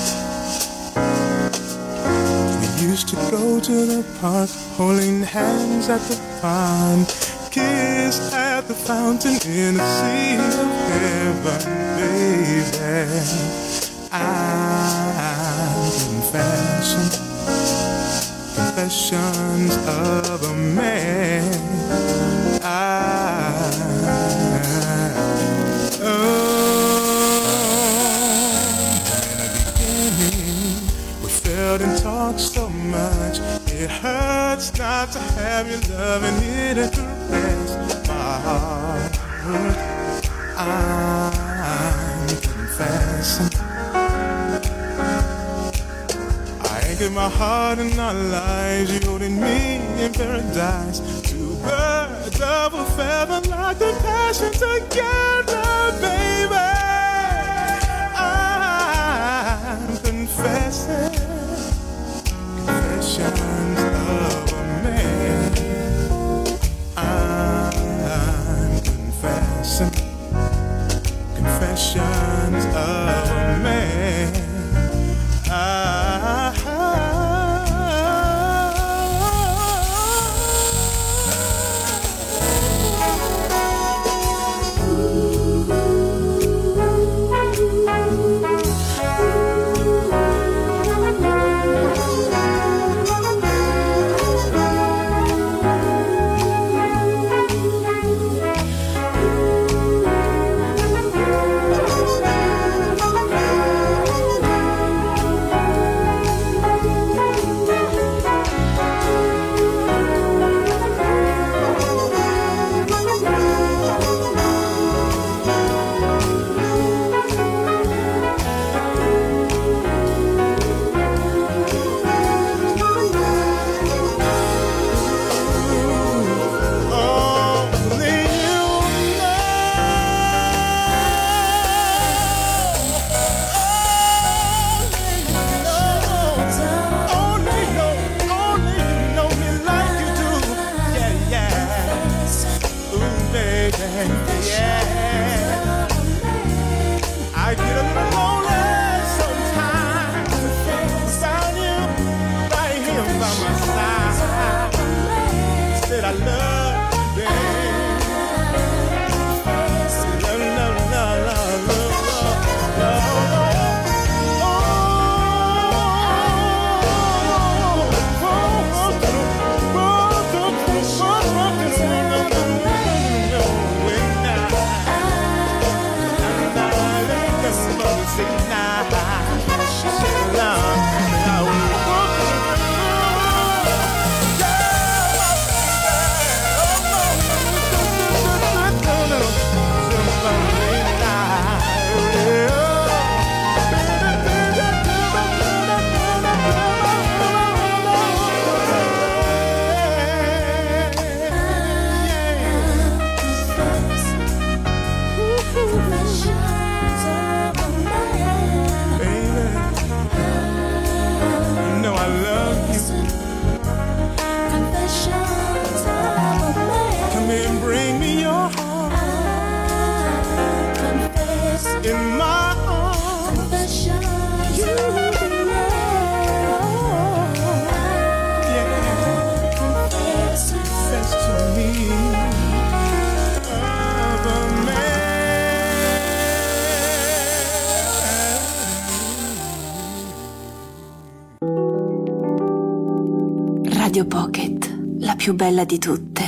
We used to go to the park, holding hands at the pond, kiss at the fountain in a sea of heaven, baby. I'm confessing, confessions of a man. I, oh, in the beginning, we felt and talked so much. It hurts not to have your love and it to caress my heart. I'm confessing. Give my heart and our lives, you and me in paradise. Two birds of a feather, like the passion together, baby. I'm confessing, confessions of a man. I'm confessing, confessions of a man. I Radio Pocket, la più bella di tutte.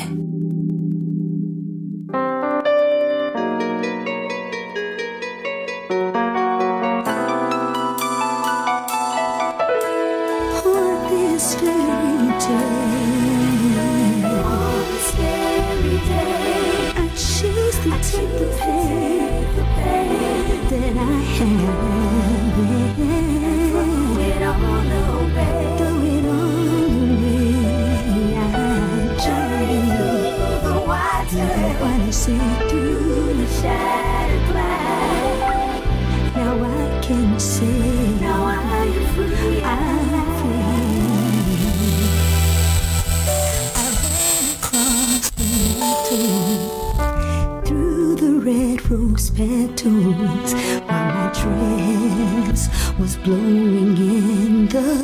Petals while my dress was blowing in the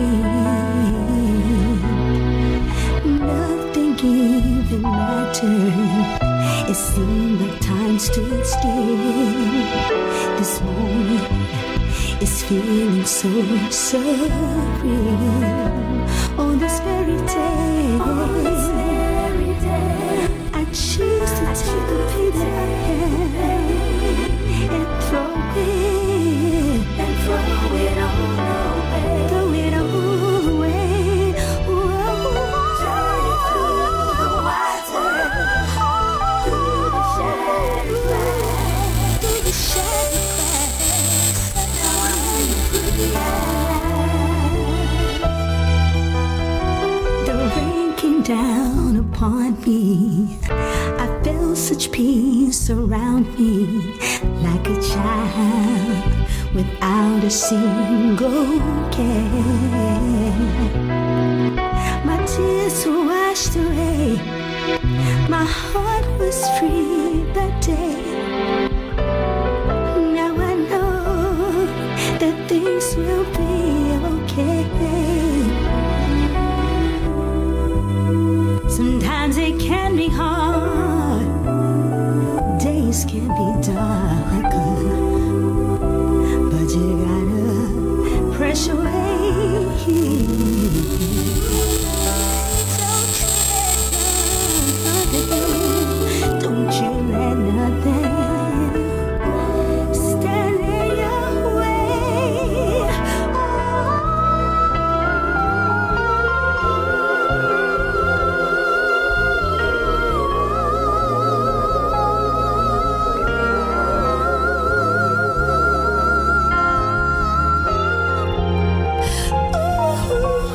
wind. Nothing even mattered. It seemed like time stood still. This moment is feeling so surreal. On this very day, on this very day, I choose to take the pain I have. And throw it, and throw it all away, throw it all away. Whoa. Journey through the water, through the shattered glass, through the shattered glass. Now I'm free. The rain came down upon me. I felt such peace around me. Like a child without a single care. My tears were washed away. My heart was free that day. Now I know that things will be okay. Sometimes it can be hard. Days can be dark, but you gotta press away. Don't you let nothing stand in your way. Ooh.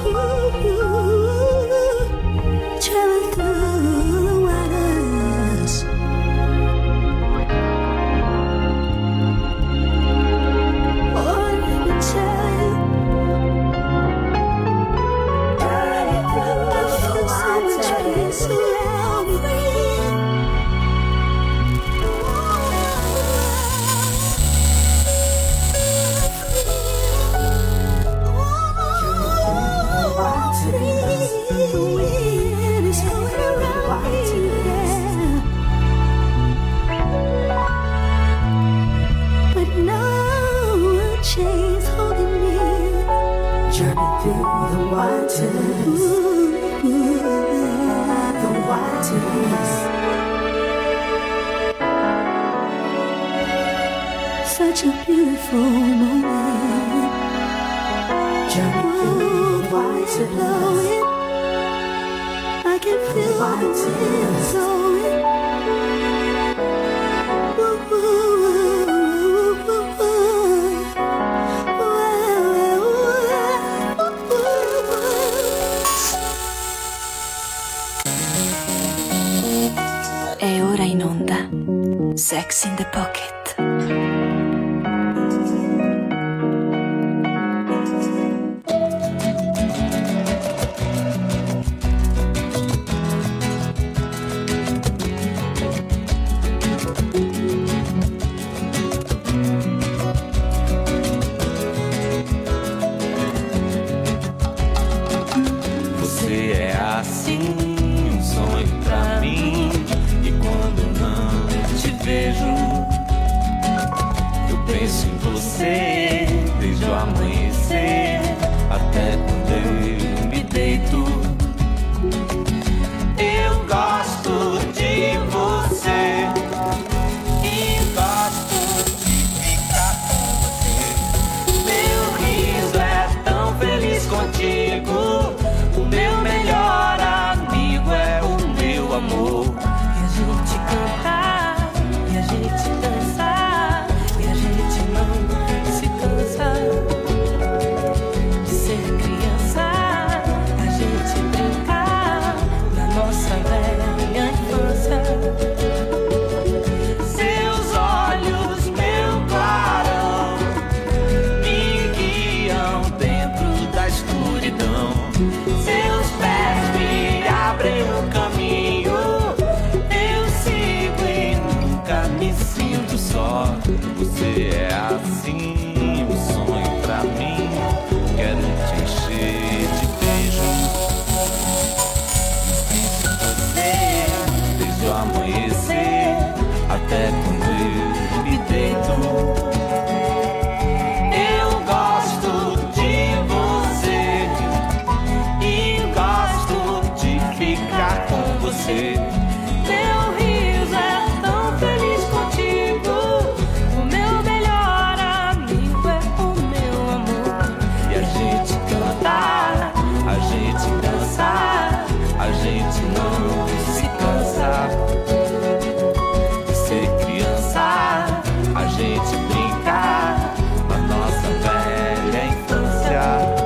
such a beautiful moment. Journey through blowing. I can feel the wind blowing. Ooh, ooh, ooh, ooh, ooh. E ora in onda Sex in the Pocket. Você é assim, um sonho pra mim. E quando não te vejo, eu penso em você desde o amanhecer até quando eu me deito. Eu gosto de você e gosto de ficar com você. Meu riso é tão feliz contigo. O meu melhor amigo é o meu amor. E a gente cantar, e a gente dançar, e a gente não se cansa de ser criança. A gente brincar na nossa velha infância. Seus olhos, meu clarão, me guiam dentro da escuridão. Seus pés me abrem um caminho. Eu sigo e nunca me sinto só. Você é assim, um sonho pra mim. Quero te encher de beijos. Penso em você desde o amanhecer até quando eu me deito. Eu gosto de você e gosto de ficar com você. Teu riso é tão feliz contigo. O meu melhor amigo é o meu amor. E a gente cantar, a gente dançar, a gente não se cansa de ser criança. A gente brincar na nossa velha infância.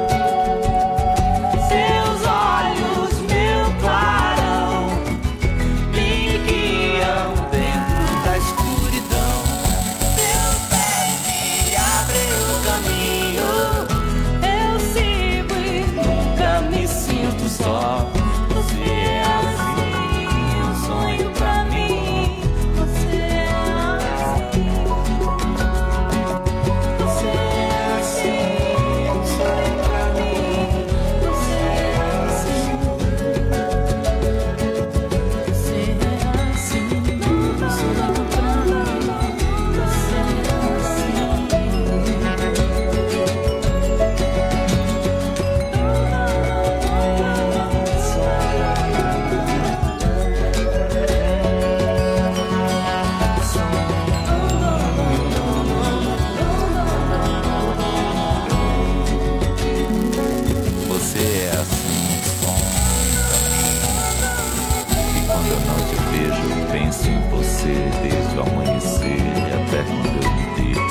Seus olhos, meu clarão, me guiam dentro da escuridão. Seus pés me abrem o caminho. Eu sigo e Nunca me sinto só. Você é assim, um sonho pra mim. você é assim. Você é assim, um sonho pra mim. Você é assim. Você é assim, um sonho pra mim. Você é Você é assim, um sonho pra mim. E quando eu não te vejo, eu penso em você desde o amanhecer até quando eu me deito.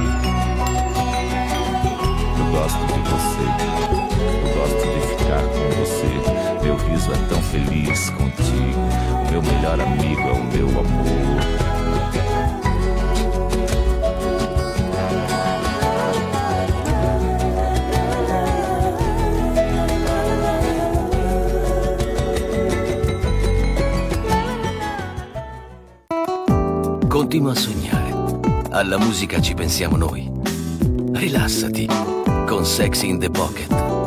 Eu gosto de você, eu gosto de ficar com você. Meu riso é tão feliz contigo. O meu melhor amigo é o meu amor. Continua a sognare. Alla musica ci pensiamo noi. Rilassati con Sex in the Pocket.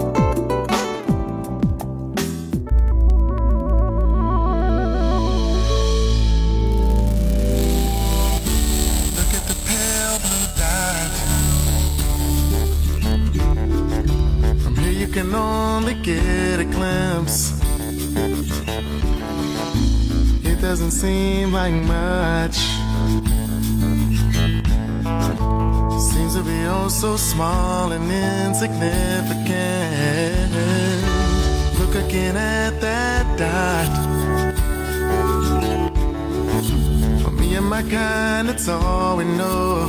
Look at the pale blue dot. From here you can only get a glimpse. It doesn't seem like much. seems to be oh so small and insignificant. Look again at that dot. For me and my kind, it's all we know.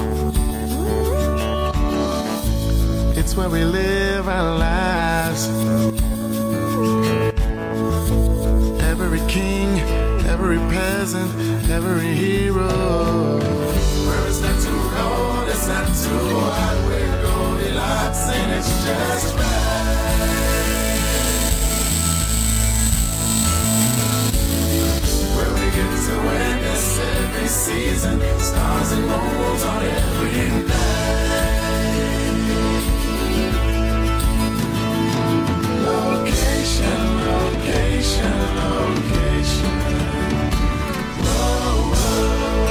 It's where we live our lives. Every king, every peasant, every hero. Where it's not too cold, it's not too hot. We're Goldilocks and it's just right. Where we get to witness every season, stars and moons on every night. Location, location, location. Whoa, whoa.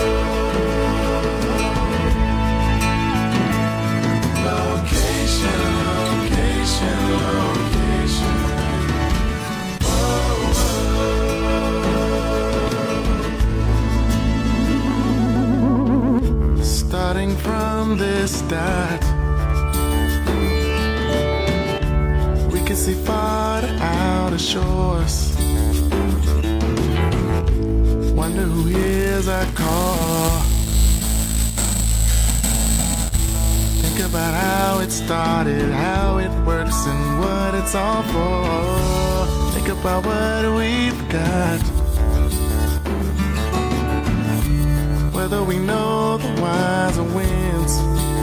Location, location, location. Whoa, whoa. Starting from this dot, we can see far to outer shores. Wonder who hears our call. Think about how it started, how it works, and what it's all for. Think about what we've got. Whether we know the wiser winds.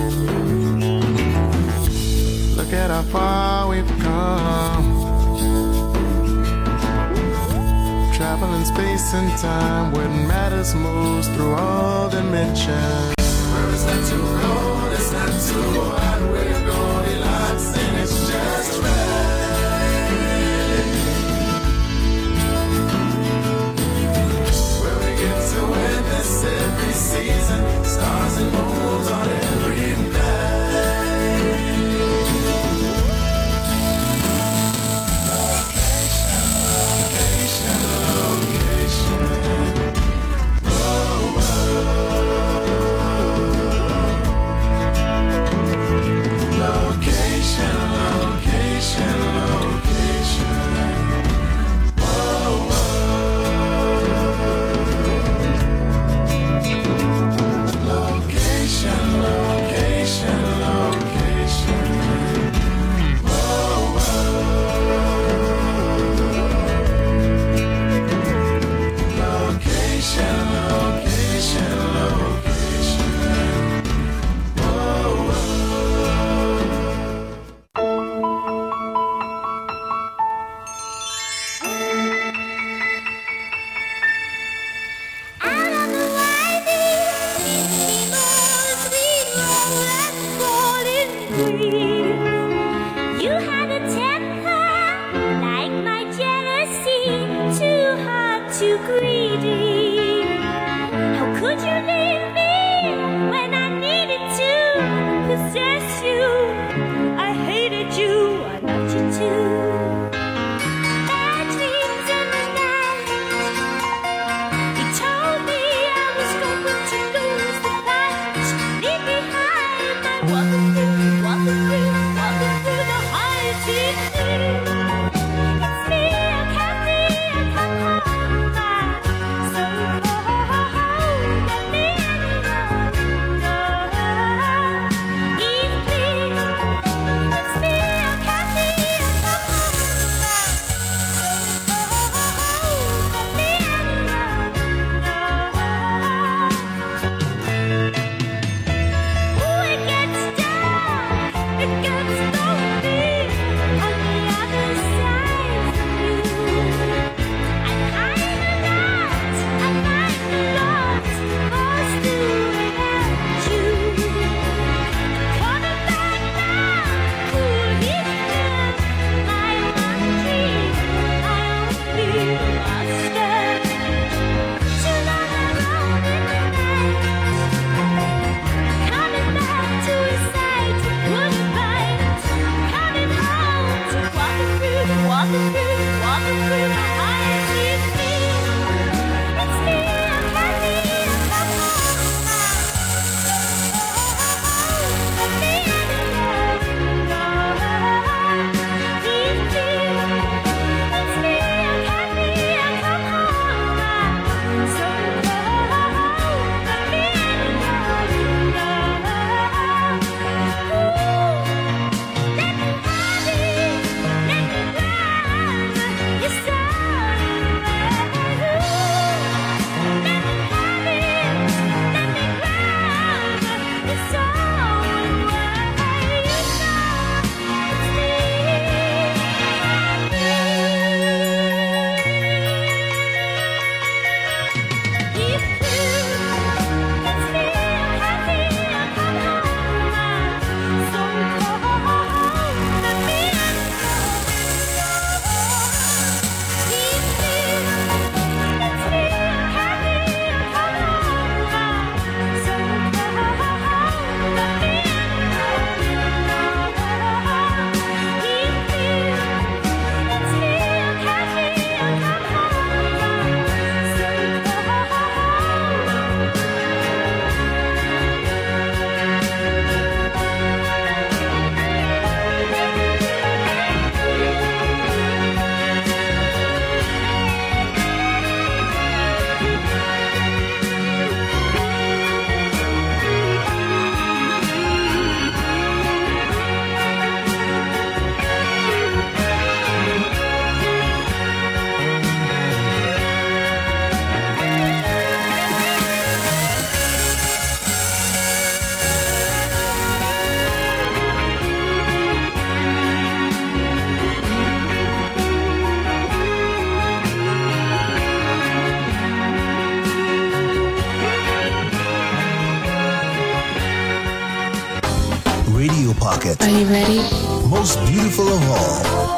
Look at how far we've come. Traveling space and time, what matters most through all dimensions. Where it's not too cold, it's not too hot. We're Goldilocks and it's just right. Where we get to witness every season, stars and moons on every night. Location. Pocket. Are you ready? Most beautiful of all.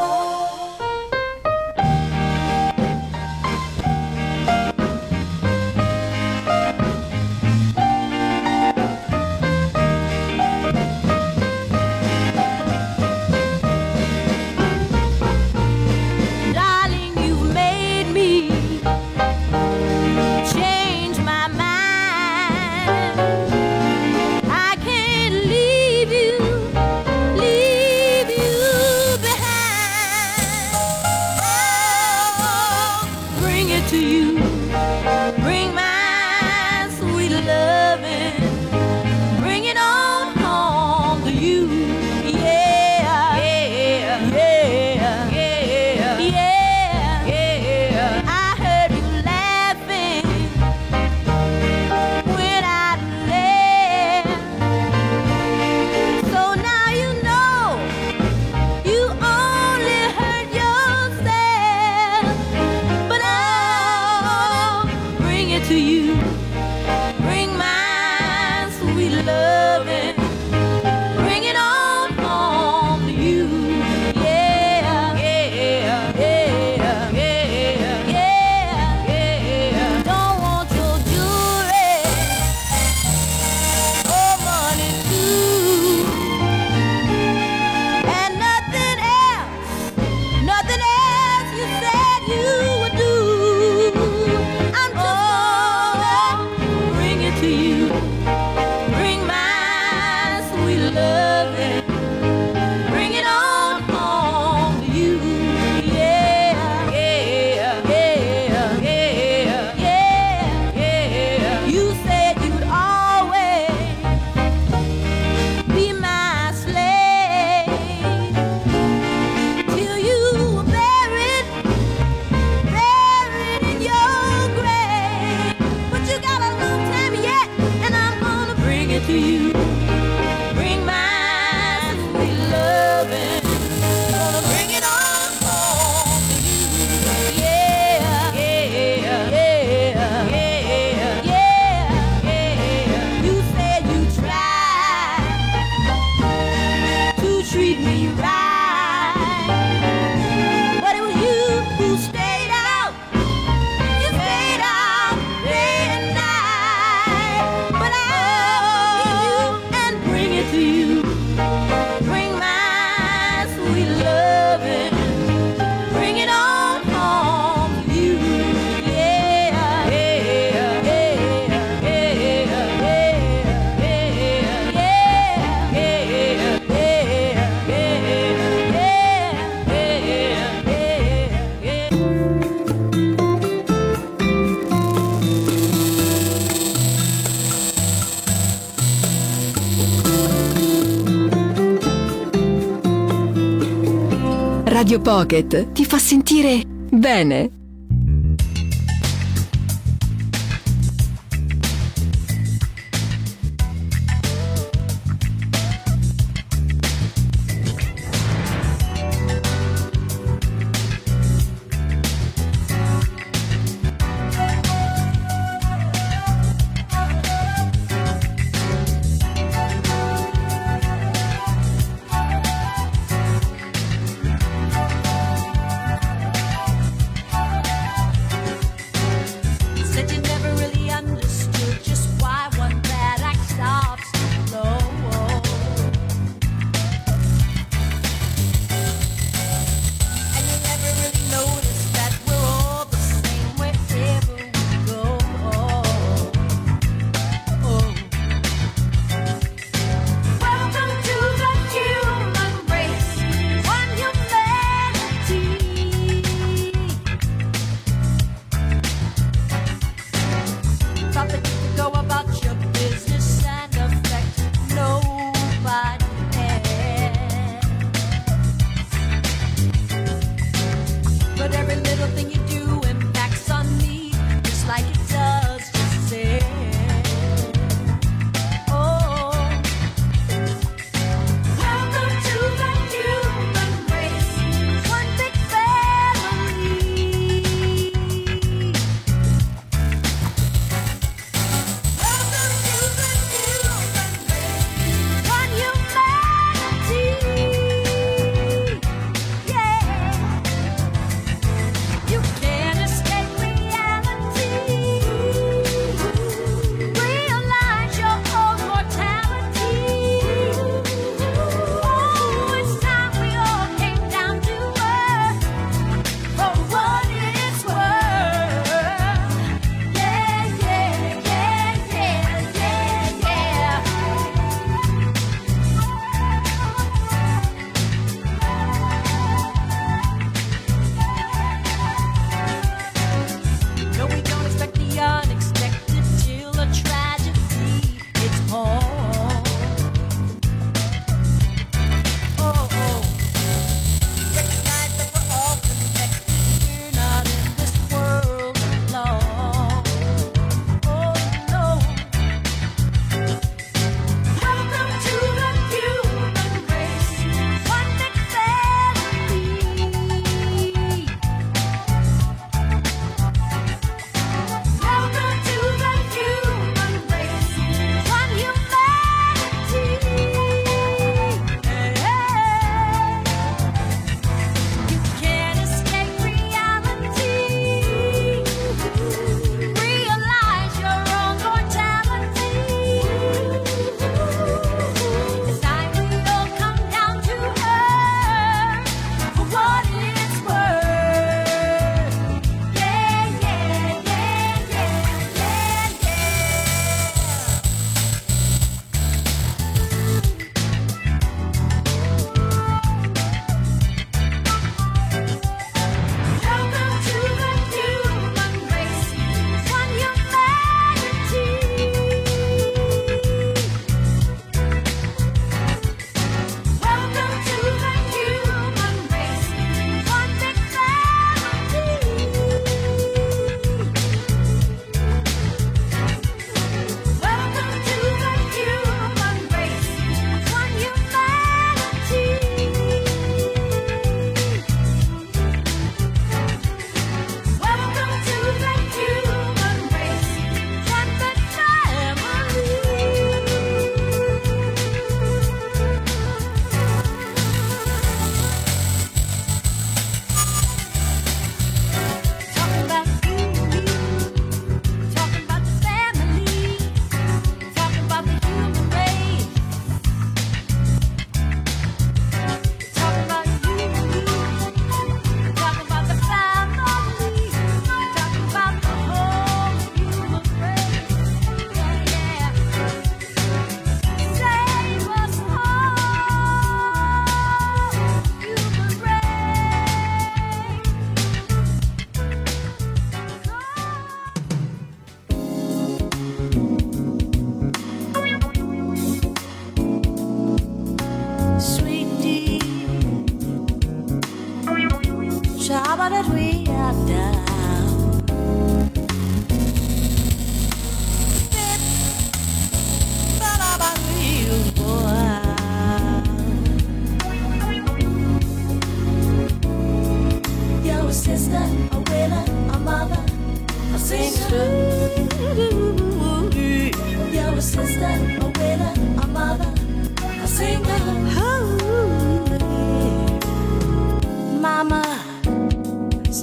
Radio Pocket ti fa sentire bene.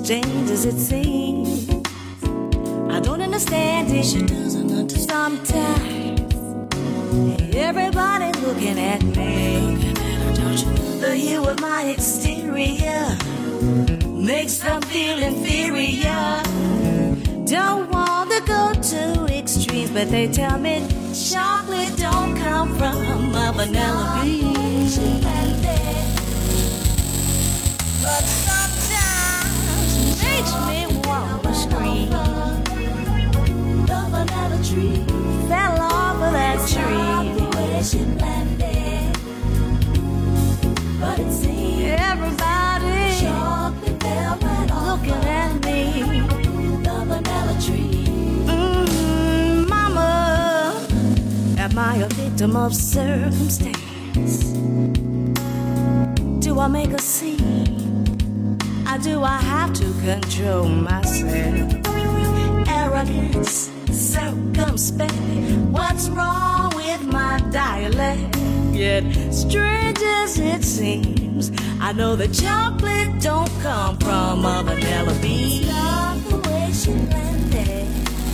strange as it seems. I don't understand it. She doesn't understand. Sometimes everybody looking at me. The hue of my exterior makes them feel inferior. Don't want to go to extremes, but they tell me chocolate don't come from a vanilla bean. But sometimes it makes me want to scream. The vanilla tree fell off of that tree. But it seems everybody looking at me. The vanilla tree. Mm, mama, am I a victim of circumstance? Do I make a scene? Or do I have to control myself? Arrogance, circumspect. What's wrong with my dialect? Yet, strange as it seems, I know that chocolate don't come from a vanilla bean. It's not the way she landed.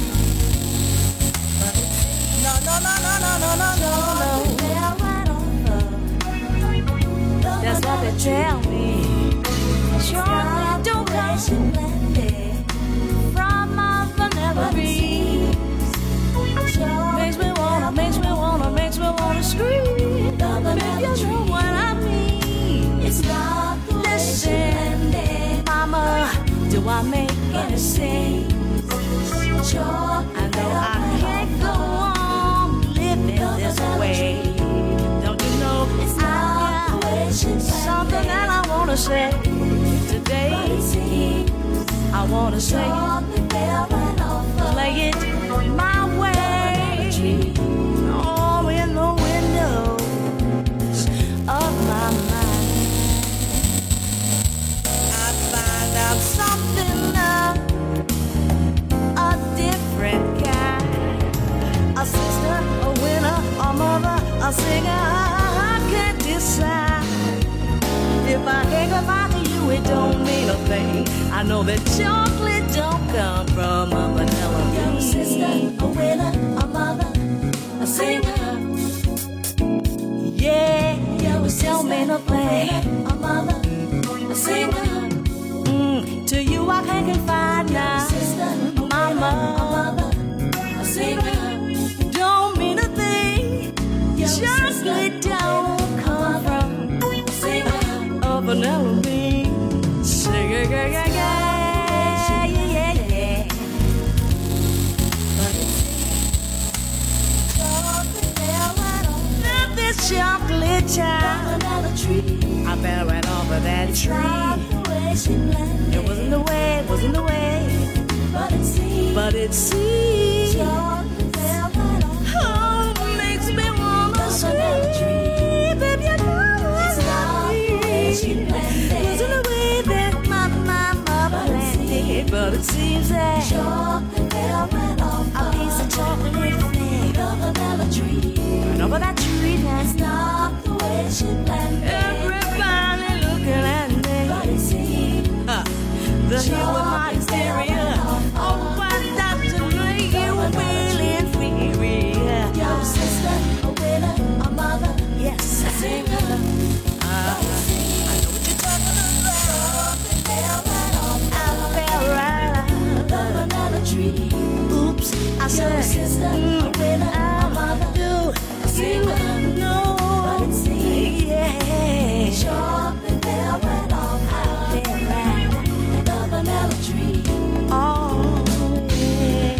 But it's no, no, no, no, no, no, no, no, no. That's what they tell me. Chocolate don't come from a vanilla bean. Makes me wanna, makes me wanna, makes me wanna scream. If you know what I mean. It's not the way she landed. Mama, do I make any sense? I know I can't go on living this way. Don't you know it's not something that I wanna say today? I wanna say, play it my way. Oh, in the windows of my mind, I find out something now, a different kind. A sister, a winner, a mother, a singer. I can't decide. If I hang about you, it don't mean a thing. I know that chocolate don't come from a vanilla bean. You're a sister, a winner, a mother, a singer. Yeah, you tell me to play a mother, a singer. Mm, to you I can confide now. Sister, mama, a mother, a singer. Don't mean a thing. Chocolate don't come from a singer, a vanilla bean. Singer, yeah, yeah, yeah, yeah, yeah. But it's this chocolate child. I fell right off of that tree. It wasn't the way, it wasn't the way. But it seems, but it seems. Oh, makes me wanna scream. If you know what I mean. Wasn't the way that my mama planned it. But it seems that a piece of chocolate fell right over that tree now. It's not the way she planned it. Everybody looking at me. But it seems uh, the hue of my exterior. Oh, why not to make you feel inferior? You're a sister, a winner, a mother. Yes, a singer. Uh, I know what you're talking about. I fell right out the banana tree. Oops, I said, you're a sister, mm, a winner, a mother. Do a singer, no, but it seems, yeah. Chocolate fell right off. I fell right the vanilla tree. Oh, yeah.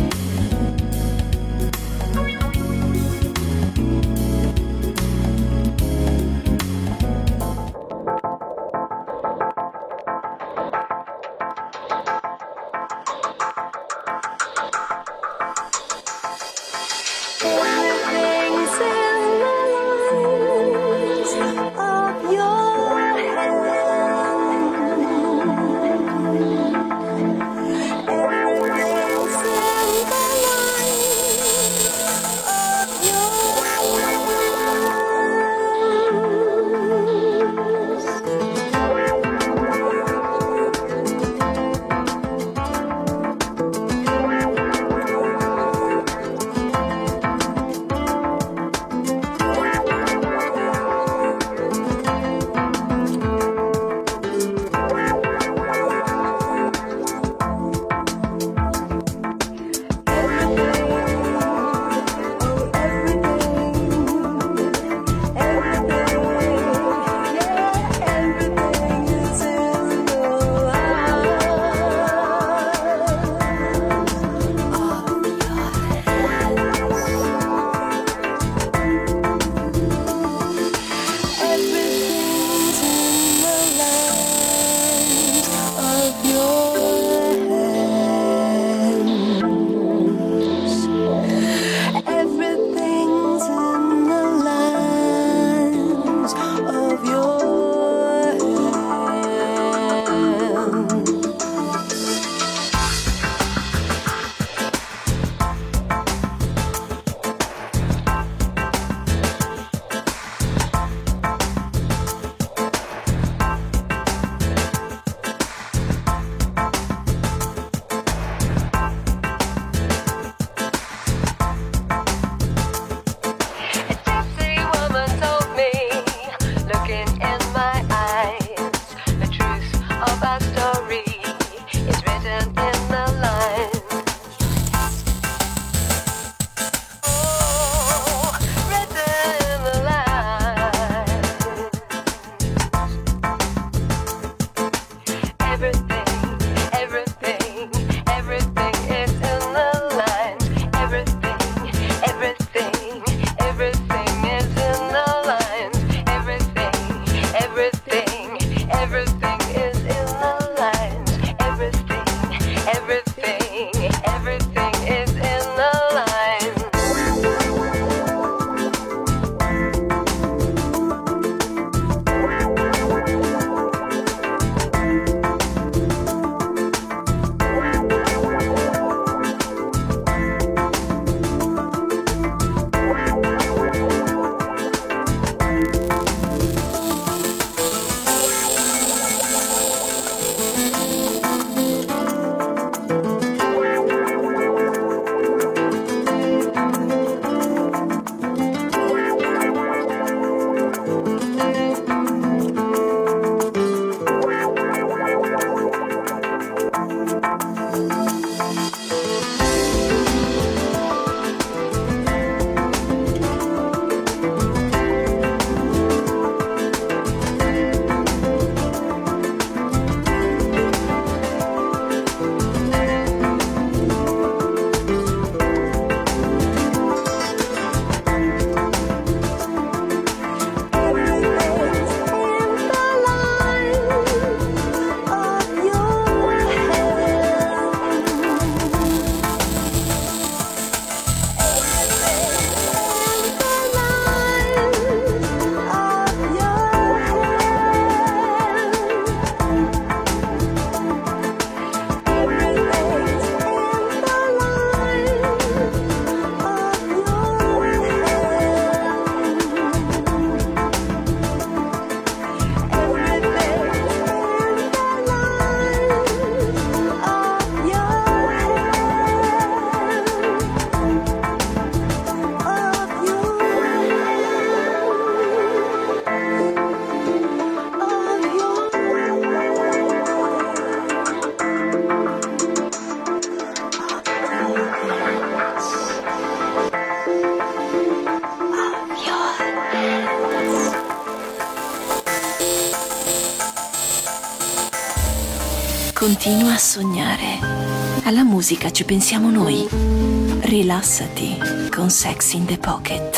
Continua a sognare. Alla musica ci pensiamo noi. Rilassati con Sex in the Pocket.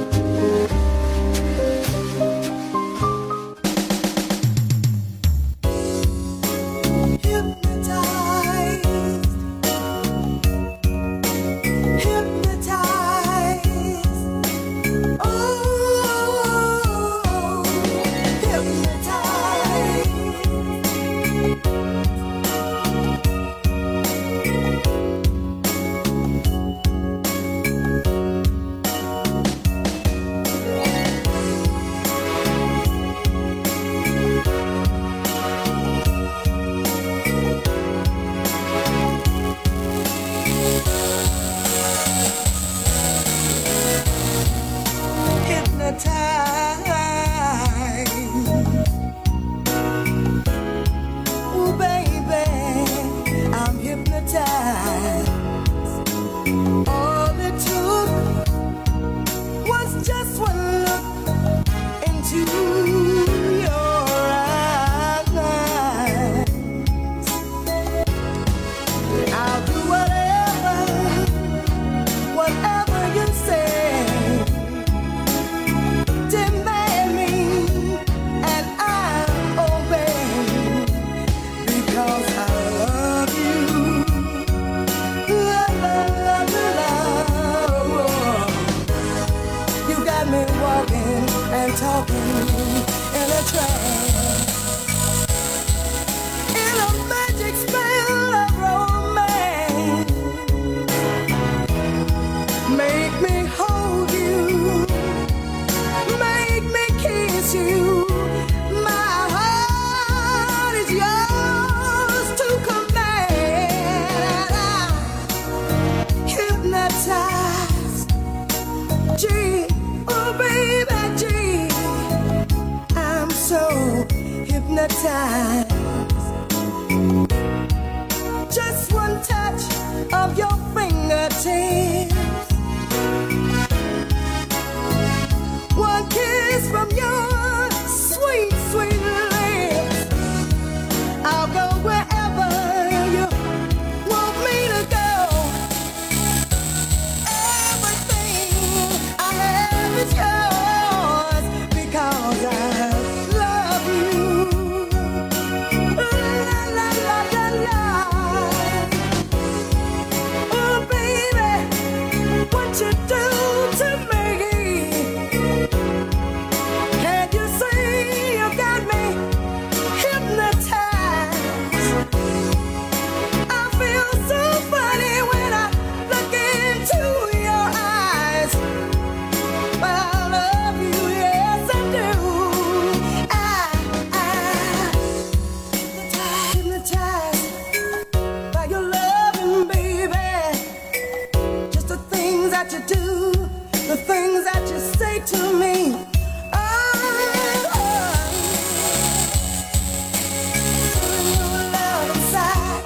Just one touch of your fingertips, one kiss from your sweet, sweet lips. I'll go wherever you want me to go. Everything I have is yours because I love you. La la la la la. Oh baby, what you do to me? Can't you see you got me hypnotized? I feel so funny when I look into your eyes. But I love you, yes I do. I, I hypnotized by your loving, baby. Just the things that you do, the things that you say to me. Oh, oh. Feeling your love inside.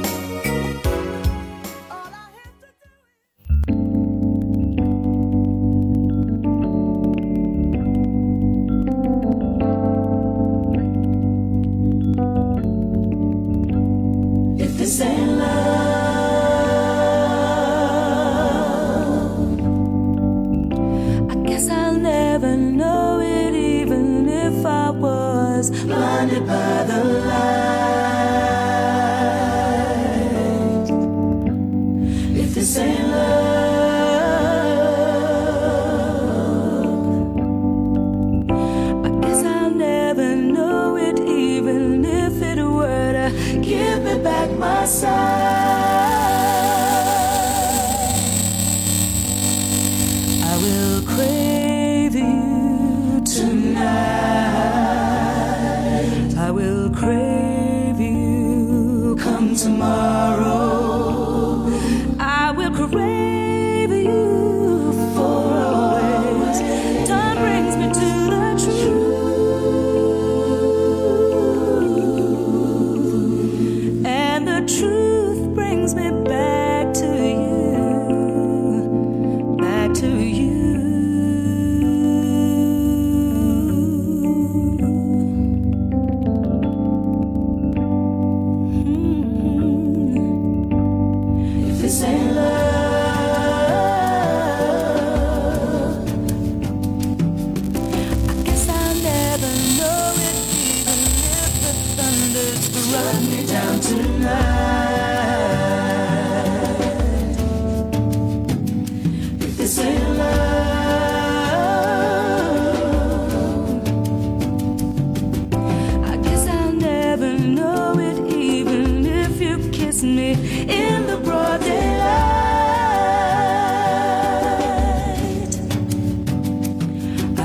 All I have to do is If this ain't love, I guess I'll never know it, even if I was blinded by the light. If this ain't love, I guess I'll never know it, even if it were to give me back my sight. I will crave you tonight. I will crave you come tomorrow. I will crave you for always. Time brings me to the truth, and the truth brings me back to you, back to you. Mm.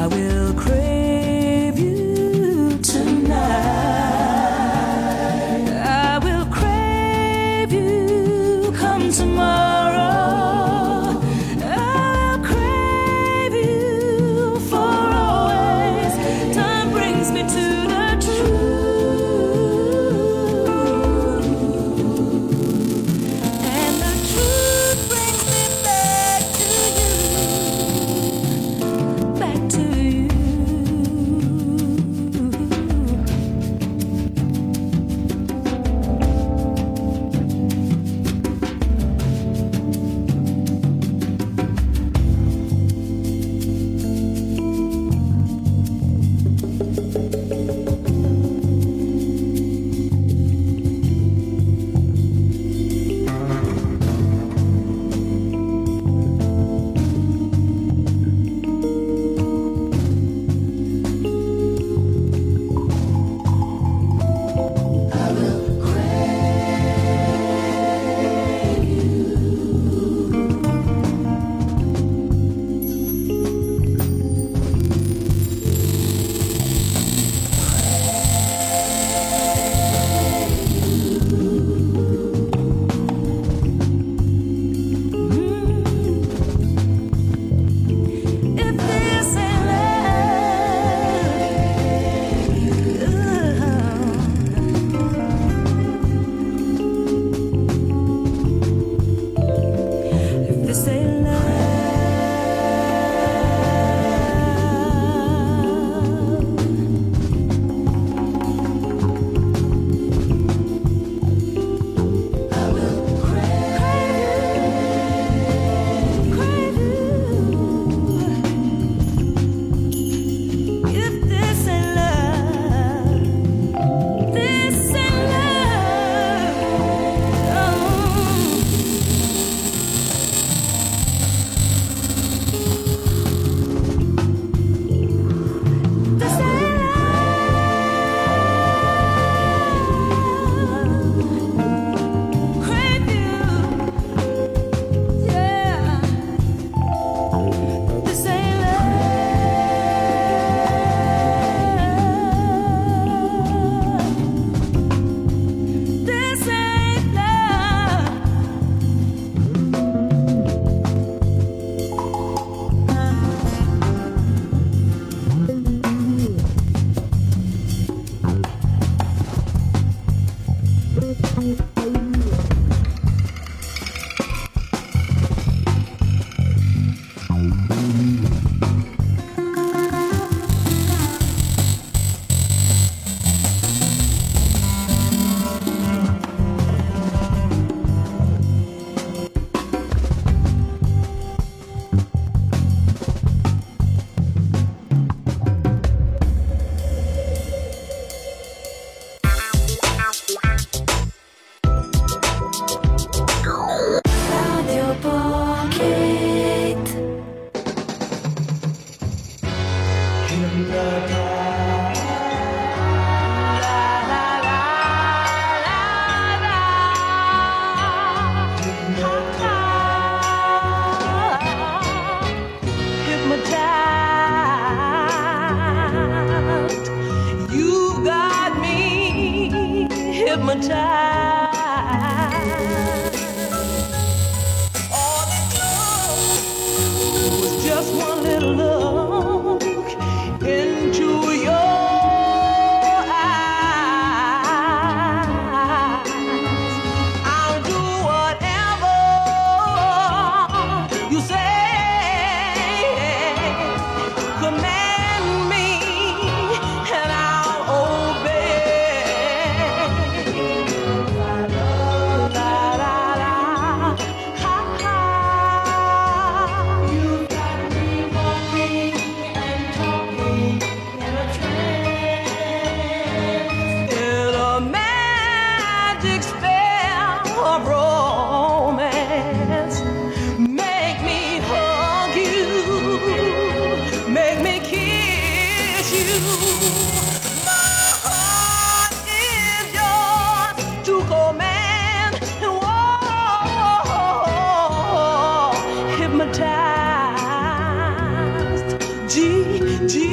Hypnotized, G, G.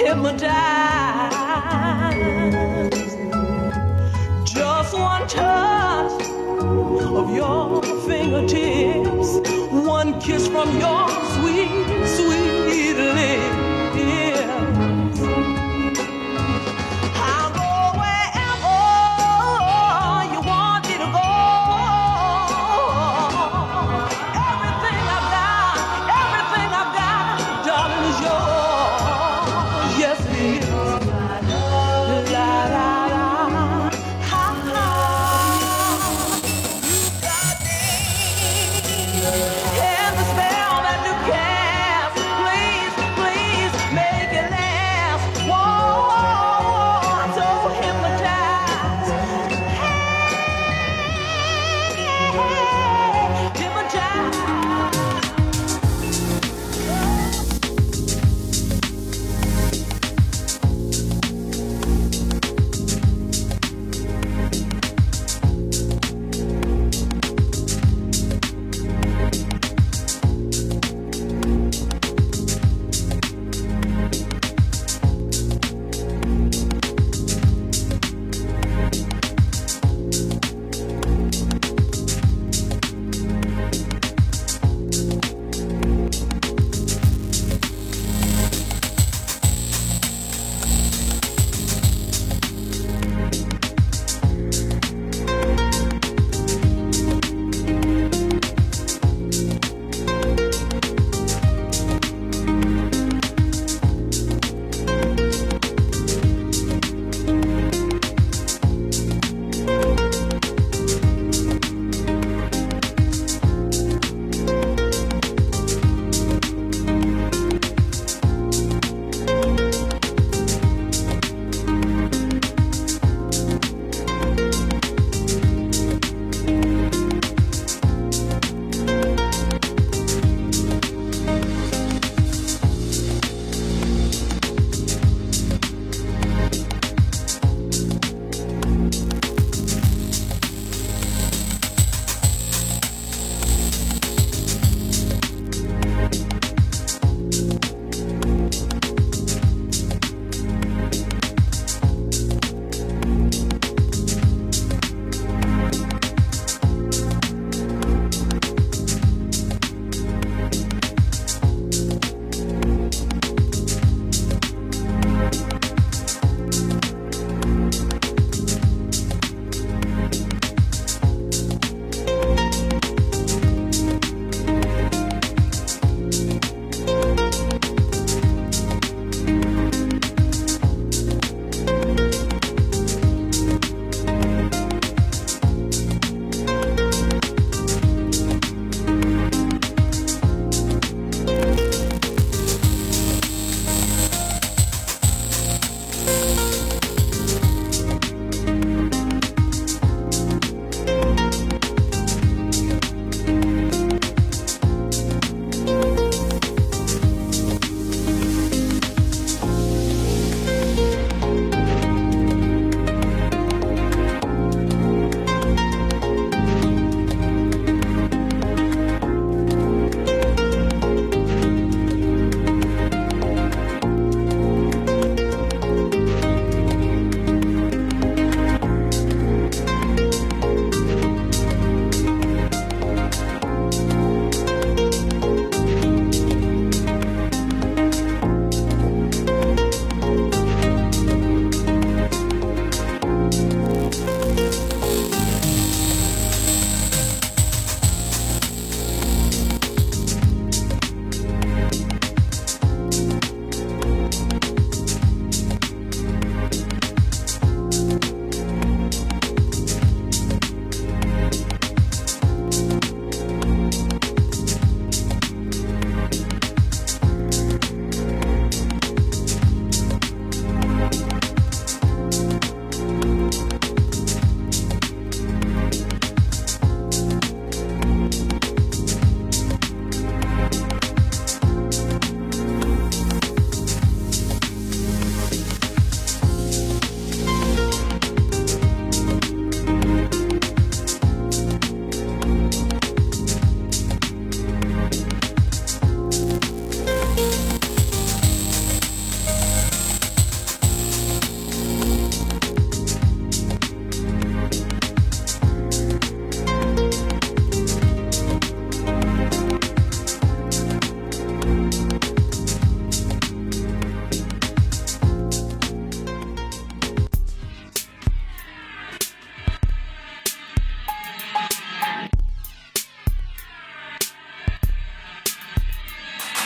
hypnotized. Just one touch of your fingertips, one kiss from your sweet, sweet lips. I'll go wherever you want me to go. Everything I've got, everything I've got, darling, is yours. Yes, it is. La, la, la. Ha, ha. And the spell that you cast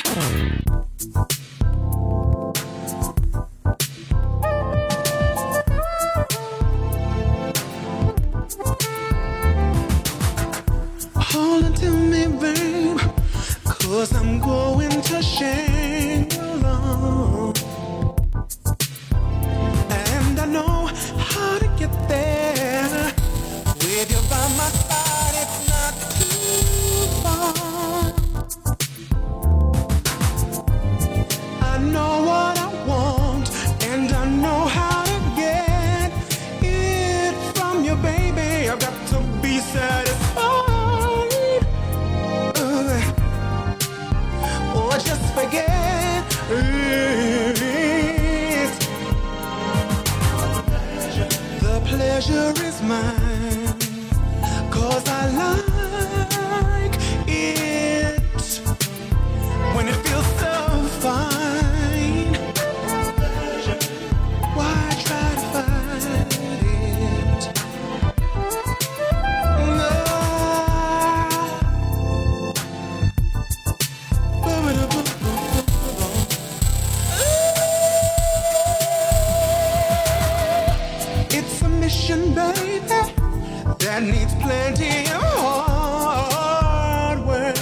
Hold on to me, babe, 'cause I'm going to Shangri-La. And I know how to get there. With you by my side, it's not too far. I know what I want, and I know how to get it from you, baby. I've got to be satisfied. Uh, or just forget it. The pleasure is mine, 'cause I like it when it feels so fine. Why try to fight it? No. It's a mission, baby, that needs plenty of hard work.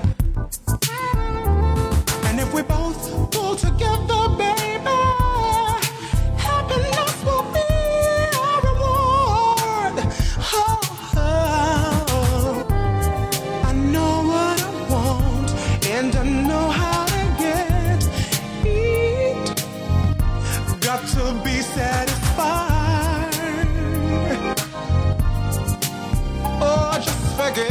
And if we both pull together, baby, happiness will be our reward. Oh, oh. I know what I want, and I know how to get it. Got to be satisfied. Oh, just forget.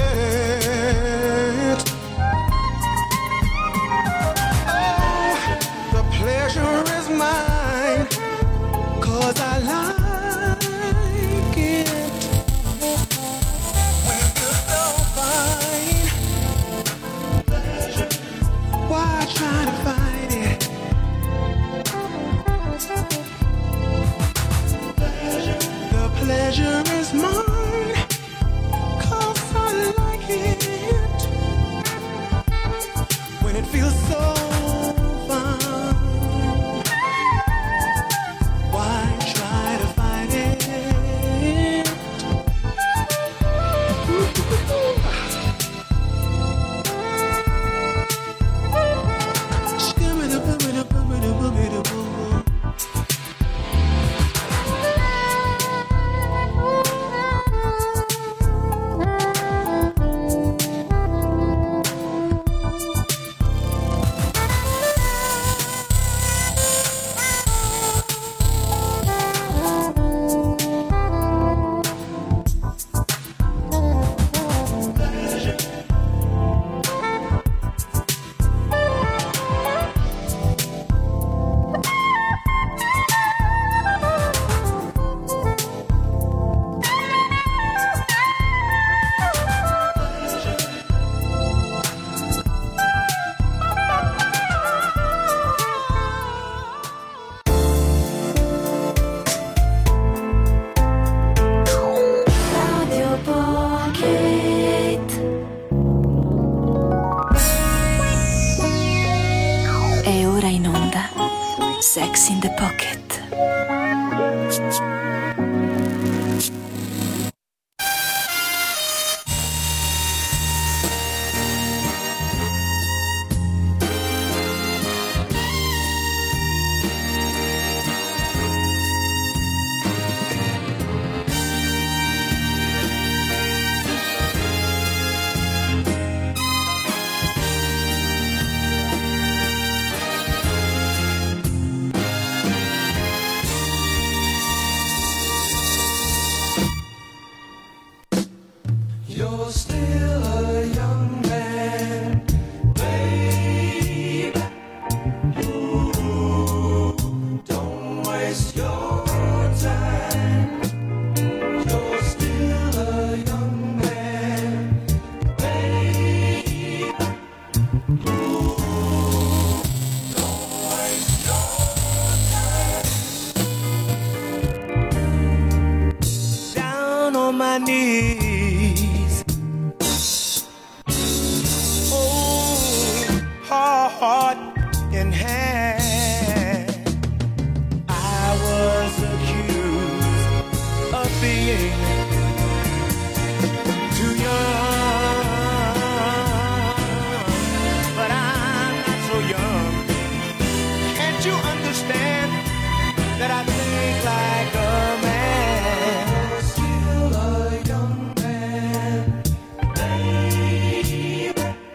Oh, the pleasure is mine, 'cause I like it when it feels so fine. Why try to fight it? The pleasure is mine, 'cause I like it when it feels so fine. Why try to fight it? Radio Pocket. È ora in onda Sex in the Pocket. You're still a young man, babe. Ooh, don't waste your time. You're still a young man, babe. Ooh, don't waste your time. Down on my knees. Oh, heart in hand. I was accused of being too young, but I'm not so young. Can't you understand that I think like a man? Still a young man, baby.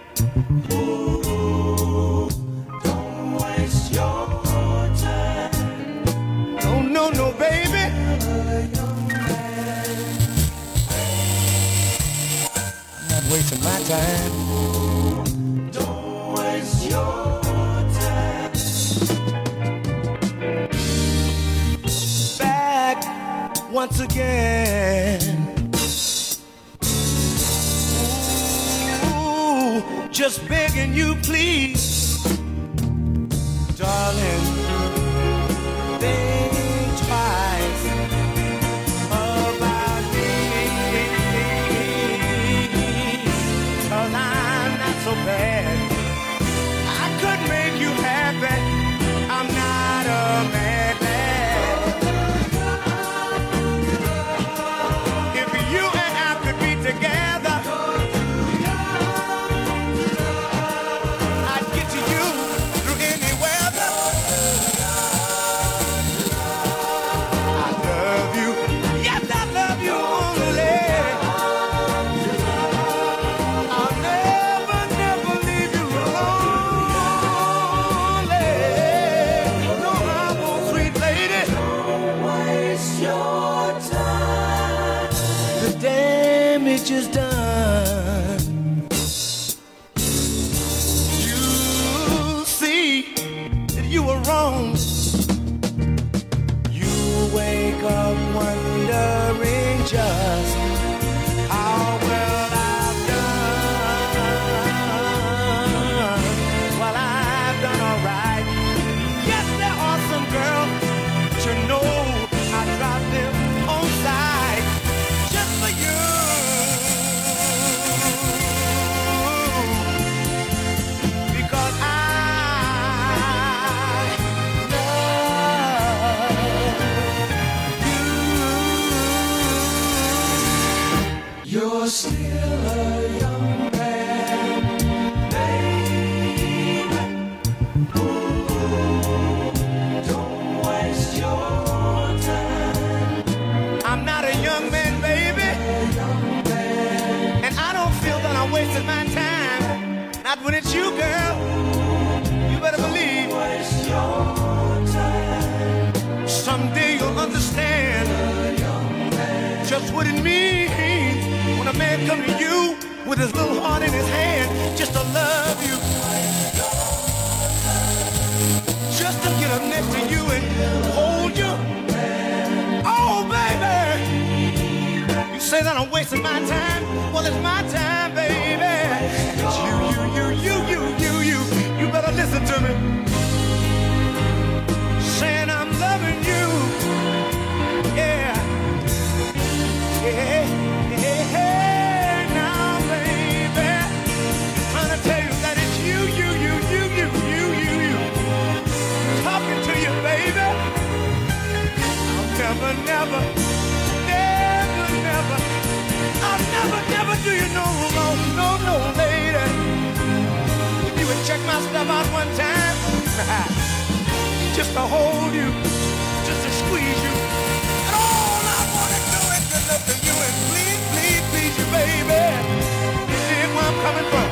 Ooh, don't waste your time. No, no, no, baby. Still a young man. I'm not wasting my time. Don't waste your time. Back once again. Ooh, just begging you, please, darling, think twice about me, 'cause I'm not so bad. I could make you happy. I'm not a madman. If you and I could be together, I'd get to you through any weather. I love you, yes, I love you only. I'll never, never leave you lonely. No, I won't, sweet lady. Don't waste your time. The damage is done. You see that you were wrong. You wake up wondering just how well I've done. Well, I've done all right. Yes, there are some girls, but you know I drop them on side just for you. Because I love you. You're still a young man, baby. Ooh, don't waste your time. I'm not a young man, baby. And I don't feel that I'm wasting my time. Not when it's you, girl. You better believe. Waste your time. Someday you'll understand just what it means when a man comes to you with his little heart in his hand just to love you. Just to get up next to you and hold you. Oh, baby. You say that I'm wasting my time. Well, it's my time, baby. It's you, you, you, you, you, you, you. You better listen to me. Saying I'm loving you. Yeah. Yeah. Yeah. Now, baby. Trying to tell you that it's you, you, you, you, you, you, you, you. Talking to you, baby. I'll never, never, never, never, I'll never, never do you no wrong, no, no, lady. If you would check my stuff out one time, just to hold you, just to squeeze you, and all I want to do is to look at you and please, please, please you, baby. You dig where I'm coming from?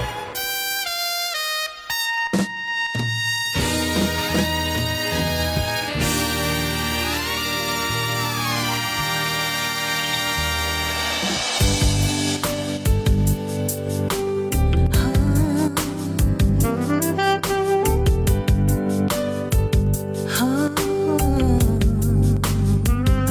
Oh.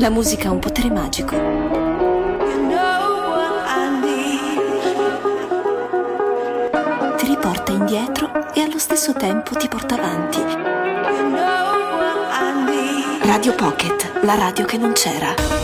La musica ha un potere magico. Ti riporta indietro e allo stesso tempo ti porta avanti. Radio Pocket, la radio che non c'era.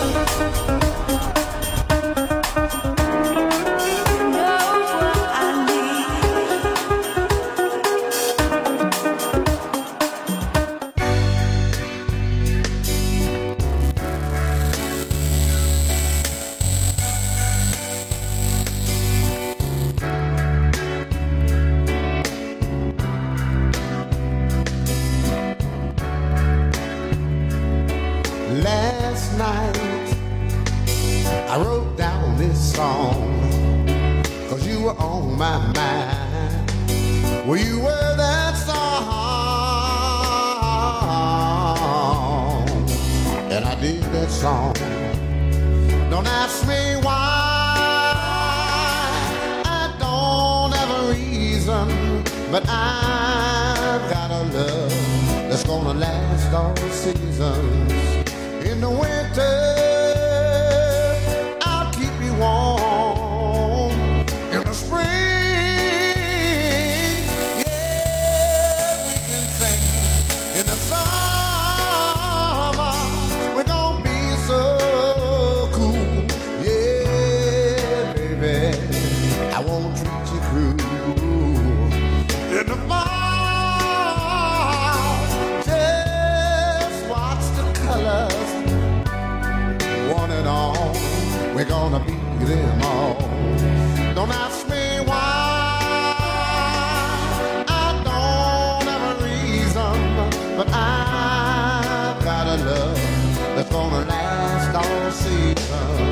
But I've got a love that's gonna last all seasons. In the winter, I'll keep you warm. In the spring, yeah, we can sing. In the summer, we're gonna be so cool. Yeah, baby, I won't treat you cruel. In the fall, just watch the colors, one and all, we're gonna be them all. Don't ask me why, I don't have a reason, but I've got a love that's gonna last all season.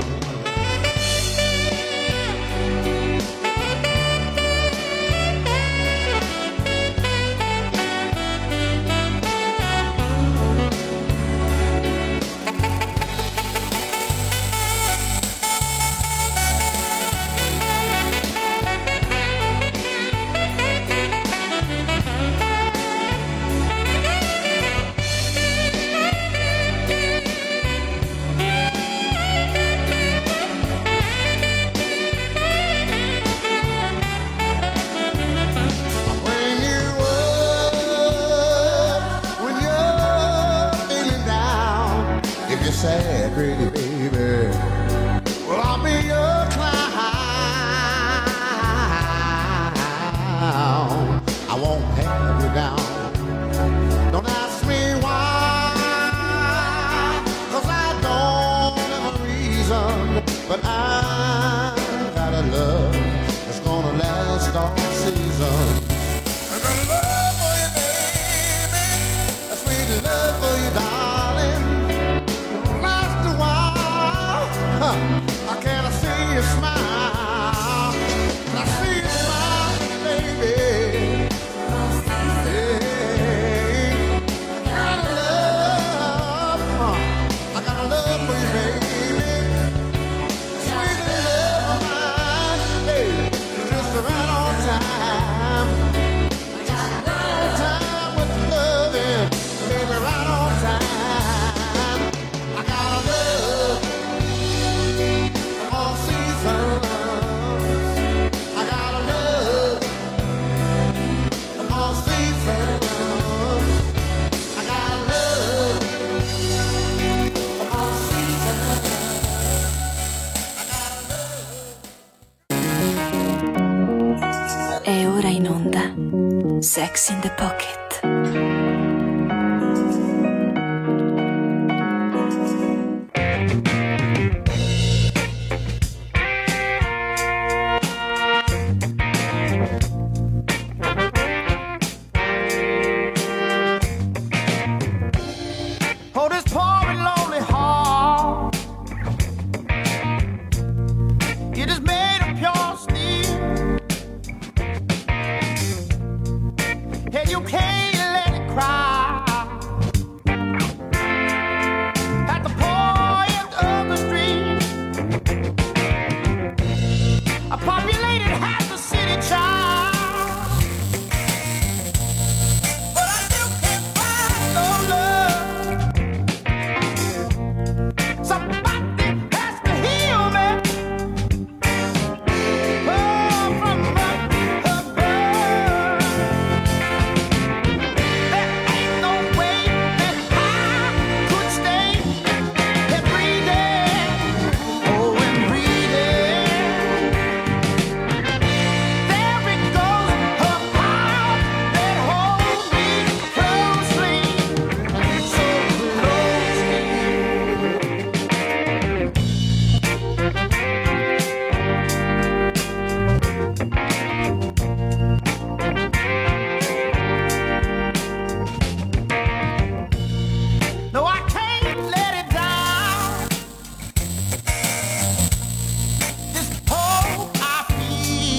Sad, pretty baby. Well, I'll be your clown. I won't have you down. Don't ask me why, 'cause I don't have a reason, but I've got a love that's gonna last all season. I got a love for you, baby, a sweet love for you, darling. Huh. I can't see you smile. I see you smile, baby. Hey, I got a love. Huh. I got a love for you, baby. Sweet love of mine. Hey, just right on time. Right on time with the loving, baby, right on time. I got a love. All seasons, I got a love. All seasons, I got a love. All seasons, I got a love. È ora in onda Sex in the Pocket. You can't let it cry.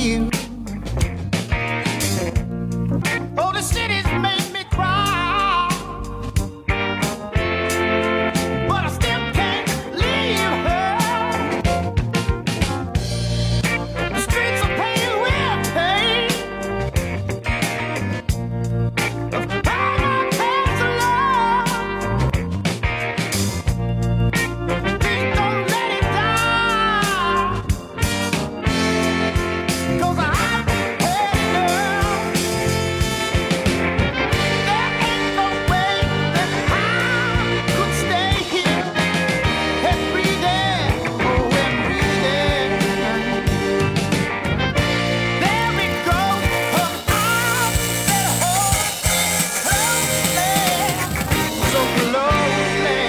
you. Oh, the city's made me cry, but I still can't leave her. The streets are paved with pain of all my past love. Please don't let it die, 'cause I've had enough. There ain't no way that I could stay here and breathe in, oh, and breathe in. There we go, her arms that hold closely, so closely.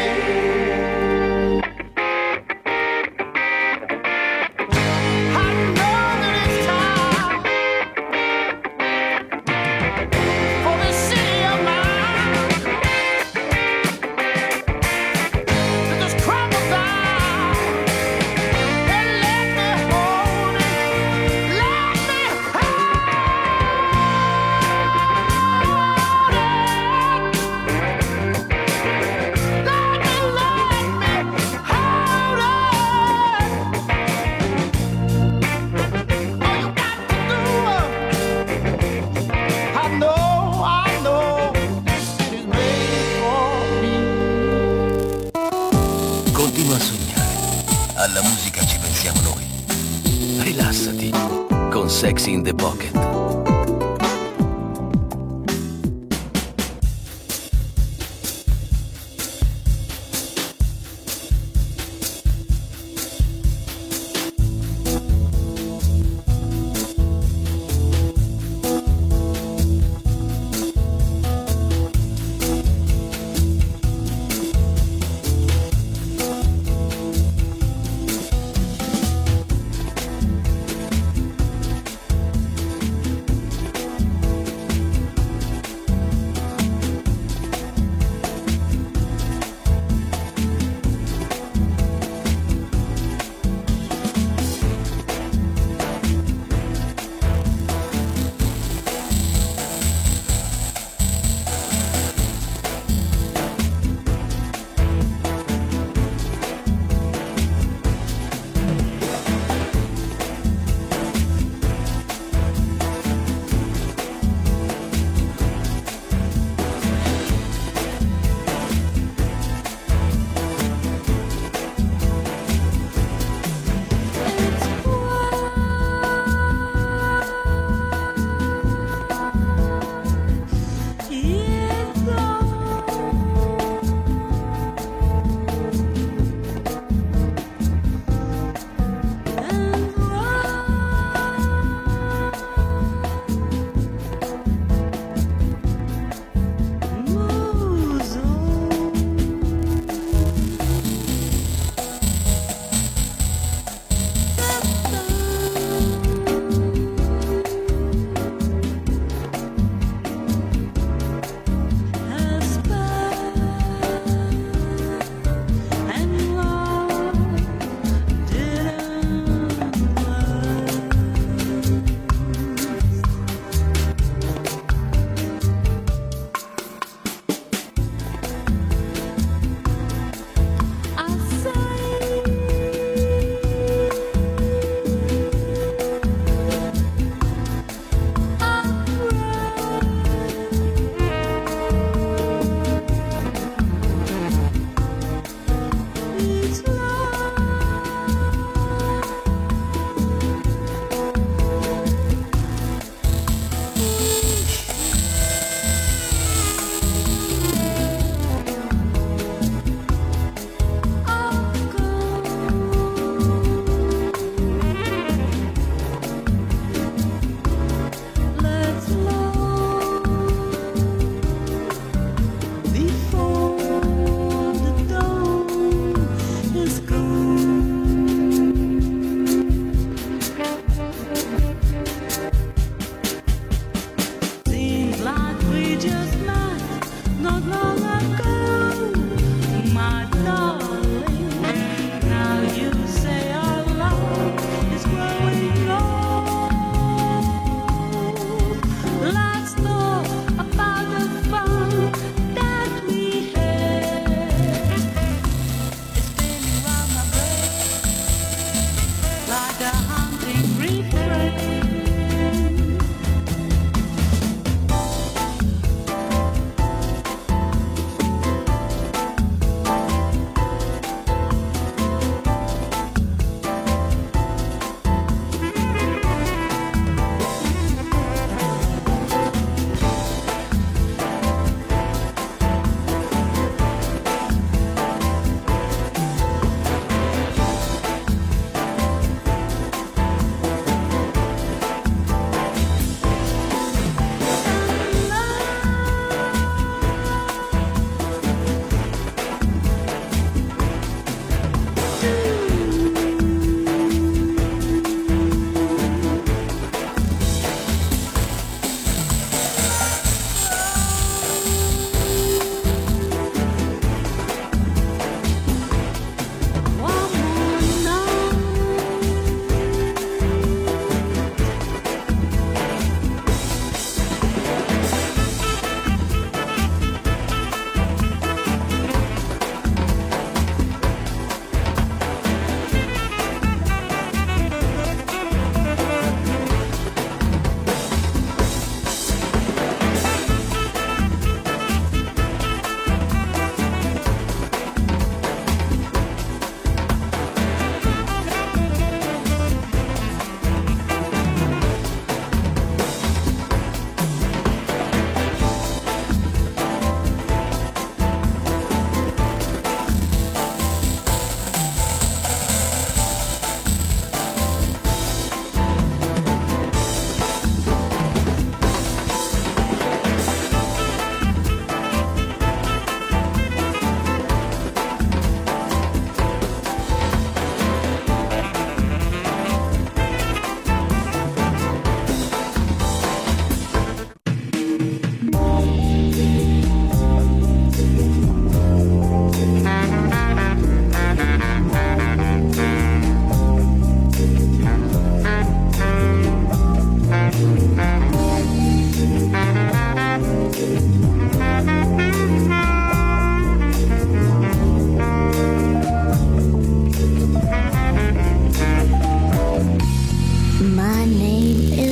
I know that it's time for this city of mine to just crumble down and let me hold it, let me hold it, let me, let me hold it. All you got to do, I know, I know, this city's made for me. Continua a sognare. Alla musica ci pensiamo noi. Rilassati con Sexy in the Pocket.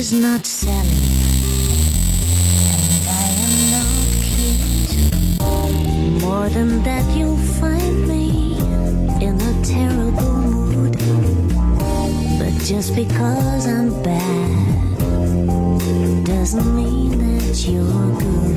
She's not Sally, and I am not cute. More than that, you'll find me in a terrible mood. But just because I'm bad doesn't mean that you're good.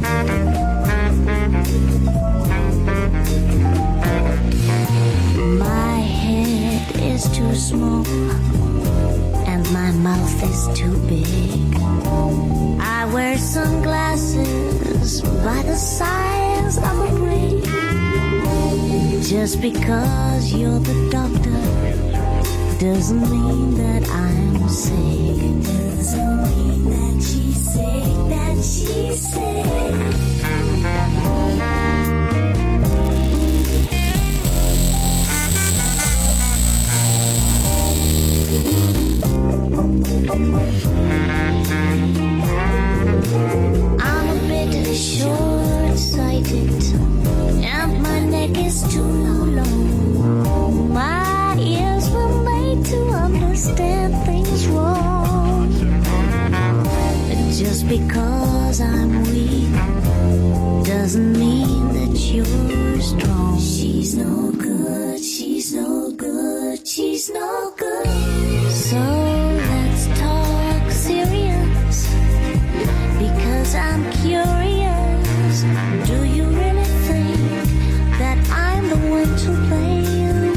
My head is too small and my mouth is too big. I wear sunglasses by the size of a ring. Just because you're the doctor doesn't mean that I'm sick. Doesn't mean that she's sick, that she's sick. I'm a bit short-sighted and my neck is too long. My ears were made to understand things wrong. Just because I'm weak doesn't mean that you're strong. She's no good, she's no good, she's no good. So let's talk serious, because I'm curious. Do you really think that I'm the one to blame?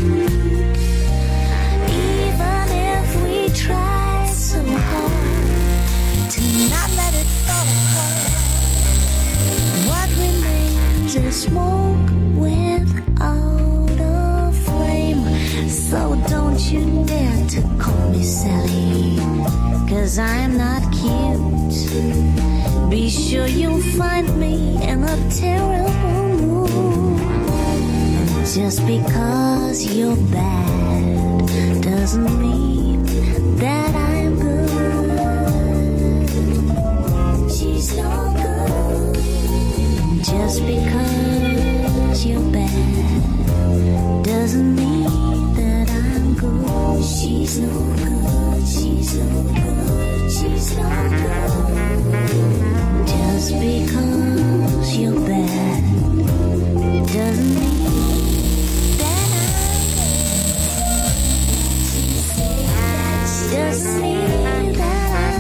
Even if we try so hard to not let it fall apart, what remains is smoke without a flame. So don't you dare to call me Sally, 'cause I'm not cute. Be sure you'll find me in a terrible mood. Just because you're bad doesn't mean that I'm good. She's no good. Just because you're bad doesn't mean that I'm good. She's no good, she's no good, she's no good. Just because you're bad doesn't mean that I'm good. Just mean that I'm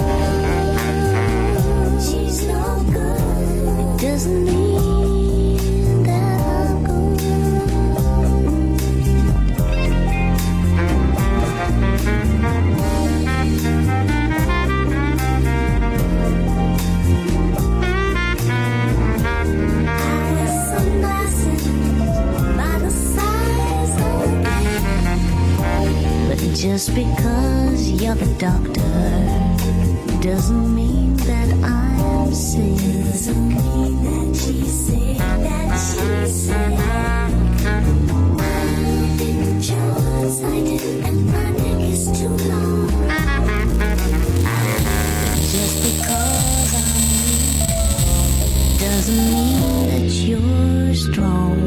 good. She's no good. It doesn't mean that I'm good. Just because you're the doctor doesn't mean that I'm sick. Doesn't mean that she's sick, that she's sick. I'm getting short-sighted and my neck is too long. Just because I'm weak doesn't mean that you're strong.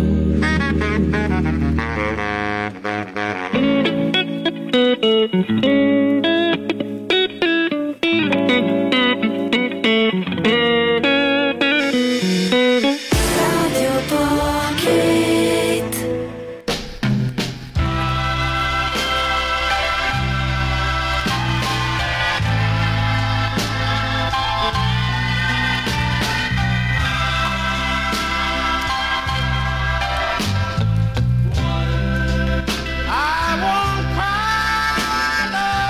I won't cry.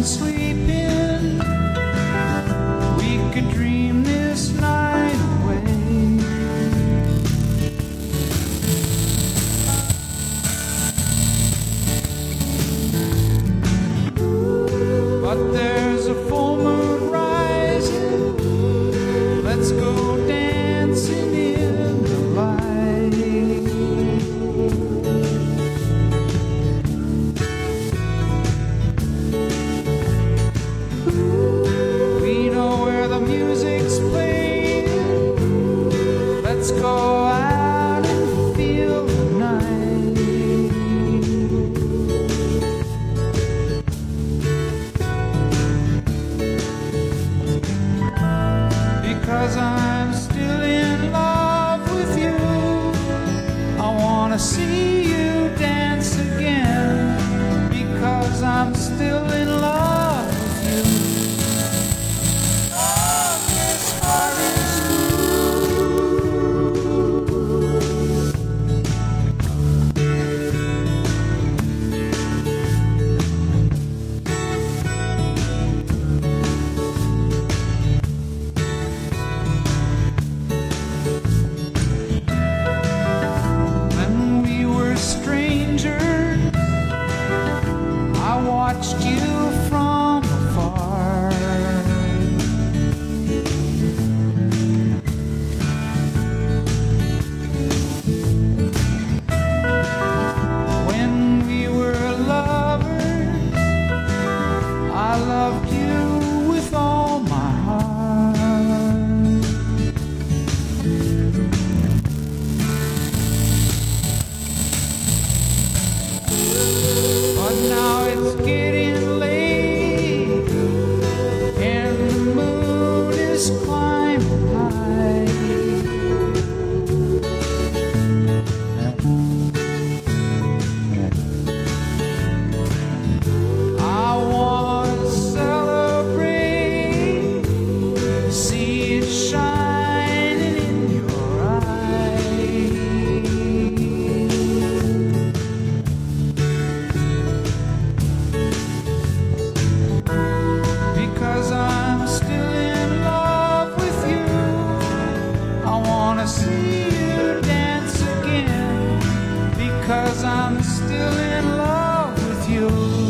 been sleeping, we could dream this night away. But there's a full moon rising, let's go dancing in the light. We know where the music's playing, let's go out and feel the night. Because I'm still in love with you, I wanna see you dance again. Because I'm still in love with you. Oh, this heart is when we were strangers, I watched you from afar. When we were lovers, I loved you with all my heart. But now it's getting late, and the moon is climbing high. I wanna celebrate, see it shining in your eyes. Because I'm still in love with you, I wanna see you dance again. Because I'm still in love with you.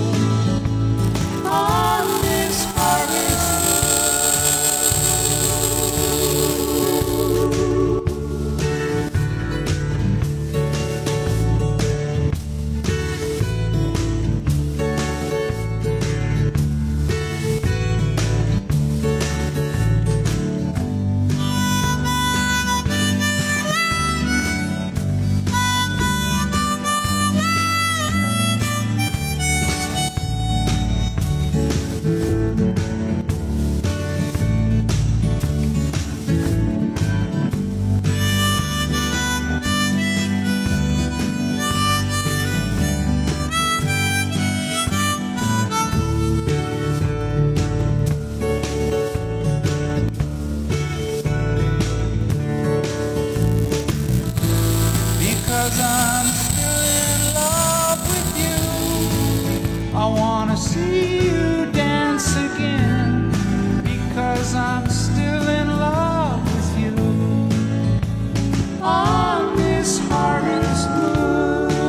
On this harvest because I'm still in love with you, I wanna see you dance again. Because I'm still in love with you. On this harvest moon.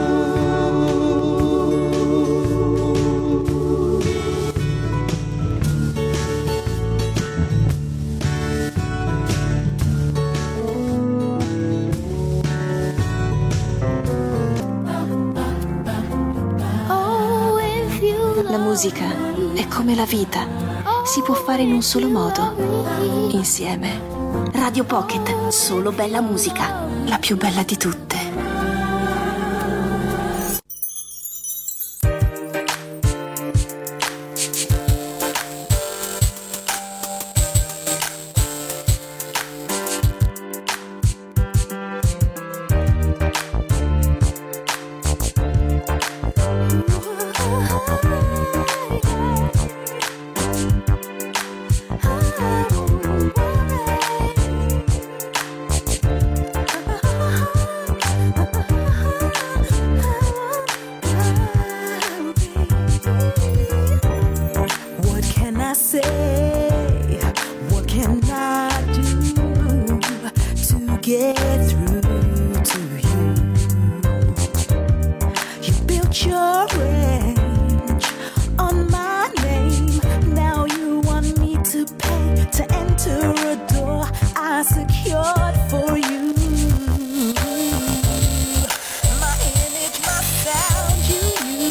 Oh, if you La musica è come la vita, si può fare in un solo modo, insieme. Radio Pocket, solo bella musica, la più bella di tutte. Oh, through to you. You built your range on my name. Now you want me to pay to enter a door I secured for you. My image, my sound you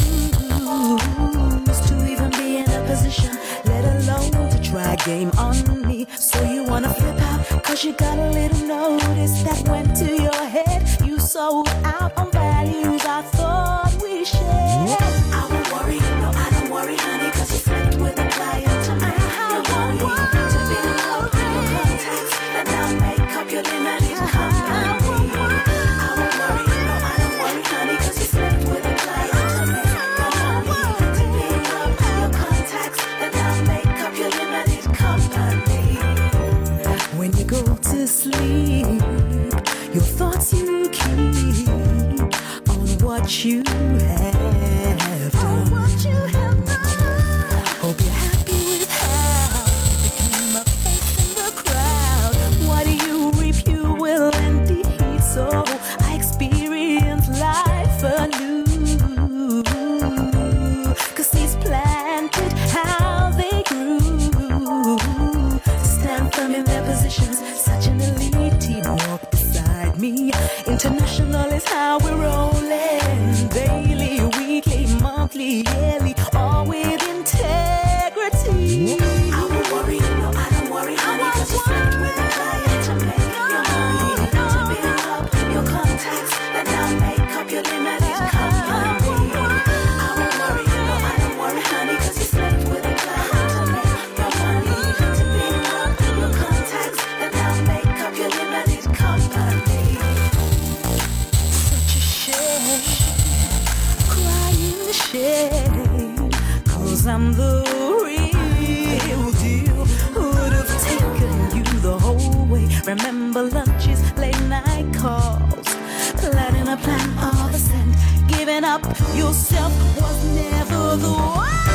use to even be in a position, let alone to try a game on me. So you wanna flip out, cause you got a little notice that went to your head. You sold out on values I thought we shared. I won't worry, no I don't worry honey, cause you slept with a client to make your money, to build up your contacts, and now make up your limited company. I won't worry, no I don't worry honey, cause you slept with a client to make your money, to build up your contacts, and now make up your limited company. When you go to sleep, your thoughts you keep on what you have done. What you have done. Hope you're happy with how you became a face in the crowd. What you reap, you will indeed. So I experience life anew. Cause he's planted how they grew. Stand firm in their positions. Such an elite team walk beside me. International is how we're rolling. Daily, weekly, monthly, yearly, all with integrity. I won't worry, no I don't worry honey, cause you slept with a client to make your money, to build up your contacts, and now make up your limited company. I won't worry, no I don't worry honey, cause you slept with a client to make your money, to build up your contacts, and now make up your limited company. Such a shame, crying shame, cause I'm the real deal. Would have taken you the whole way. Remember lunches, late night calls, planning a plan of ascent. Giving up yourself was never the one.